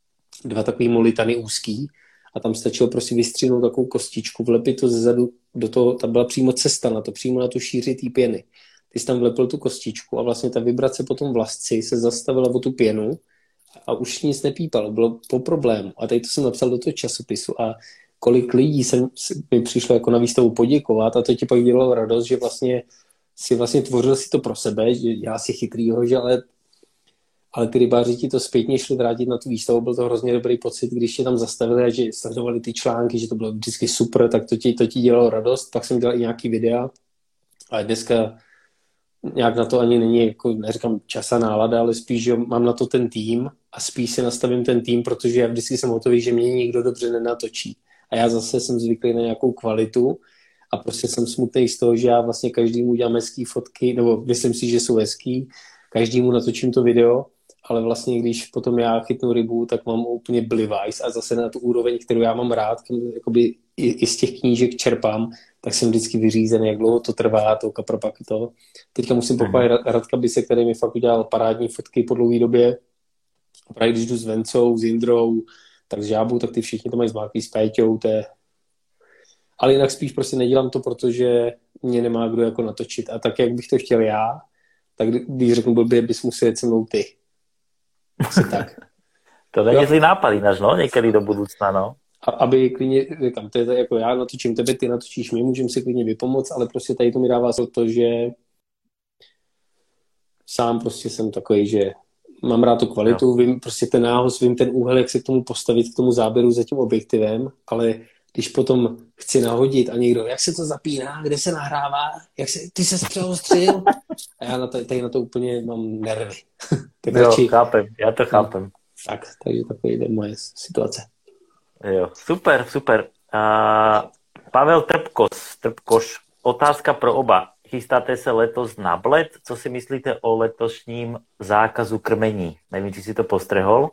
dva takový molitany úzký a tam stačilo prostě vystřihnout takovou kostičku, vlepit to zezadu do toho, tam byla přímo cesta na to, přímo na tu šíři té pěny. Ty jsi tam vlepil tu kostičku a vlastně ta vibrace po tom vlasci se zastavila o tu pěnu a už nic nepípalo, bylo po problému. A tady to jsem napsal do toho časopisu a kolik lidí jsem, mi přišlo jako na výstavu poděkovat a to ti pak dělalo radost, že vlastně si vlastně tvořil si to pro sebe, že já si chytrýho, že ale, ale ty rybáři ti to zpětně šli vrátit na tu výstavu, byl to hrozně dobrý pocit, když tě tam zastavili a že sledovali ty články, že to bylo vždycky super, tak to ti, to ti dělalo radost, pak jsem dělal i nějaký videa, ale dneska nějak na to ani není, jako neříkám čas a nálada, ale spíš, že mám na to ten tým a spíš si nastavím ten tým, protože já vždycky jsem hotový, že mě nikdo dobře nenatočí. A já zase jsem zvyklý na nějakou kvalitu a prostě jsem smutný z toho, že já vlastně každému dělám hezký fotky, nebo myslím si, že jsou hezký, každému natočím to video, ale vlastně když potom já chytnu rybu, tak mám úplně blivajs a zase na tu úroveň, kterou já mám rád, jakoby i, i z těch knížek čerpám, tak jsem vždycky vyřízený, jak dlouho to trvá, to kapra pak to. Teďka musím pochválit Radka Bise, který mi fakt udělal parádní fotky po dlouhé době. A právě když jdu s Vencou, s Jindrou, tak s Žábou, tak ty všichni to mají zmáklý s Péťou, to je... Ale jinak spíš prostě nedělám to, protože mě nemá kdo jako natočit. A tak, jak bych to chtěl já, tak když řeknu blbě, bys musel jet se mnou ty. Asi tak. To není zlý nápad ináč, no, někdy do budoucna, no. A, aby klidně, říkám, to je to jako já natočím tebe, ty natočíš mě, můžeme si klidně vypomoct, ale prostě tady to mi dává to, že sám prostě jsem takový, že mám rád tu kvalitu, jo. Vím prostě ten nához, vím ten úhel, jak se k tomu postavit, k tomu záběru za tím objektivem, ale když potom chci nahodit a někdo, jak se to zapíná, kde se nahrává, jak se, ty se přeostřil. A já na to, tady na to úplně mám nervy. Tak jo, radši... chápem, já to chápem. Tak, takže takový je moje situace. Jo, super, super. Uh, Pavel Trpkos, Trpkoš, otázka pro oba. Chystáte se letos na Bled? Co si myslíte o letošním zákazu krmení? Nevím, či si to postrehol?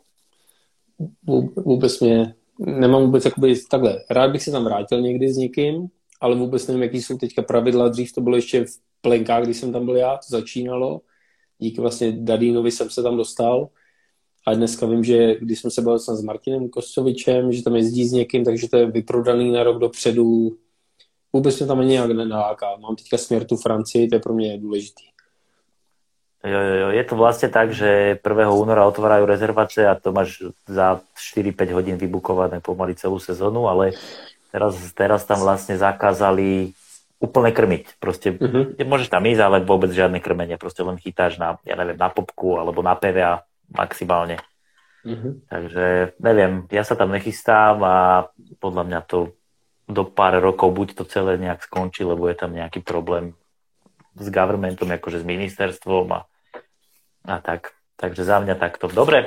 Vůbec mě, nemám vůbec jakoby takhle. Rád bych se tam vrátil někdy s někým, ale vůbec nevím, jaký jsou teďka pravidla. Dřív to bylo ještě v plenkách, když jsem tam byl já, to začínalo. Díky vlastně Dadínovi jsem se tam dostal. A dneska vím, že když jsme se bavili s Martinem Koscovičem, že tam jezdí s někým, takže to je vyprodaný na rok dopředu. Vůbec mě tam ani nějak nenaláká. Mám teďka směr tu Francii, to je pro mě důležitý. Jo, jo, jo. Je to vlastne tak, že prvého února otvárajú rezervácie a to máš za štyri päť hodín vybukované pomaly celú sezónu, ale teraz, teraz tam vlastne zakázali úplne krmiť. Proste uh-huh. môžeš tam ísť, ale vôbec žiadne krmenie. Proste len chytáš na, ja neviem, na popku alebo na pé vé á maximálne. Uh-huh. Takže neviem, ja sa tam nechystám a podľa mňa to do pár rokov buď to celé nejak skončí, lebo je tam nejaký problém s governmentom, akože s ministerstvom a, a tak. Takže za mňa takto. Dobre,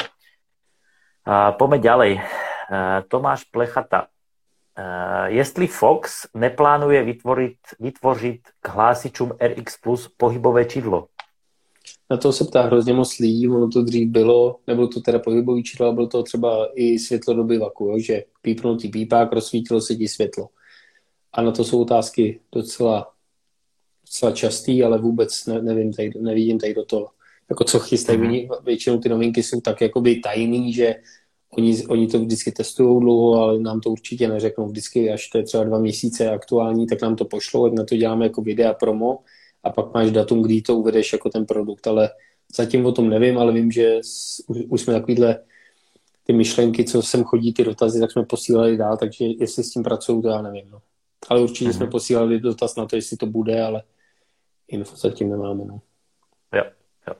a poďme ďalej. A Tomáš Plechata. A jestli Fox neplánuje vytvoriť, vytvořit k hlásičům er iks Plus pohybové čidlo? Na to se ptá hrozně moc lidí, ono to dřív bylo, nebylo to teda pohybový čidlo, ale bylo to třeba i světlo do bivaku, jo? Že pípnutý pípák, rozsvítilo se ti světlo. A na to jsou otázky docela, docela častý, ale vůbec ne, nevím, tady, nevidím tady do toho. Jako co chystají, mm-hmm. většinou ty novinky jsou tak jakoby tajný, že oni, oni to vždycky testují dlouho, ale nám to určitě neřeknou. Vždycky, až to je třeba dva měsíce aktuální, tak nám to pošlou, ať na to děláme jako videa promo a pak máš datum, kdy to uvedeš jako ten produkt, ale zatím o tom nevím, ale vím, že už, už jsme takovýhle ty myšlenky, co sem chodí, ty dotazy, tak jsme posílali dál, takže jestli s tím pracují, to já nevím. No. Ale určitě mm-hmm. jsme posílali dotaz na to, jestli to bude, ale info zatím nemáme. No. Jo, jo.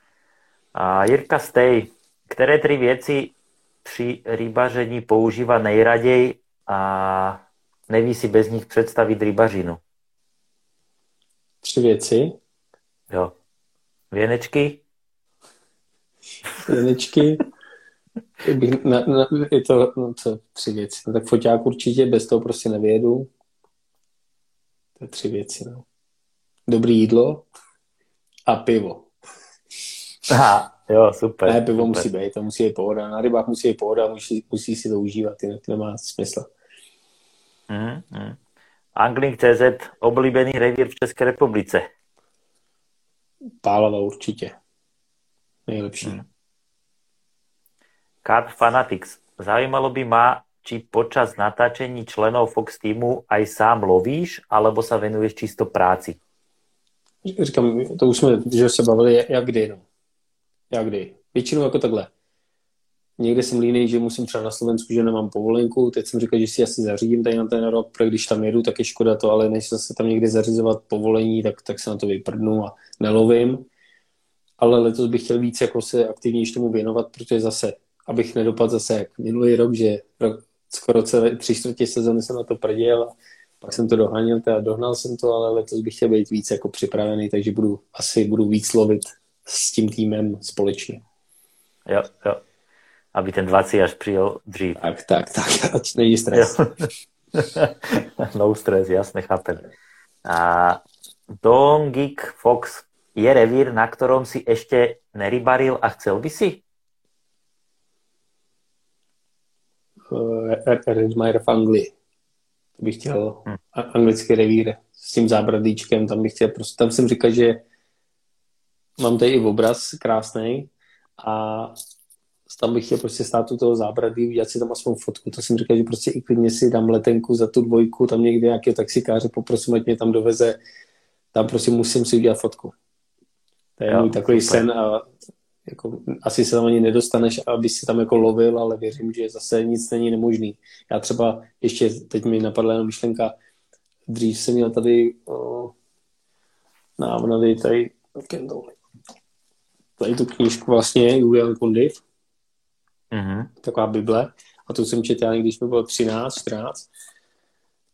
A Jirka Stej, které tři věci při rybaření používá nejraději a neví si bez nich představit rybařinu? Tři věci? Jo. Věnečky? Věnečky? Na, na, je to, no co, tři věci. No tak foťák určitě, bez toho prostě nevyjedu. To je tři věci, no. Dobrý jídlo a pivo. Aha, jo, super. Ne, pivo super. musí být, to musí být pohoda. Na rybách musí být pohoda, musí, musí si to užívat, jinak to nemá smysl. Mm, mm. Angling tečka cé zet, oblíbený revír v České republice. Pálava určitě. Nejlepší. Mm. Carp Fanatics. Zaujímalo by ma, či počas natáčení členov Fox týmu aj sám lovíš, alebo sa venuješ čisto práci? Říkám, to už jsme, že se bavili, jak kdy, no. Jak kdy. Většinou jako takhle. Někde jsem línej, že musím třeba na Slovensku, že nemám povolenku. Teď jsem říkal, že si asi zařídím tady na ten rok, protože když tam jedu, tak je škoda to, ale než se tam někde zařizovat povolení, tak, tak se na to vyprdnu a nelovím. Ale letos bych chtěl víc jako se aktivněji tomu věnovat, protože zase, abych nedopadl zase jak minulý rok, že rok, skoro celé tři čtvrtě sezóny jsem na to prděl a pak jsem to doháněl, teda dohnal jsem to, ale letos bych chtěl být víc jako připravený, takže budu asi budu víc lovit s tím týmem společně. Jo, jo. Aby ten dvacet až přijel dřív. Tak, tak, tak, ať není stres. No stres, jasne, chápem. A Dongik Fox je revír, na ktorom si ešte nerybaril a chcel by si? Redmire v Anglii. To bych chtěl hmm. anglický revír s tím zábradlíčkem, tam bych chtěl prostě, tam jsem říkal, že mám tady i obraz krásnej a tam bych chtěl prostě stát u toho zábradlí, udělat si tam aspoň fotku, to jsem říkal, že prostě i klidně si dám letenku za tu dvojku, tam někde nějakého taxikáře poprosím, ať mě tam doveze, tam prostě musím si udělat fotku. To je jo, můj takový super sen a jako, asi se tam ani nedostaneš, aby si tam jako lovil, ale věřím, že zase nic není nemožný. Já třeba ještě, teď mi napadla jenom myšlenka, dřív jsem měl tady o, návnady tady, tady tu knížku vlastně, Julian Kondiv, mm-hmm. taková Bible, a tu jsem četl, když mi bylo třináct, čtrnáct,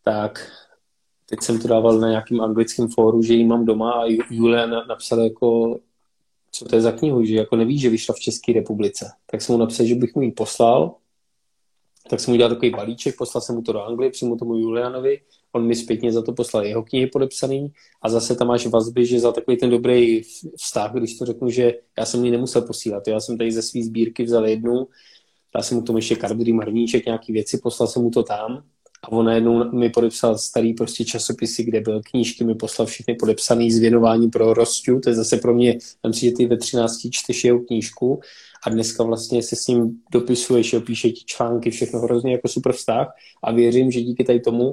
tak teď jsem to dával na nějakým anglickém fóru, že ji mám doma a Julia napsala jako, co to je za knihu, že jako neví, že vyšla v České republice. Tak jsem mu napsal, že bych mu ji poslal, tak jsem mu udělal takový balíček, poslal jsem mu to do Anglie, přímo tomu Julianovi, on mi zpětně za to poslal jeho knihy podepsaný a zase tam máš vazby, že za takový ten dobrý vztah, když to řeknu, že já jsem ji nemusel posílat, já jsem tady ze své sbírky vzal jednu, dal jsem mu tomu ještě kardry, marníček, nějaký věci, poslal jsem mu to tam a on najednou mi podepsal starý prostě časopisy, kde byl knížky, mi poslal všechny podepsaný s věnováním pro Rosťu, to je zase pro mě, tam si, že ty ve třinácti čteš jeho knížku a dneska vlastně se s ním dopisuješ, jo, píše ti články, všechno hrozně jako super vztah a věřím, že díky tady tomu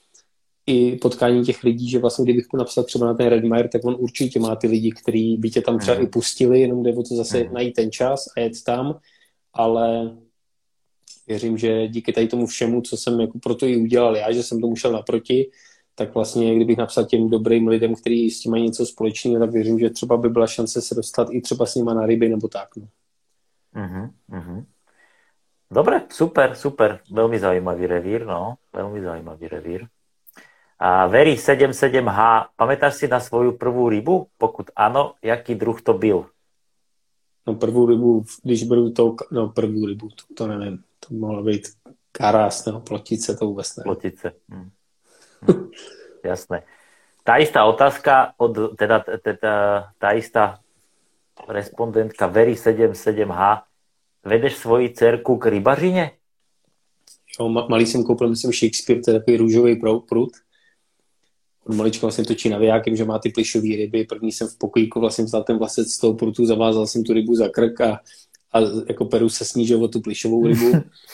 i potkání těch lidí, že vlastně kdybych mu napsal třeba na ten Redmire, tak on určitě má ty lidi, kteří by tě tam třeba mm. i pustili, jenom jde o to zase mm. najít ten čas a jet tam, ale věřím, že díky tady tomu všemu, co jsem jako proto i udělal já, že jsem tomu šel naproti, tak vlastně kdybych napsal těm dobrým lidem, kteří s tím mají něco společného, tak věřím, že třeba by byla šance se dostat i třeba s nima na ryby nebo tak. No. Uh-huh, uh-huh. Dobre, super, super. Veľmi zaujímavý revír, no. Veľmi zaujímavý revír. A Very sedem sedem há, pamätáš si na svoju prvú rybu? Pokud áno, jaký druh to byl? No prvú rybu, když beru to, no prvú rybu, to, to neviem. To mohla být karás, nebo plotice, to vůbec neviem. Plotice. Hm. Hm. Jasné. Tá istá otázka od, teda, teda tá istá respondentka Very sedem sedem há. Vedeš svoji dcerku k rybařině? Jo, malý jsem koupil, myslím, Shakespeare, to je takový růžový prut. Od malička vlastně točí navijákem, že má ty plišové ryby. První jsem v pokojíku vlastně vzal ten vlasec z toho prutu, zavázal jsem tu rybu za krk a, a jako peru se snížil o tu plišovou rybu.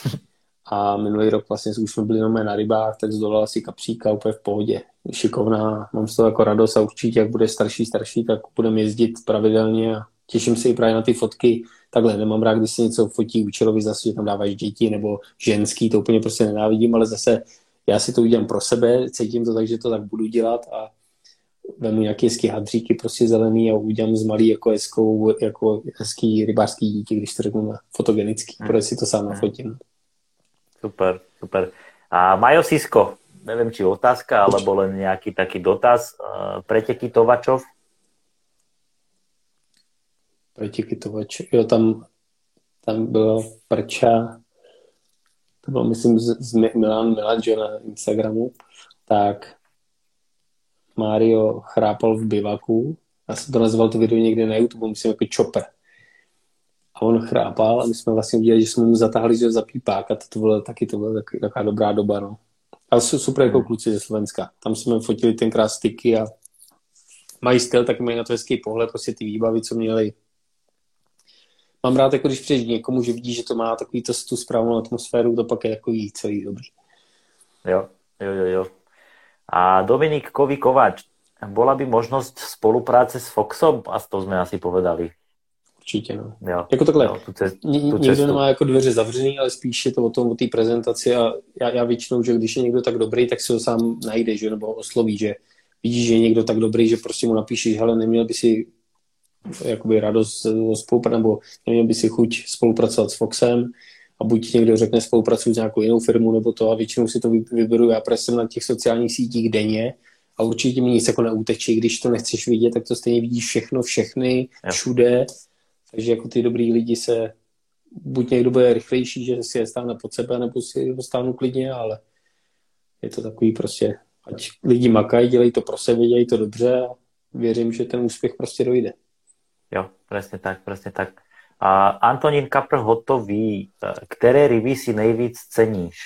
A minulý rok vlastně už jsme byli jenom na rybách, tak zdolala si kapříka úplně v pohodě. Šikovná, mám z toho jako radost a určitě, jak bude starší, starší, tak budeme jezdit pravidelně a těším se i právě na ty fotky. Takhle, nemám rád, když se něco fotí účelově, zase, že tam dáváš děti nebo ženský, to úplně prostě nenávidím, ale zase já si to udělám pro sebe, cítím to tak, že to tak budu dělat a vemu nějaké hezký hadříky, prostě zelený a udělám z malý jako hezkou, jako hezký rybářský dítě, když to řeknu na fotogenický, hmm. protože si to sám nafotím. Super, super. A Majo Sisko, neviem, či otázka, alebo len nejaký taký dotaz. Preteky Tovačov? Preteky Tovačov, jo, tam, tam byla prča, to bylo, myslím, z, z Milan Milan, že na Instagramu, tak Mário chrápal v bivaku, já jsem to nazval to video někde na YouTube, myslím jako Chopper. A on chrápal a my jsme vlastně udělali, že jsme mu zatáhli za pípák a to bylo taky to byla taky, taková dobrá doba, no. Ale jsou super jako kluci ze Slovenska. Tam jsme fotili tenkrát styky a mají styl, tak mají na to hezký pohled, prostě ty výbavy, co měli. Mám rád, jako když přijdeš někomu, že vidí, že to má takový to, tu správnou atmosféru, to pak je takový celý dobrý. Jo, jo, jo, jo. A Dominik Kový Kováč, bola by možnosť spolupráce s Foxom? A to sme asi povedali. Určitě, no. Jo, jako takhle, jo, tu cest, tu nikdo nemá jako dveře zavřený, ale spíš je to o tom, o té prezentaci a já, já většinou, že když je někdo tak dobrý, tak si ho sám najde, že, nebo osloví, že vidíš, že je někdo tak dobrý, že prostě mu napíšeš, hele, neměl by si jakoby radost o spolupráci, nebo neměl by si chuť spolupracovat s Foxem a buď někdo řekne spolupracuji s nějakou jinou firmou, nebo to a většinou si to vyberu, já protože jsem na těch sociálních sítích denně a určitě mi nic jako neutečí, když to nechceš vidět, tak to stejně vidíš všechno, všechny, všude. Takže jako ty dobrý lidi se, buď někdo bude rychlejší, že si je stáhne pod sebe, nebo si ho stáhnu klidně, ale je to takový prostě, ať lidi makají, dělají to pro sebe, dělají to dobře a věřím, že ten úspěch prostě dojde. Jo, presne tak, presne tak. A Antonín Kapr hotový, ktoré ryby si nejvíc ceníš?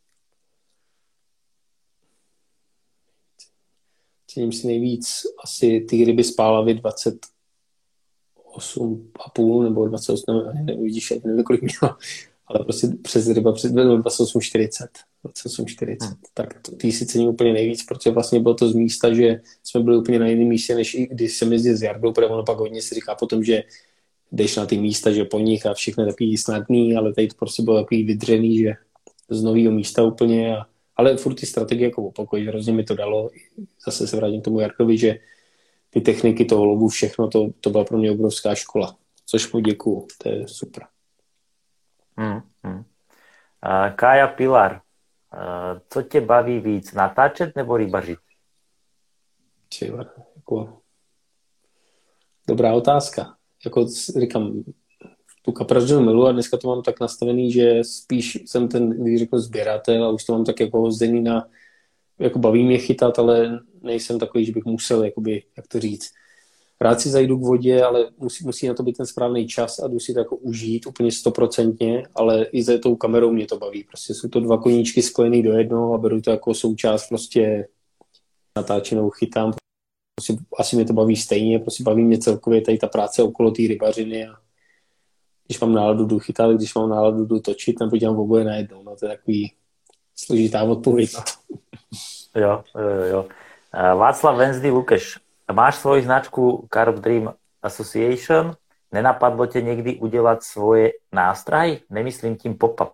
Cením si nejvíc asi ty ryby z pálavy dvacet osm a půl nebo dvacet osm, nevím, vidíš, nevím, kolik měla, ale prostě přes ryba přes dvacet osm čtyřicet. dvacet osm čtyřicet. Hmm. Tak to, ty si cením úplně nejvíc, protože vlastně bylo to z místa, že jsme byli úplně na jiném místě, než i když jsem jezdil s Jardou, protože ono pak hodně si říká potom, že jdeš na ty místa, že po nich a všechno je takový snadný, ale tady to prostě bylo takový vydřený, že z nového místa úplně. A, ale furt ty strategie jako opakují, že hrozně mi to dalo. Zase se vrátím k tomu Jardovi, že ty techniky toho lovu, všechno, to, to byla pro mě obrovská škola. Což mu děkuju, to je super. Hmm, hmm. A Kája Pilar, co tě baví víc, natáčet nebo rybařit? Čiva, jako... Dobrá otázka. Jako říkám, tu kapražinu milu a dneska to mám tak nastavený, že spíš jsem ten, když řeknu, sběratel a už to mám tak jako hozdený na, jako baví mě chytat, ale nejsem takový, že bych musel, jakoby, jak to říct. Rád si zajdu k vodě, ale musí, musí na to být ten správný čas a jdu si to jako užít úplně stoprocentně, ale i za tou kamerou mě to baví. Prostě jsou to dva koníčky spojený do jednoho a beru to jako součást prostě natáčenou chytám. Prostě asi mě to baví stejně, prostě baví mě celkově tady ta práce okolo té rybařiny a když mám náladu, jdu chytat, když mám náladu, jdu točit, nebo dělám oboje najednou. No to je takový složitá odpověď na to. Jo, jo, jo. Václav Venzdy Lukeš, máš svoji značku Carp Dream Association? Nenapadlo tě někdy udělat svoje nástrahy? Nemyslím tím pop-up.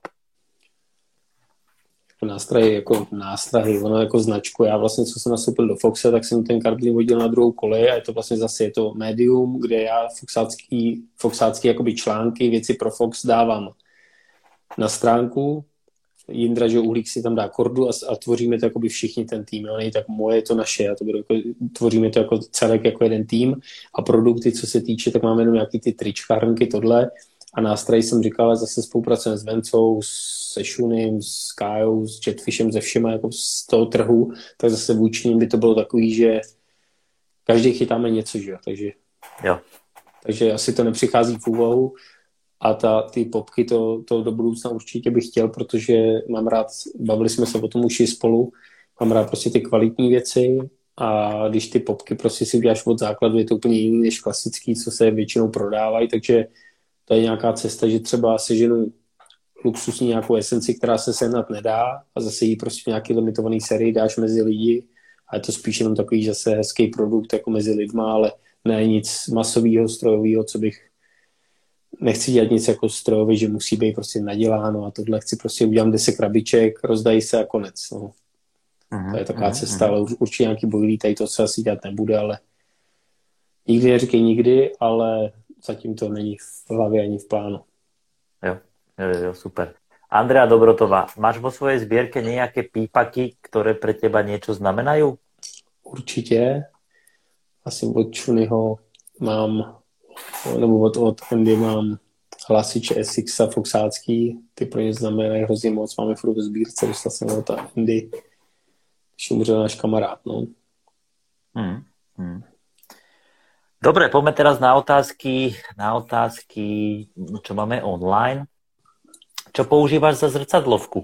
Nástrahy jako nástrahy, ono jako značku. Já vlastně, co jsem nastoupil do Foxe, tak jsem ten Carp Dream hodil na druhou kolej a je to vlastně zase je to médium, kde já foxácký, foxácký jakoby články, věci pro Fox dávám na stránku. Jindra, že Uhlík si tam dá kordu a, a tvoříme to jakoby všichni ten tým. Jo? Nej tak moje, to naše. Já to budu jako, tvoříme to jako celek jako jeden tým a produkty, co se týče, tak máme jenom nějaký ty trička, hrnky, tohle. A nástroj jsem říkal, zase spolupracujeme s Vencou, se Shunim, s Kajou, s Jetfishem, ze všema jako z toho trhu, tak zase vůči nim by to bylo takový, že každý chytáme něco, že jo, takže, jo. takže asi to nepřichází v úvahu a ta, ty popky to, to do budoucna určitě bych chtěl, protože mám rád, bavili jsme se o tom už i spolu, mám rád prostě ty kvalitní věci a když ty popky prostě si uděláš od základu, je to úplně jiný než klasický, co se většinou prodávají, takže to je nějaká cesta, že třeba seženu luxusní nějakou esenci, která se sehnat nedá a zase jí prostě v nějaký limitovaný sérii dáš mezi lidi a je to spíš jenom takový zase hezký produkt jako mezi lidma, ale ne nic masového, strojového, co bych nechci dělat nic jako strojový, že musí být prostě naděláno a tohle chci prostě udělám deset krabiček, rozdají se a konec. No. Uh-huh, to je taková uh-huh, cesta, uh-huh. ale určitě nějaký bojlí, tady to se asi dělat nebude, ale nikdy neříkej nikdy, ale zatím to není v hlavě ani v plánu. Jo, jo, jo, super. Andrea Dobrotová, máš vo svojej zbierke nejaké pípaky, ktoré pre teba niečo znamenajú? Určitě. Asi od Čunyho mám, nebo od, od Andy mám hlasiče S X a foxácký. Ty pro ně znamenají hrozně moc. Máme furt ve sbírce, dostal jsem od Andy. Když umřel náš kamarád, no. Hmm, hmm. Dobre, poďme teraz na otázky, na otázky, čo máme online. Čo používáš za zrcadlovku?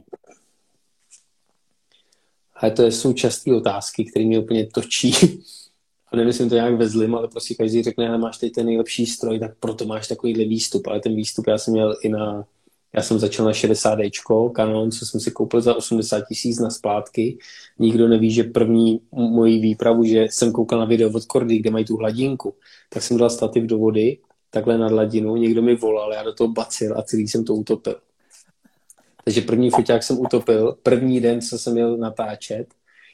Ale to jsou časté otázky, které mě úplně točí. A nemyslím to nějak ve zlým, ale prostě každý řekne, že máš teď ten nejlepší stroj, tak proto máš takovýhle výstup. Ale ten výstup já jsem měl i na... Já jsem začal na šedesát déčko Canon, co jsem si koupil za osmdesát tisíc na splátky. Nikdo neví, že první moji výpravu, že jsem koukal na video od Kordy, kde mají tu hladinku, tak jsem dal stativ do vody, takhle nad hladinu, někdo mi volal, já do toho bacil a celý jsem to utopil. Takže první foťák jsem utopil, první den, co jsem měl natáčet.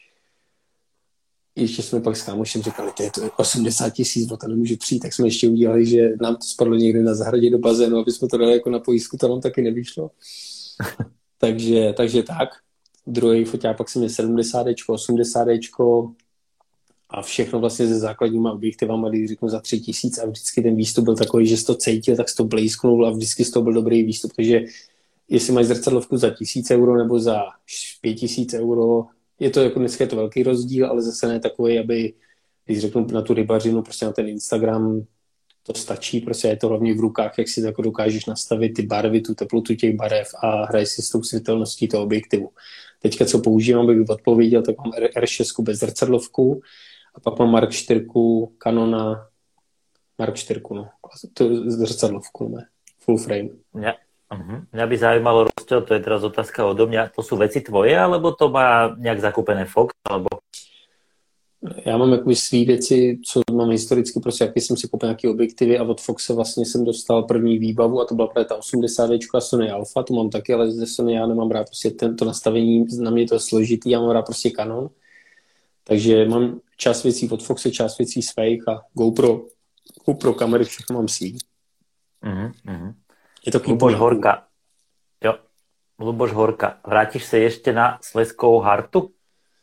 Ještě jsme pak s kámošem říkali, to je to osmdesát tisíc, o to nemůže přijít, tak jsme ještě udělali, že nám to spadlo někde na zahradě do bazénu, aby jsme to dali jako na pojistku, to nám taky nevyšlo. takže, takže tak. Druhý foťák pak jsem měl sedmdesát déčko, osmdesát déčko a všechno vlastně se základníma objektivama, když řeknu za tři tisíc a vždycky ten výstup byl takový, že jsi to cítil, tak jsi to blízknul a vždycky z toho byl dobrý výstup, takže jestli máš zrcadlovku za tisíc euro nebo za pět tisíc euro, je to jako dneska je to velký rozdíl, ale zase ne takový, aby, když řeknu na tu rybařinu, prostě na ten Instagram, to stačí, prostě je to hlavně v rukách, jak si to jako dokážeš nastavit ty barvy, tu teplotu těch barev a hraješ si s tou světelností toho objektivu. Teďka, co používám, bych odpověděl, tak mám R šest bez zrcadlovku a pak mám Mark čtyři Canona, Mark čtyři, no, to zrcadlovku, ne, full frame. Ja. Uh-huh. Mňa by zaujímalo, rozdiel, to je teraz otázka odo mňa, to sú veci tvoje, alebo to má nejak zakúpené Fox, alebo... Já mám jakoby svý věci, co mám historicky, prostě jaký jsem si koupil nějaký objektivy a od Foxe vlastně jsem dostal první výbavu a to byla právě ta osmdesát déčko a Sony Alpha, to mám taky, ale ze Sony já nemám rád prostě tento nastavení, na mě to je složitý, já mám rád prostě Canon, takže mám část věcí od Foxe, část věcí svých a GoPro, GoPro kamery, všechno mám svý. Uh-huh, uh-huh. Je to Luboš Horka. Jo. Luboš Horka, vrátíš se ještě na Slezskou Hartu?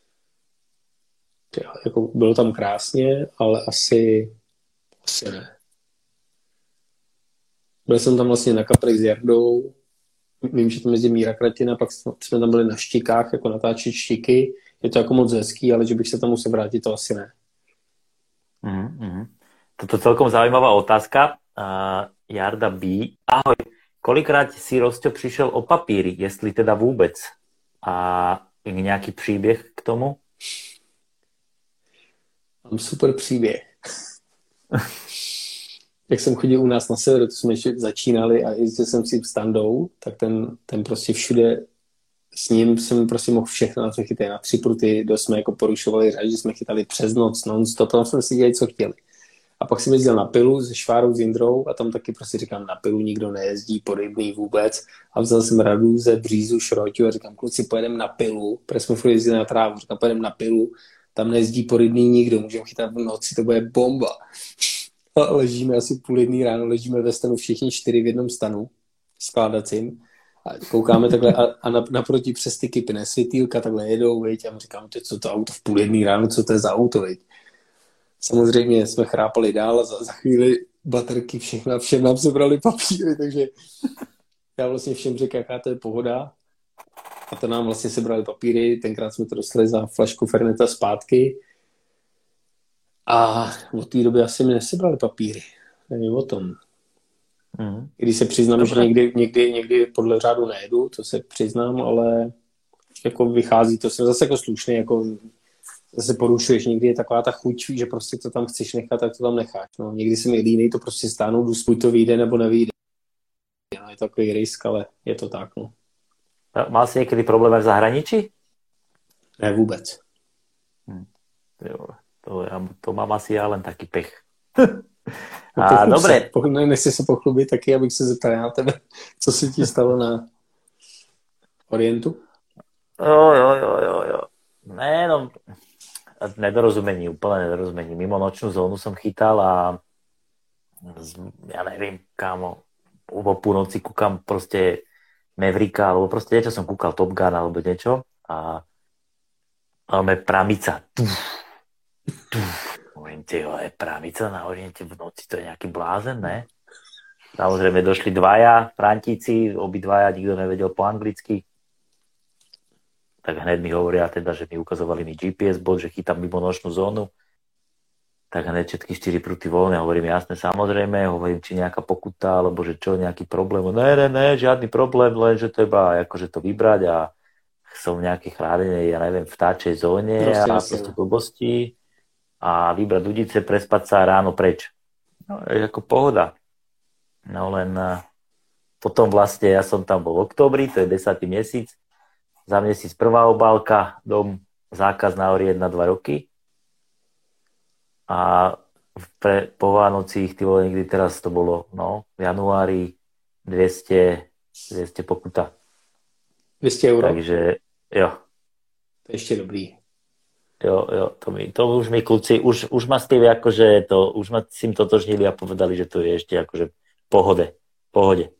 Ja, jako bylo tam krásně, ale asi, asi ne. Byl jsem tam vlastně na kaprech s Jardou. Vím, že tam jezdí Míra Kratina, pak jsme tam byli na štikách, jako natáčet štiky. Je to jako moc hezký, ale že bych se tam musel vrátit, to asi ne. Mm-hmm. Toto celkom zaujímavá otázka. Uh, Jarda B. Ahoj. Kolikrát si, Rosťo, přišel o papíry, jestli teda vůbec? A nějaký příběh k tomu? Mám super příběh. Jak jsem chodil u nás na severu, to jsme ještě začínali a jezdil jsem si standou, tak ten, ten prostě všude s ním jsem prostě mohl všechno na to chytat. Na tři pruty, do jsme jako porušovali řád, že jsme chytali přes noc, non-stop, tam jsme si dělali, co chtěli. A pak jsem jezdil na Pilu se Švárou, s Jindrou a tam taky prostě říkám, na Pilu nikdo nejezdí, po Rybný vůbec. A vzal jsem Radu ze Břízu, Šroťu a říkám, kluci, pojedeme na Pilu, protože jsme furt jezdili na trávu, říkám, pojedeme na Pilu, tam nejezdí po Rybný nikdo, můžeme chytat v noci, to bude bomba. A ležíme asi půl jedný ráno, ležíme ve stanu všichni čtyři v jednom stanu, skládacím. A koukáme takhle a, a naproti přes ty kypy světýlka takhle jedou, viď, a my říkám, co to auto v půl jedný ráno, co to je za auto, viď. Samozřejmě jsme chrápali dál a za, za chvíli baterky, všechno, všem nám sebrali papíry, takže já vlastně všem řekl, jaká to je pohoda. A to nám vlastně sebrali papíry, tenkrát jsme to dostali za flašku Ferneta zpátky. A od té doby asi mi nesebrali papíry. Nevím o tom. Mm. Když se přiznám, Dobre. že někdy, někdy, někdy podle řádu nejedu, to se přiznám, ale jako vychází to, jsem zase jako slušný, jako zase porušuješ, někdy je taková ta chuť, že prostě to tam chceš nechat, tak to tam necháš. No, někdy se mi línej to prostě stáhnout, buď to vyjde nebo nevyjde. No, je to takový risk, ale je to tak. No. Mal jsi někdy problém v zahraničí? Ne, vůbec. Hm. Jo, to, já, to mám asi já len taký pech. A dobre. Se, ne, nechci se pochlubit taky, abych se zeptal na tebe, co se ti stalo na Orientu? Jo, jo, jo, jo, jo. Ne, no, nedorozumení, úplne nedorozumení. Mimo nočnú zónu som chytal a ja neviem, kámo, o púnoci kúkam proste Mavericka, alebo proste niečo som kúkal, Top Gun, alebo niečo a máme pramica. Tuf, tuf. Môžem, tyjo, je pramica na Oriente v noci, to je nejaký blázen, ne? Samozrejme došli dvaja Frantíci, obidvaja, nikto nevedel po anglicky. Tak hneď mi hovoria teda, že mi ukazovali mi G P S bod, že chytám mimo nočnú zónu. Tak hneď všetky štyri pruty voľné, hovorím jasne, samozrejme, hovorím, či nejaká pokuta, alebo že čo, nejaký problém. Ne, ne, ne, žiadny problém, len že treba akože to vybrať a som v nejakej chránenej, ja neviem, vtáčej zóne proste, a proste blbosti a vybrať ľudice, prespať sa ráno preč. No, je ako pohoda. No len potom vlastne ja som tam bol v októbri, to je desátý mesiac. Za měsíc prvá obálka, dom, zákaz na Orient na dva roky. A pre, po Vánocích, ty vole, niekdy teraz to bolo, no, v januári dvesto, dvesto pokuta. dvesto euro? Takže, jo. To je ešte dobrý. Jo, jo, to, mi, to už mi kluci, už, už ma s tým akože to, už ma s tým totožnili a povedali, že to je ešte akože pohode, pohode.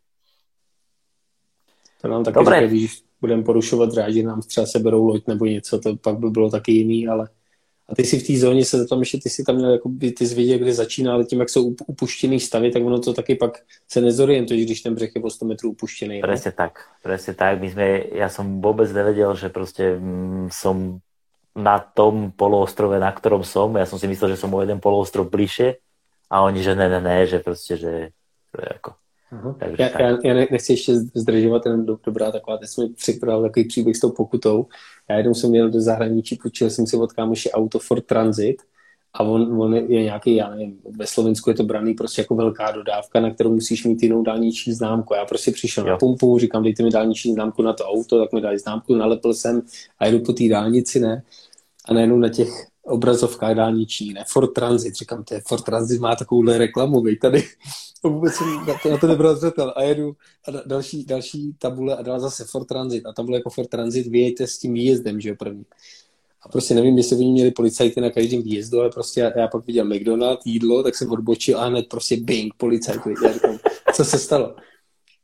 To nám taky říkají, když budeme porušovat řád, že nám třeba seberou loď nebo něco, to pak by bylo taky jiný, ale a ty si v té zóně se tam ještě, ty si tam měl, jako by ty jsi viděl, kde začíná, ale tím, jak jsou upuštěný stavy, tak ono to taky pak se nezorientuje, když ten břeh je o sto metrů upuštěný. Presne tak, presne tak. My sme, ja som vôbec nevedel, že proste mm, som na tom poloostrove, na ktorom som, ja som si myslel, že som o jeden poloostrov bližšie a oni, že ne, ne, ne, že proste, že to je ako... Uh-huh. Takže já, já, já nechci ještě zdržovat, ten do, dobrá taková, teď jsem mi připravil takový příběh s tou pokutou. Já jednou jsem měl do zahraničí, počil jsem si od kámoše auto Ford Transit a on, on je nějaký, já nevím, ve Slovensku je to braný prostě jako velká dodávka, na kterou musíš mít jinou dálniční známku. Já prostě přišel jo. na pumpu, říkám, dejte mi dálniční známku na to auto, tak mi dali známku, nalepil jsem a jedu po té dálnici, ne? A najednou na těch obrazovkách dálniční, ne? Ford Transit, říkám, to je Ford Transit, má takovouhle reklamu, vej, tady. Vůbec jsem na to, na to nebral zřetel a jedu a další, další tabule a dala zase Ford Transit a tam bylo jako Ford Transit, vyjejte s tím výjezdem, že jo, první. A prostě nevím, jestli oni měli policajty na každém výjezdu, ale prostě já, já pak viděl McDonald, jídlo, tak jsem odbočil a hned prostě bing, policajt, já říkám, co se stalo?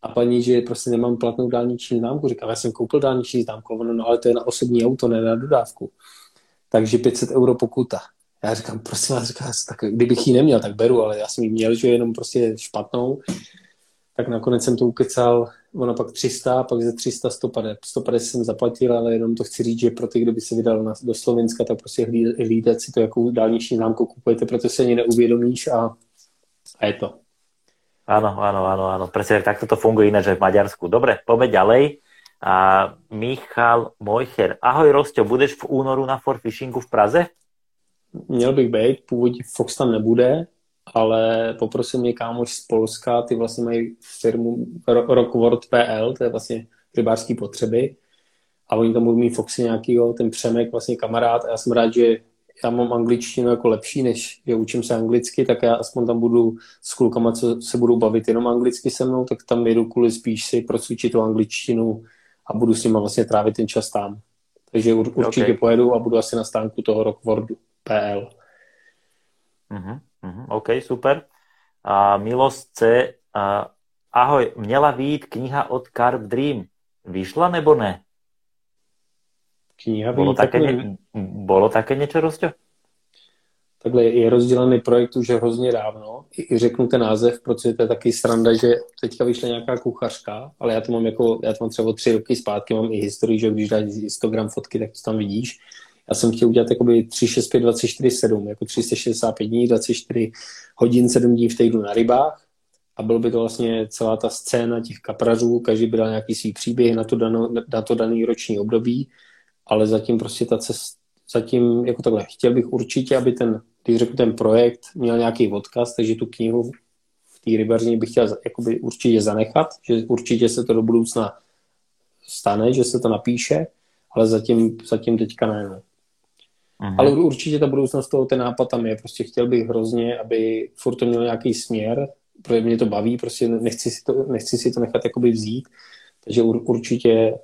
a paní, že prostě nemám platnou dálniční známku. Říkám, já jsem koupil dálniční známku, no, no ale to je na osobní auto, ne na dodávku. Takže pět set euro pokuta. Já říkám, prosím vás, říkám, tak kdybych ji neměl, tak beru, ale já jsem ji měl, že jenom prostě špatnou. Tak nakonec jsem to ukecal, ona pak tři sta, pak ze tři sta sto padesát, sto padesát jsem zaplatil, ale jenom to chci říct, že pro ty, kdo by se vydal na, do Slovenska, tak prostě hlídat, hlídat si to, jakou dálniční známku kupujete, protože se ani neuvědomíš a, a je to. Áno, áno, áno, áno. Presne takto to funguje ináč aj v Maďarsku. Dobre, poďme ďalej. A Michal Mojcher. Ahoj, Rosťo, budeš v únoru na For Fishingu v Praze? Měl bych být, původně Fox tam nebude, ale poprosím mě kámoš z Polska, ty vlastně mají firmu Rockworld tečka p l, to je vlastně rybářský potřeby a oni tam budou mít Foxy nějakýho, ten Přemek, vlastně kamarád a já jsem rád, že já mám angličtinu jako lepší, než že učím se anglicky, tak já aspoň tam budu s klukama, co se budou bavit jenom anglicky se mnou, tak tam jedu kvůli spíš si procvičit tu angličtinu a budu s nima vlastně trávit ten čas tam. Takže určitě okay. Pojedu a budu asi na stánku toho Rockworldu tečka p l. Uh-huh, uh-huh, OK, super. A Milos C. A, ahoj, měla vyjít kniha od Carp Dream. Vyšla nebo ne? Kniha bolo, také ne, bolo také niečo, Rosťo? Takhle je rozdělený projekt už hrozně dávno. I řeknu ten název, protože to je taky sranda, že teďka vyšla nějaká kuchařka, ale já to mám jako, já to mám třeba tři roky zpátky, mám i historii, že když dáš Instagram fotky, tak to tam vidíš. Já jsem chtěl udělat jakoby tři šest pět dvacet čtyři sedm, jako tři sta šedesát pět dní, dvacet čtyři hodin, sedm dní v týdnu na rybách. A byl by to vlastně celá ta scéna těch kaprařů, každý by dal nějaký svý příběh na to, dano, na to daný roční období, ale zatím prostě ta cesta, zatím jako takhle, chtěl bych určitě, aby ten, když řeknu ten projekt, měl nějaký odkaz, takže tu knihu v té rybařině bych chtěl jakoby určitě zanechat, že určitě se to do budoucna stane, že se to napíše, ale zatím, zatím teďka ne. No. Aha. Ale určitě ta budoucnost toho, ten nápad tam je, prostě chtěl bych hrozně, aby furt to měl nějaký směr, protože mě to baví, prostě nechci si to, nechci si to nechat jakoby vzít, takže ur, určitě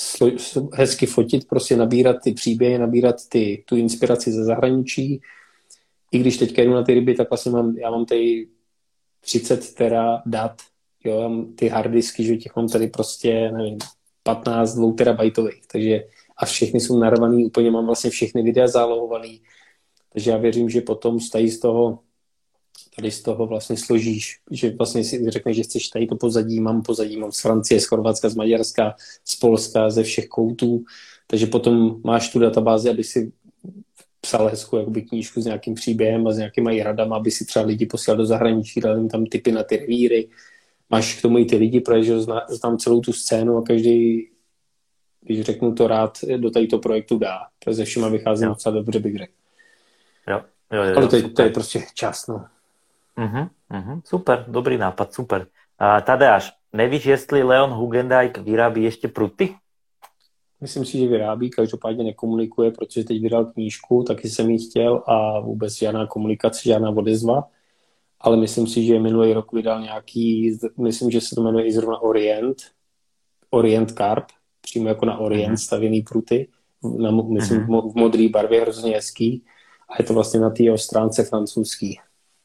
hezky fotit, prostě nabírat ty příběhy, nabírat ty, tu inspiraci ze zahraničí. I když teďka jdu na ty ryby, tak vlastně mám, já mám tady třicet tera dat, jo, já mám ty harddisky, že těch mám tady prostě, nevím, patnáct dvou terabajtových, takže a všechny jsou narvaný, úplně mám vlastně všechny videa zálohovaný, takže já věřím, že potom tady z toho tady z toho vlastně složíš, že vlastně si řekneš, že chceš tady to pozadí, mám pozadí, mám z Francie, z Chorvatska, z Maďarska, z Polska, ze všech koutů, takže potom máš tu databázi, aby si psal hezkou jakoby knížku s nějakým příběhem a s nějakýma i radama, aby si třeba lidi posílal do zahraničí, dal jim tam tipy na ty revíry, máš k tomu i ty lidi, protože znám celou tu scénu a každý, když řeknu to rád, do tadyto projektu dá, protože ze všema vycházím docela dobře, bych řekl. Jo, jo, jo, ale to je, to je prostě čas, no. Uh-huh, uh-huh, super, dobrý nápad, super. A Tadeáš, nevíš, jestli Leon Hugendijk vyrábí ještě pruty? Myslím si, že vyrábí, každopádně nekomunikuje, protože teď vydal knížku, taky jsem ji chtěl a vůbec žádná komunikace, žádná odezva, ale myslím si, že minulý rok vydal nějaký, myslím, že se to jmenuje i zrovna Orient, Orient Carp, přímo jako na Orient uh-huh. stavěný pruty, na, myslím uh-huh. v modré barvě, hrozně hezký a je to vlastně na té stránce francouzský.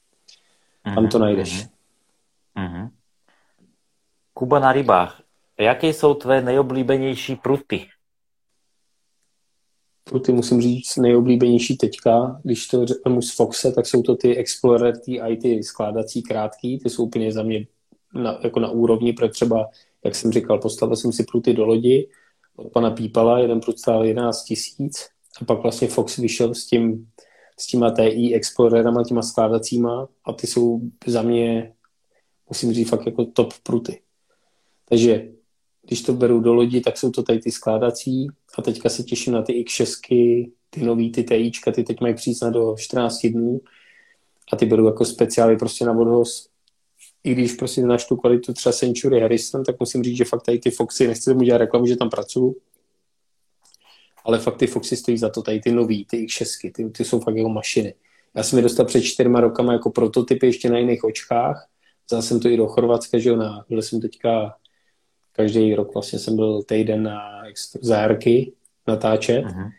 Tam to najdeš. Uh-huh. Kuba na rybách. Jaké jsou tvé nejoblíbenější pruty? Pruty musím říct nejoblíbenější teďka. Když to řeknu z Foxe, tak jsou to ty Explorer T I, ty skládací krátký. Ty jsou úplně za mě na, jako na úrovni, protože třeba, jak jsem říkal, postavil jsem si pruty do lodi od pana Pípala, jeden prut stál jedenáct tisíc a pak vlastně Fox vyšel s tím s těma T I Explorerama, těma skládacíma a ty jsou za mě, musím říct, fakt jako top pruty. Takže když to beru do lodi, tak jsou to tady ty skládací a teďka se těším na ty X šest, ty nový, ty TIčka, ty teď mají přijít do čtrnáct dnů a ty beru jako speciály prostě na odhoz. I když prostě náš tu kvalitu třeba Century Harrison, tak musím říct, že fakt tady ty Foxy, nechci tomu dělat reklamu, že tam pracuju, ale fakt ty Foxy stojí za to, tady ty nový, ty X šest, ty, ty jsou fakt jako mašiny. Já jsem je dostal před čtyřma rokama jako prototypy ještě na jiných očkách, vzal jsem to i do Chorvatska, že jo, na, byl jsem teďka, každý rok vlastně jsem byl týden na zárky natáčet uh-huh.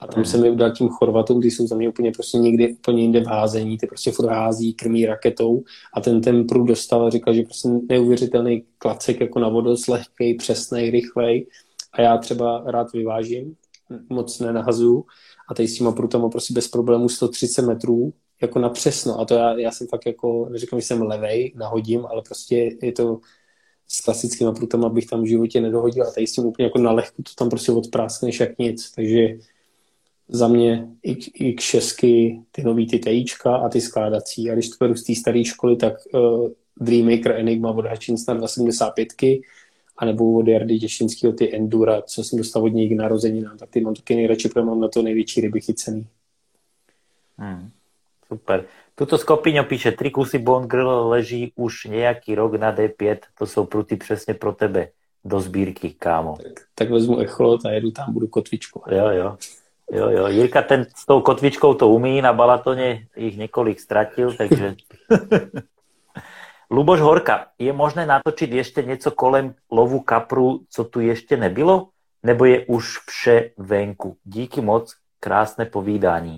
A tam mm. jsem je udal tím Chorvatům, ty jsou za mě úplně prostě někde úplně jinde v házení, ty prostě furt hází, krmí raketou a ten ten průd dostal a říkal, že prostě neuvěřitelný klacek jako na vodost, lehkej, přesnej, rychlej a já třeba rád vyvážím, moc nenahazuju a tady s těma prutama prostě bez problémů sto třicet metrů jako na přesno a to já, já jsem fakt jako, neříkám, že jsem levej, nahodím, ale prostě je to s klasickýma prutama bych tam v životě nedohodil a tady s tím úplně jako na lehku to tam prostě odpráskneš jak nic, takže za mě X šest, ty nový ty TIčka a ty skládací. A když to beru z té staré školy, tak uh, Dreammaker Enigma od Hutchinsona dva sedmdesát pět anebo od Jardy Těšinského ty Endura, co jsem dostal od něj k narozeninám, tak ty mám taky nejradši, protože mám na to největší ryby chycený. Hmm, super. Tuto Skopíňo píše, tri kusy Bone Grill leží už nejaký rok na dé pět, to jsou pruty přesně pro tebe do sbírky, kámo. Tak, tak vezmu echolot a jedu tam, budu kotvičkovat. Jo, jo. Jo, jo. Jirka ten s tou kotvičkou to umí, na Balatone ich niekoľko stratil, takže... Luboš Horka, je možné natočiť ešte niečo kolem lovu kapru, co tu ešte nebylo? Nebo je už vše venku? Díky moc, krásne povídání.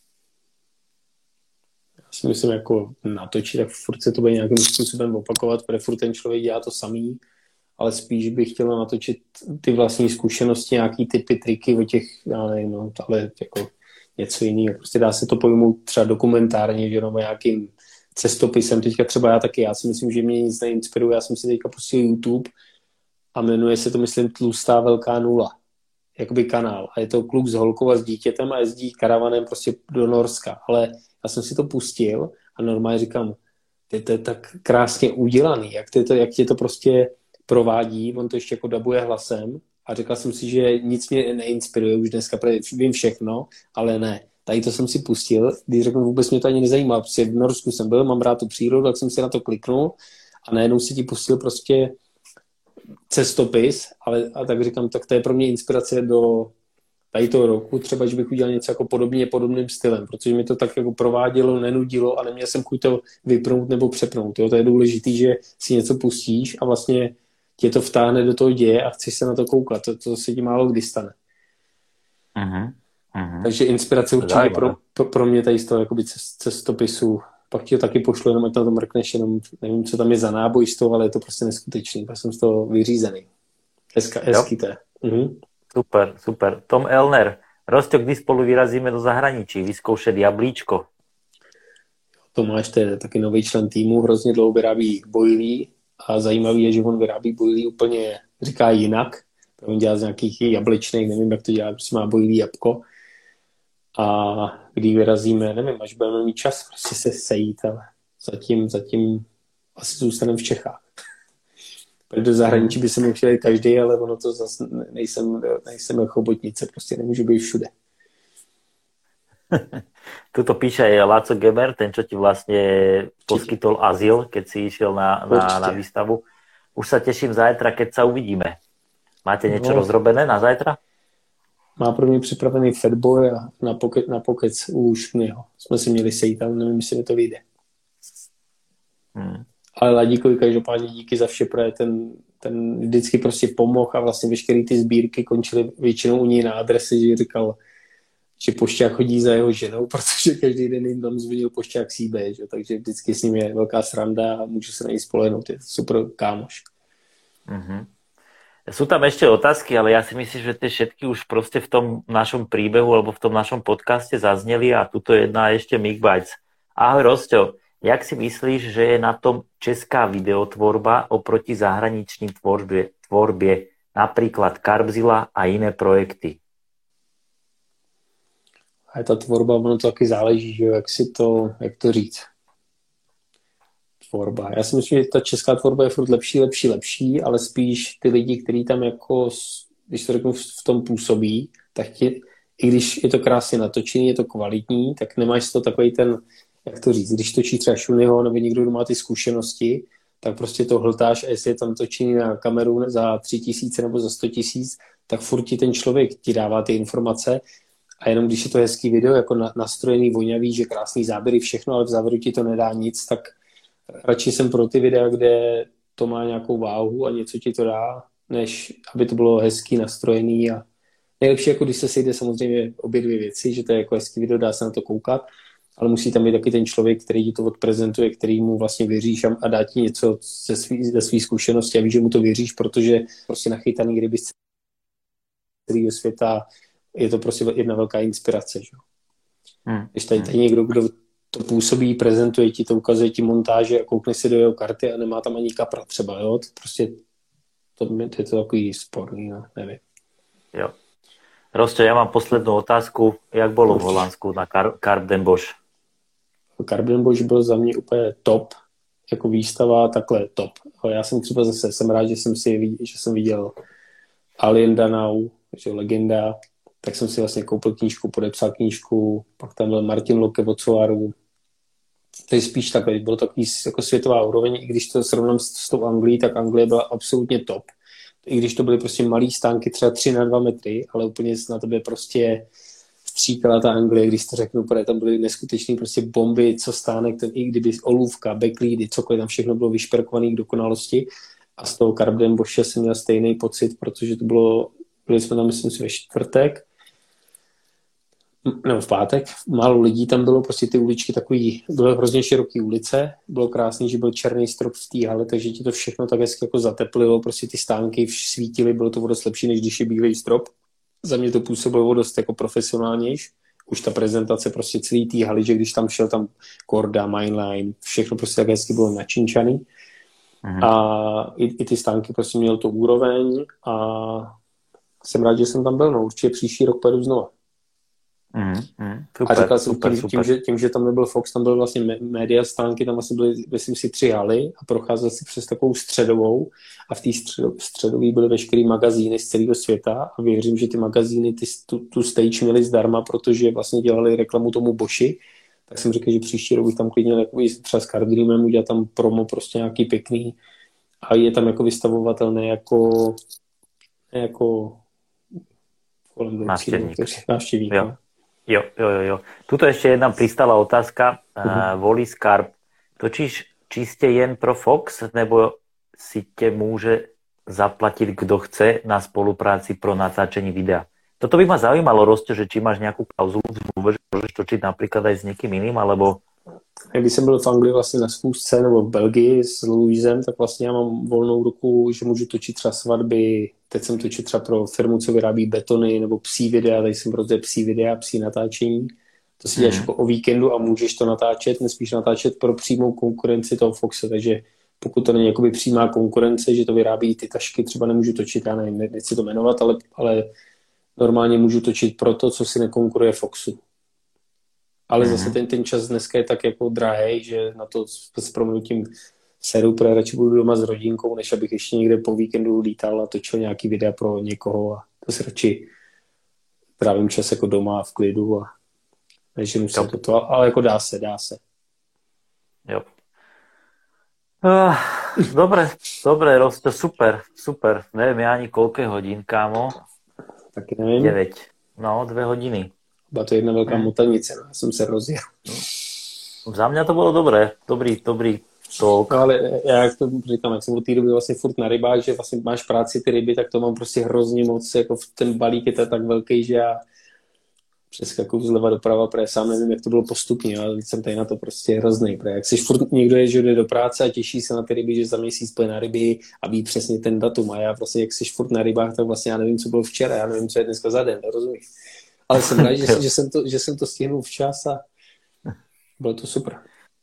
Já si myslím, jako natočit, tak furt se to bude nějakým způsobem opakovat, protože furt ten člověk dělá to samý, ale spíš bych chtěla natočit ty vlastní zkušenosti, nějaký typy, triky o těch, já nevím, no, ale jako něco jiného. Prostě dá se to pojmout třeba dokumentárně, že jenom nějakým cestopisem. Teďka třeba já taky, já si myslím, že mě nic neinspiruje. Já jsem si teďka pustil YouTube a jmenuje se to, myslím, Tlustá velká nula. Jakoby kanál. A je to kluk s holkou a s dítětem a jezdí karavanem prostě do Norska. Ale já jsem si to pustil a normálně říkám, to je tak krásně udělaný, jak, to, jak tě to prostě provádí, on to ještě jako dabuje hlasem a řekla jsem si, že nic mě neinspiruje už dneska, protože vím všechno, ale ne. Tady to jsem si pustil, když řeknu, vůbec mě to ani nezajímá, protože v Norsku jsem byl, mám rád tu přírodu, tak jsem si na to kliknul a najednou si ti pustil prostě cestopis, ale a tak říkám, tak to je pro mě inspirace do tady toho roku, třeba, že bych udělal něco jako podobně, podobným stylem, protože mi to tak jako provádělo, nenudilo a neměl jsem chuť to vypnout nebo přepnout. Jo? To je důležitý, že si něco pustíš a vlastně tě to vtáhne do toho děje a chceš se na to koukat. To, to se ti málo kdy stane. Uh-huh. Uh-huh. Takže inspirace určitě pro, pro, pro mě tady z toho jakoby cestopisu. Pak ti to taky pošlu, jenom ať na to mrkneš, jenom nevím, co tam je za náboj z toho, ale je to prostě neskutečný, protože jsem z toho vyřízený. Hezka, hezký to je. Uh-huh. Super, super. Tom Elner, Rosťo, kdy spolu vyrazíme do zahraničí, vyzkoušet jablíčko? Tomáš, to je taky nový člen týmu, hrozně dlouho vyrábí bojlí a zajímavý je, že on vyrábí bojlí úplně, říká jinak. On dělá z nějakých jablečných, nevím, jak to dělá, prostě má bojlí jabko. A když vyrazíme, nevím, až budeme mít čas prostě se sejít, ale zatím, zatím asi zůstaneme v Čechách. Do zahraničí by se mi přijeli každý, ale ono to zase nejsem, nejsem jako chobotnice, prostě nemůžu být všude. Tuto píše aj Láco Geber, ten, čo ti vlastne poskytol azyl, keď si išiel na, na, na výstavu. Už sa teším zajtra, keď sa uvidíme. Máte niečo no. rozrobené na zajtra? Má pro mě připravený fatboy a na, poke, na pokec u Šknyho. Jsme si měli sejít, ale nevím, jestli mi to vyjde. Hmm. Ale Ladíkovi každopádně díky za vše, protože ten, ten vždycky prostě pomohl a vlastně veškeré ty sbírky končily většinou u něj na adrese, že říkal, že pošťák chodí za jeho ženou, protože každý den jim tam zvonil pošťák C B, že? Takže vždycky s ním je velká sranda a můžu se na něj spolehnout, je super kámoš. Mm-hmm. Sú tam ešte otázky, ale ja si myslím, že tie všetky už proste v tom našom príbehu alebo v tom našom podcaste zazneli a tuto jedna ešte Migbajc. Ahoj Rosťo, jak si myslíš, že je na tom česká videotvorba oproti zahraničným tvorbie, tvorbie napríklad Karbzilla a iné projekty? A ta tvorba, ono to taky záleží, že jak si to, jak to říct. Tvorba. Já si myslím, že ta česká tvorba je furt lepší, lepší, lepší, ale spíš ty lidi, kteří tam jako, když to řeknu, v tom působí, tak ti, i když je to krásně natočený, je to kvalitní, tak nemáš z toho takový ten, jak to říct, když točí třeba Šunyho nebo někdo, kdo má ty zkušenosti, tak prostě to hltáš a jestli je tam točený na kameru za tři tisíce nebo za sto tisíc, tak furt ti ten člověk ti dává ty informace a jenom když je to hezký video, jako na, nastrojený, vonavý, že krásný záběry, všechno, ale v závěru ti to nedá nic, tak radši jsem pro ty videa, kde to má nějakou váhu a něco ti to dá, než aby to bylo hezký, nastrojený a Nejlepší, jako když se sejde samozřejmě obě dvě věci, že to je jako hezký video, dá se na to koukat, ale musí tam být taky ten člověk, který ti to odprezentuje, který mu vlastně věříš a, a dá ti něco ze svý, ze svý zkušenosti a víš, že mu to věříš, protože prostě nachytaný ryby z celého světa je to prostě jedna velká inspirace. Že? Hmm. Když tady, tady někdo, kdo to působí, prezentuje ti to, ukazuje ti montáže a koukne si do jeho karty a nemá tam ani kapra třeba, jo? To prostě to, to je to takový sporný, no, nevím. Jo. Rostě, já mám poslední otázku. Jak bylo v Holandsku na Kar- Carp den Bosch? Carp den Bosch byl za mě úplně top, jako výstava takhle top. Já jsem třeba zase, jsem rád, že jsem si že jsem viděl Alien Danau, že legenda, tak jsem si vlastně koupil knížku, podepsal knížku, pak tam byl Martin Locke od Soaru. To je spíš takhle, bylo takový jako světová úroveň, i když to srovnám s, s tou Anglií, tak Anglie byla absolutně top. I když to byly prostě malý stánky, třeba tři na dva metry, ale úplně na tebe prostě stříkala ta Anglie, když to řeknu, protože tam byly neskutečné prostě bomby, co stánek, ten, i kdyby olůvka, backlídy, cokoliv, tam všechno bylo vyšperkované k dokonalosti. A z toho Carp den Bosche jsem měl stejný pocit, protože to bylo, byli jsme tam, myslím si, ve čtvrtek, nebo v pátek, málo lidí tam bylo, prostě ty uličky takový, byly hrozně široký ulice, bylo krásný, že byl černý strop v té hale, takže ti to všechno tak hezky jako zateplilo, prostě ty stánky svítily, bylo to o dost lepší, než když je bílej strop. Za mě to působilo o dost jako profesionálnější. Už ta prezentace prostě celý té haly, že když tam šel tam Korda, Mainline, všechno prostě tak hezky bylo načinčaný. Aha. A i, i ty stánky prostě měl to úroveň a jsem rád, že jsem tam byl, no určitě příští rok pojedu znova. Mm, mm, super, a říkal jsem super, tím, super. Tím, že, tím, že tam nebyl Fox, tam byl vlastně média stánky, tam asi byly, myslím si, tři haly a procházel si přes takovou středovou a v té středo, středové byly veškeré magazíny z celého světa a věřím, že ty magazíny ty, tu, tu stage měli zdarma, protože vlastně dělali reklamu tomu Boši, tak jsem řekl, že příští rok bych tam klidně jako třeba s Card Dreamem udělat tam promo prostě nějaký pěkný a je tam jako vystavovatelné jako jako kolem návštěvník. návštěvník. Jo. Jo, jo, jo, jo. Tuto ešte jedna pristala otázka. Uh-huh. Uh, Volis Carp. Točíš čiste jen pro Fox, nebo si te môže zaplatiť, kto chce na spolupráci pro natáčení videa? Toto by ma zaujímalo, Rostě, že či máš nejakú klauzulu v zmluve, že môžeš točiť napríklad aj s niekým iným, alebo... Když jsem byl v Anglii vlastně na schůzce nebo v Belgii s Louisem, tak vlastně já mám volnou ruku, že můžu točit třeba svatby. Teď jsem točil třeba pro firmu, co vyrábí betony nebo psí videa, tady jsem prostě psí videa, psí natáčení. To si děláš mm. jako o víkendu a můžeš to natáčet, nesmíš natáčet pro přímou konkurenci toho Foxe, takže pokud to není jakoby přímá konkurence, že to vyrábí ty tašky, třeba nemůžu točit, já nevím, nechci to jmenovat, ale, ale normálně můžu točit pro to, co si nekonkuruje Foxu. Ale zase ten, ten čas dneska je tak jako drahej, že na to s proměnutím seru, protože radši budu doma s rodinkou, než abych ještě někde po víkendu lítal a točil nějaký videa pro někoho a to si radši trávím čas jako doma v klidu a neženu se toto, ale jako dá se, dá se. Jo. Uh, dobre, dobre, Rosto, super, super. Neviem ja ani koľké hodín, kámo. Taky nevím. devět. No, dvě hodiny. Byla to jedna velká mutanice, no. Já jsem se rozjel. Za mě to bylo dobré, dobrý, dobrý talk. No ale já jak to říkám, jak jsem od té doby vlastně furt na rybách, že vlastně máš práci ty ryby, tak to mám prostě hrozně moc, jako ten balík je tak velký, že já přeskakuju zleva doprava, protože sám nevím, jak to bylo postupně, ale jsem tady na to prostě hrozný, protože jak si furt někdo je, že jde do práce a těší se na ty ryby, že za měsíc půjde na ryby a ví přesně ten datum a já vlastně, jak jsi furt na rybách, tak vlastně já nevím, co bylo včera, já nevím, co je dneska za den, rozumíš? Ale jsem rád, že, že, jsem to, že jsem to stihnul včas a bylo to super.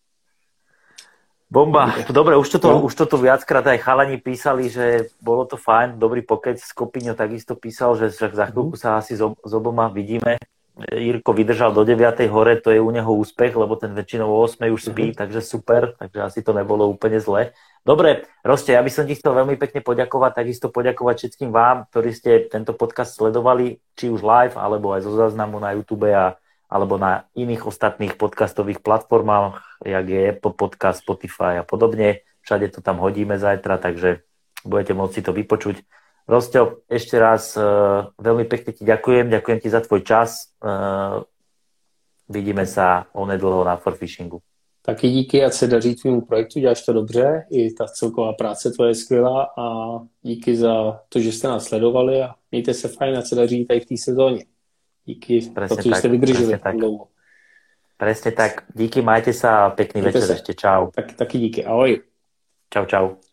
Bomba. Dobre, už toto, no. už toto viackrát aj chalani písali, že bolo to fajn, dobrý pokec. Skopinio takisto písal, že za chvíľku sa asi s oboma vidíme. Jirko vydržal do deviatej hore, to je u neho úspech, lebo ten väčšinou o ôsmej už spí, uh-huh. takže super, takže asi to nebolo úplne zle. Dobre, Roste, ja by som ti chcel veľmi pekne poďakovať, takisto poďakovať všetkým vám, ktorí ste tento podcast sledovali, či už live, alebo aj zo záznamu na YouTube a alebo na iných ostatných podcastových platformách, jak je Apple Podcast, Spotify a podobne. Všade to tam hodíme zajtra, takže budete môcť si to vypočuť. Rosťo, ešte raz uh, veľmi pekne ti ďakujem, ďakujem ti za tvoj čas. Uh, vidíme sa onedlho na Forfishingu. Taky díky, ať se daří tvýmu projektu, děláš to dobře, i ta celková práce tvoje je skvělá a díky za to, že jste nás sledovali a mějte se fajn, ať se daří tady v té sezóně. Díky presne za to, že jste vydrželi dlouho. Presne tak. Díky, majte sa a pekný Mějte večer se. ešte. Čau. Tak, taky díky. Ahoj. Čau, čau.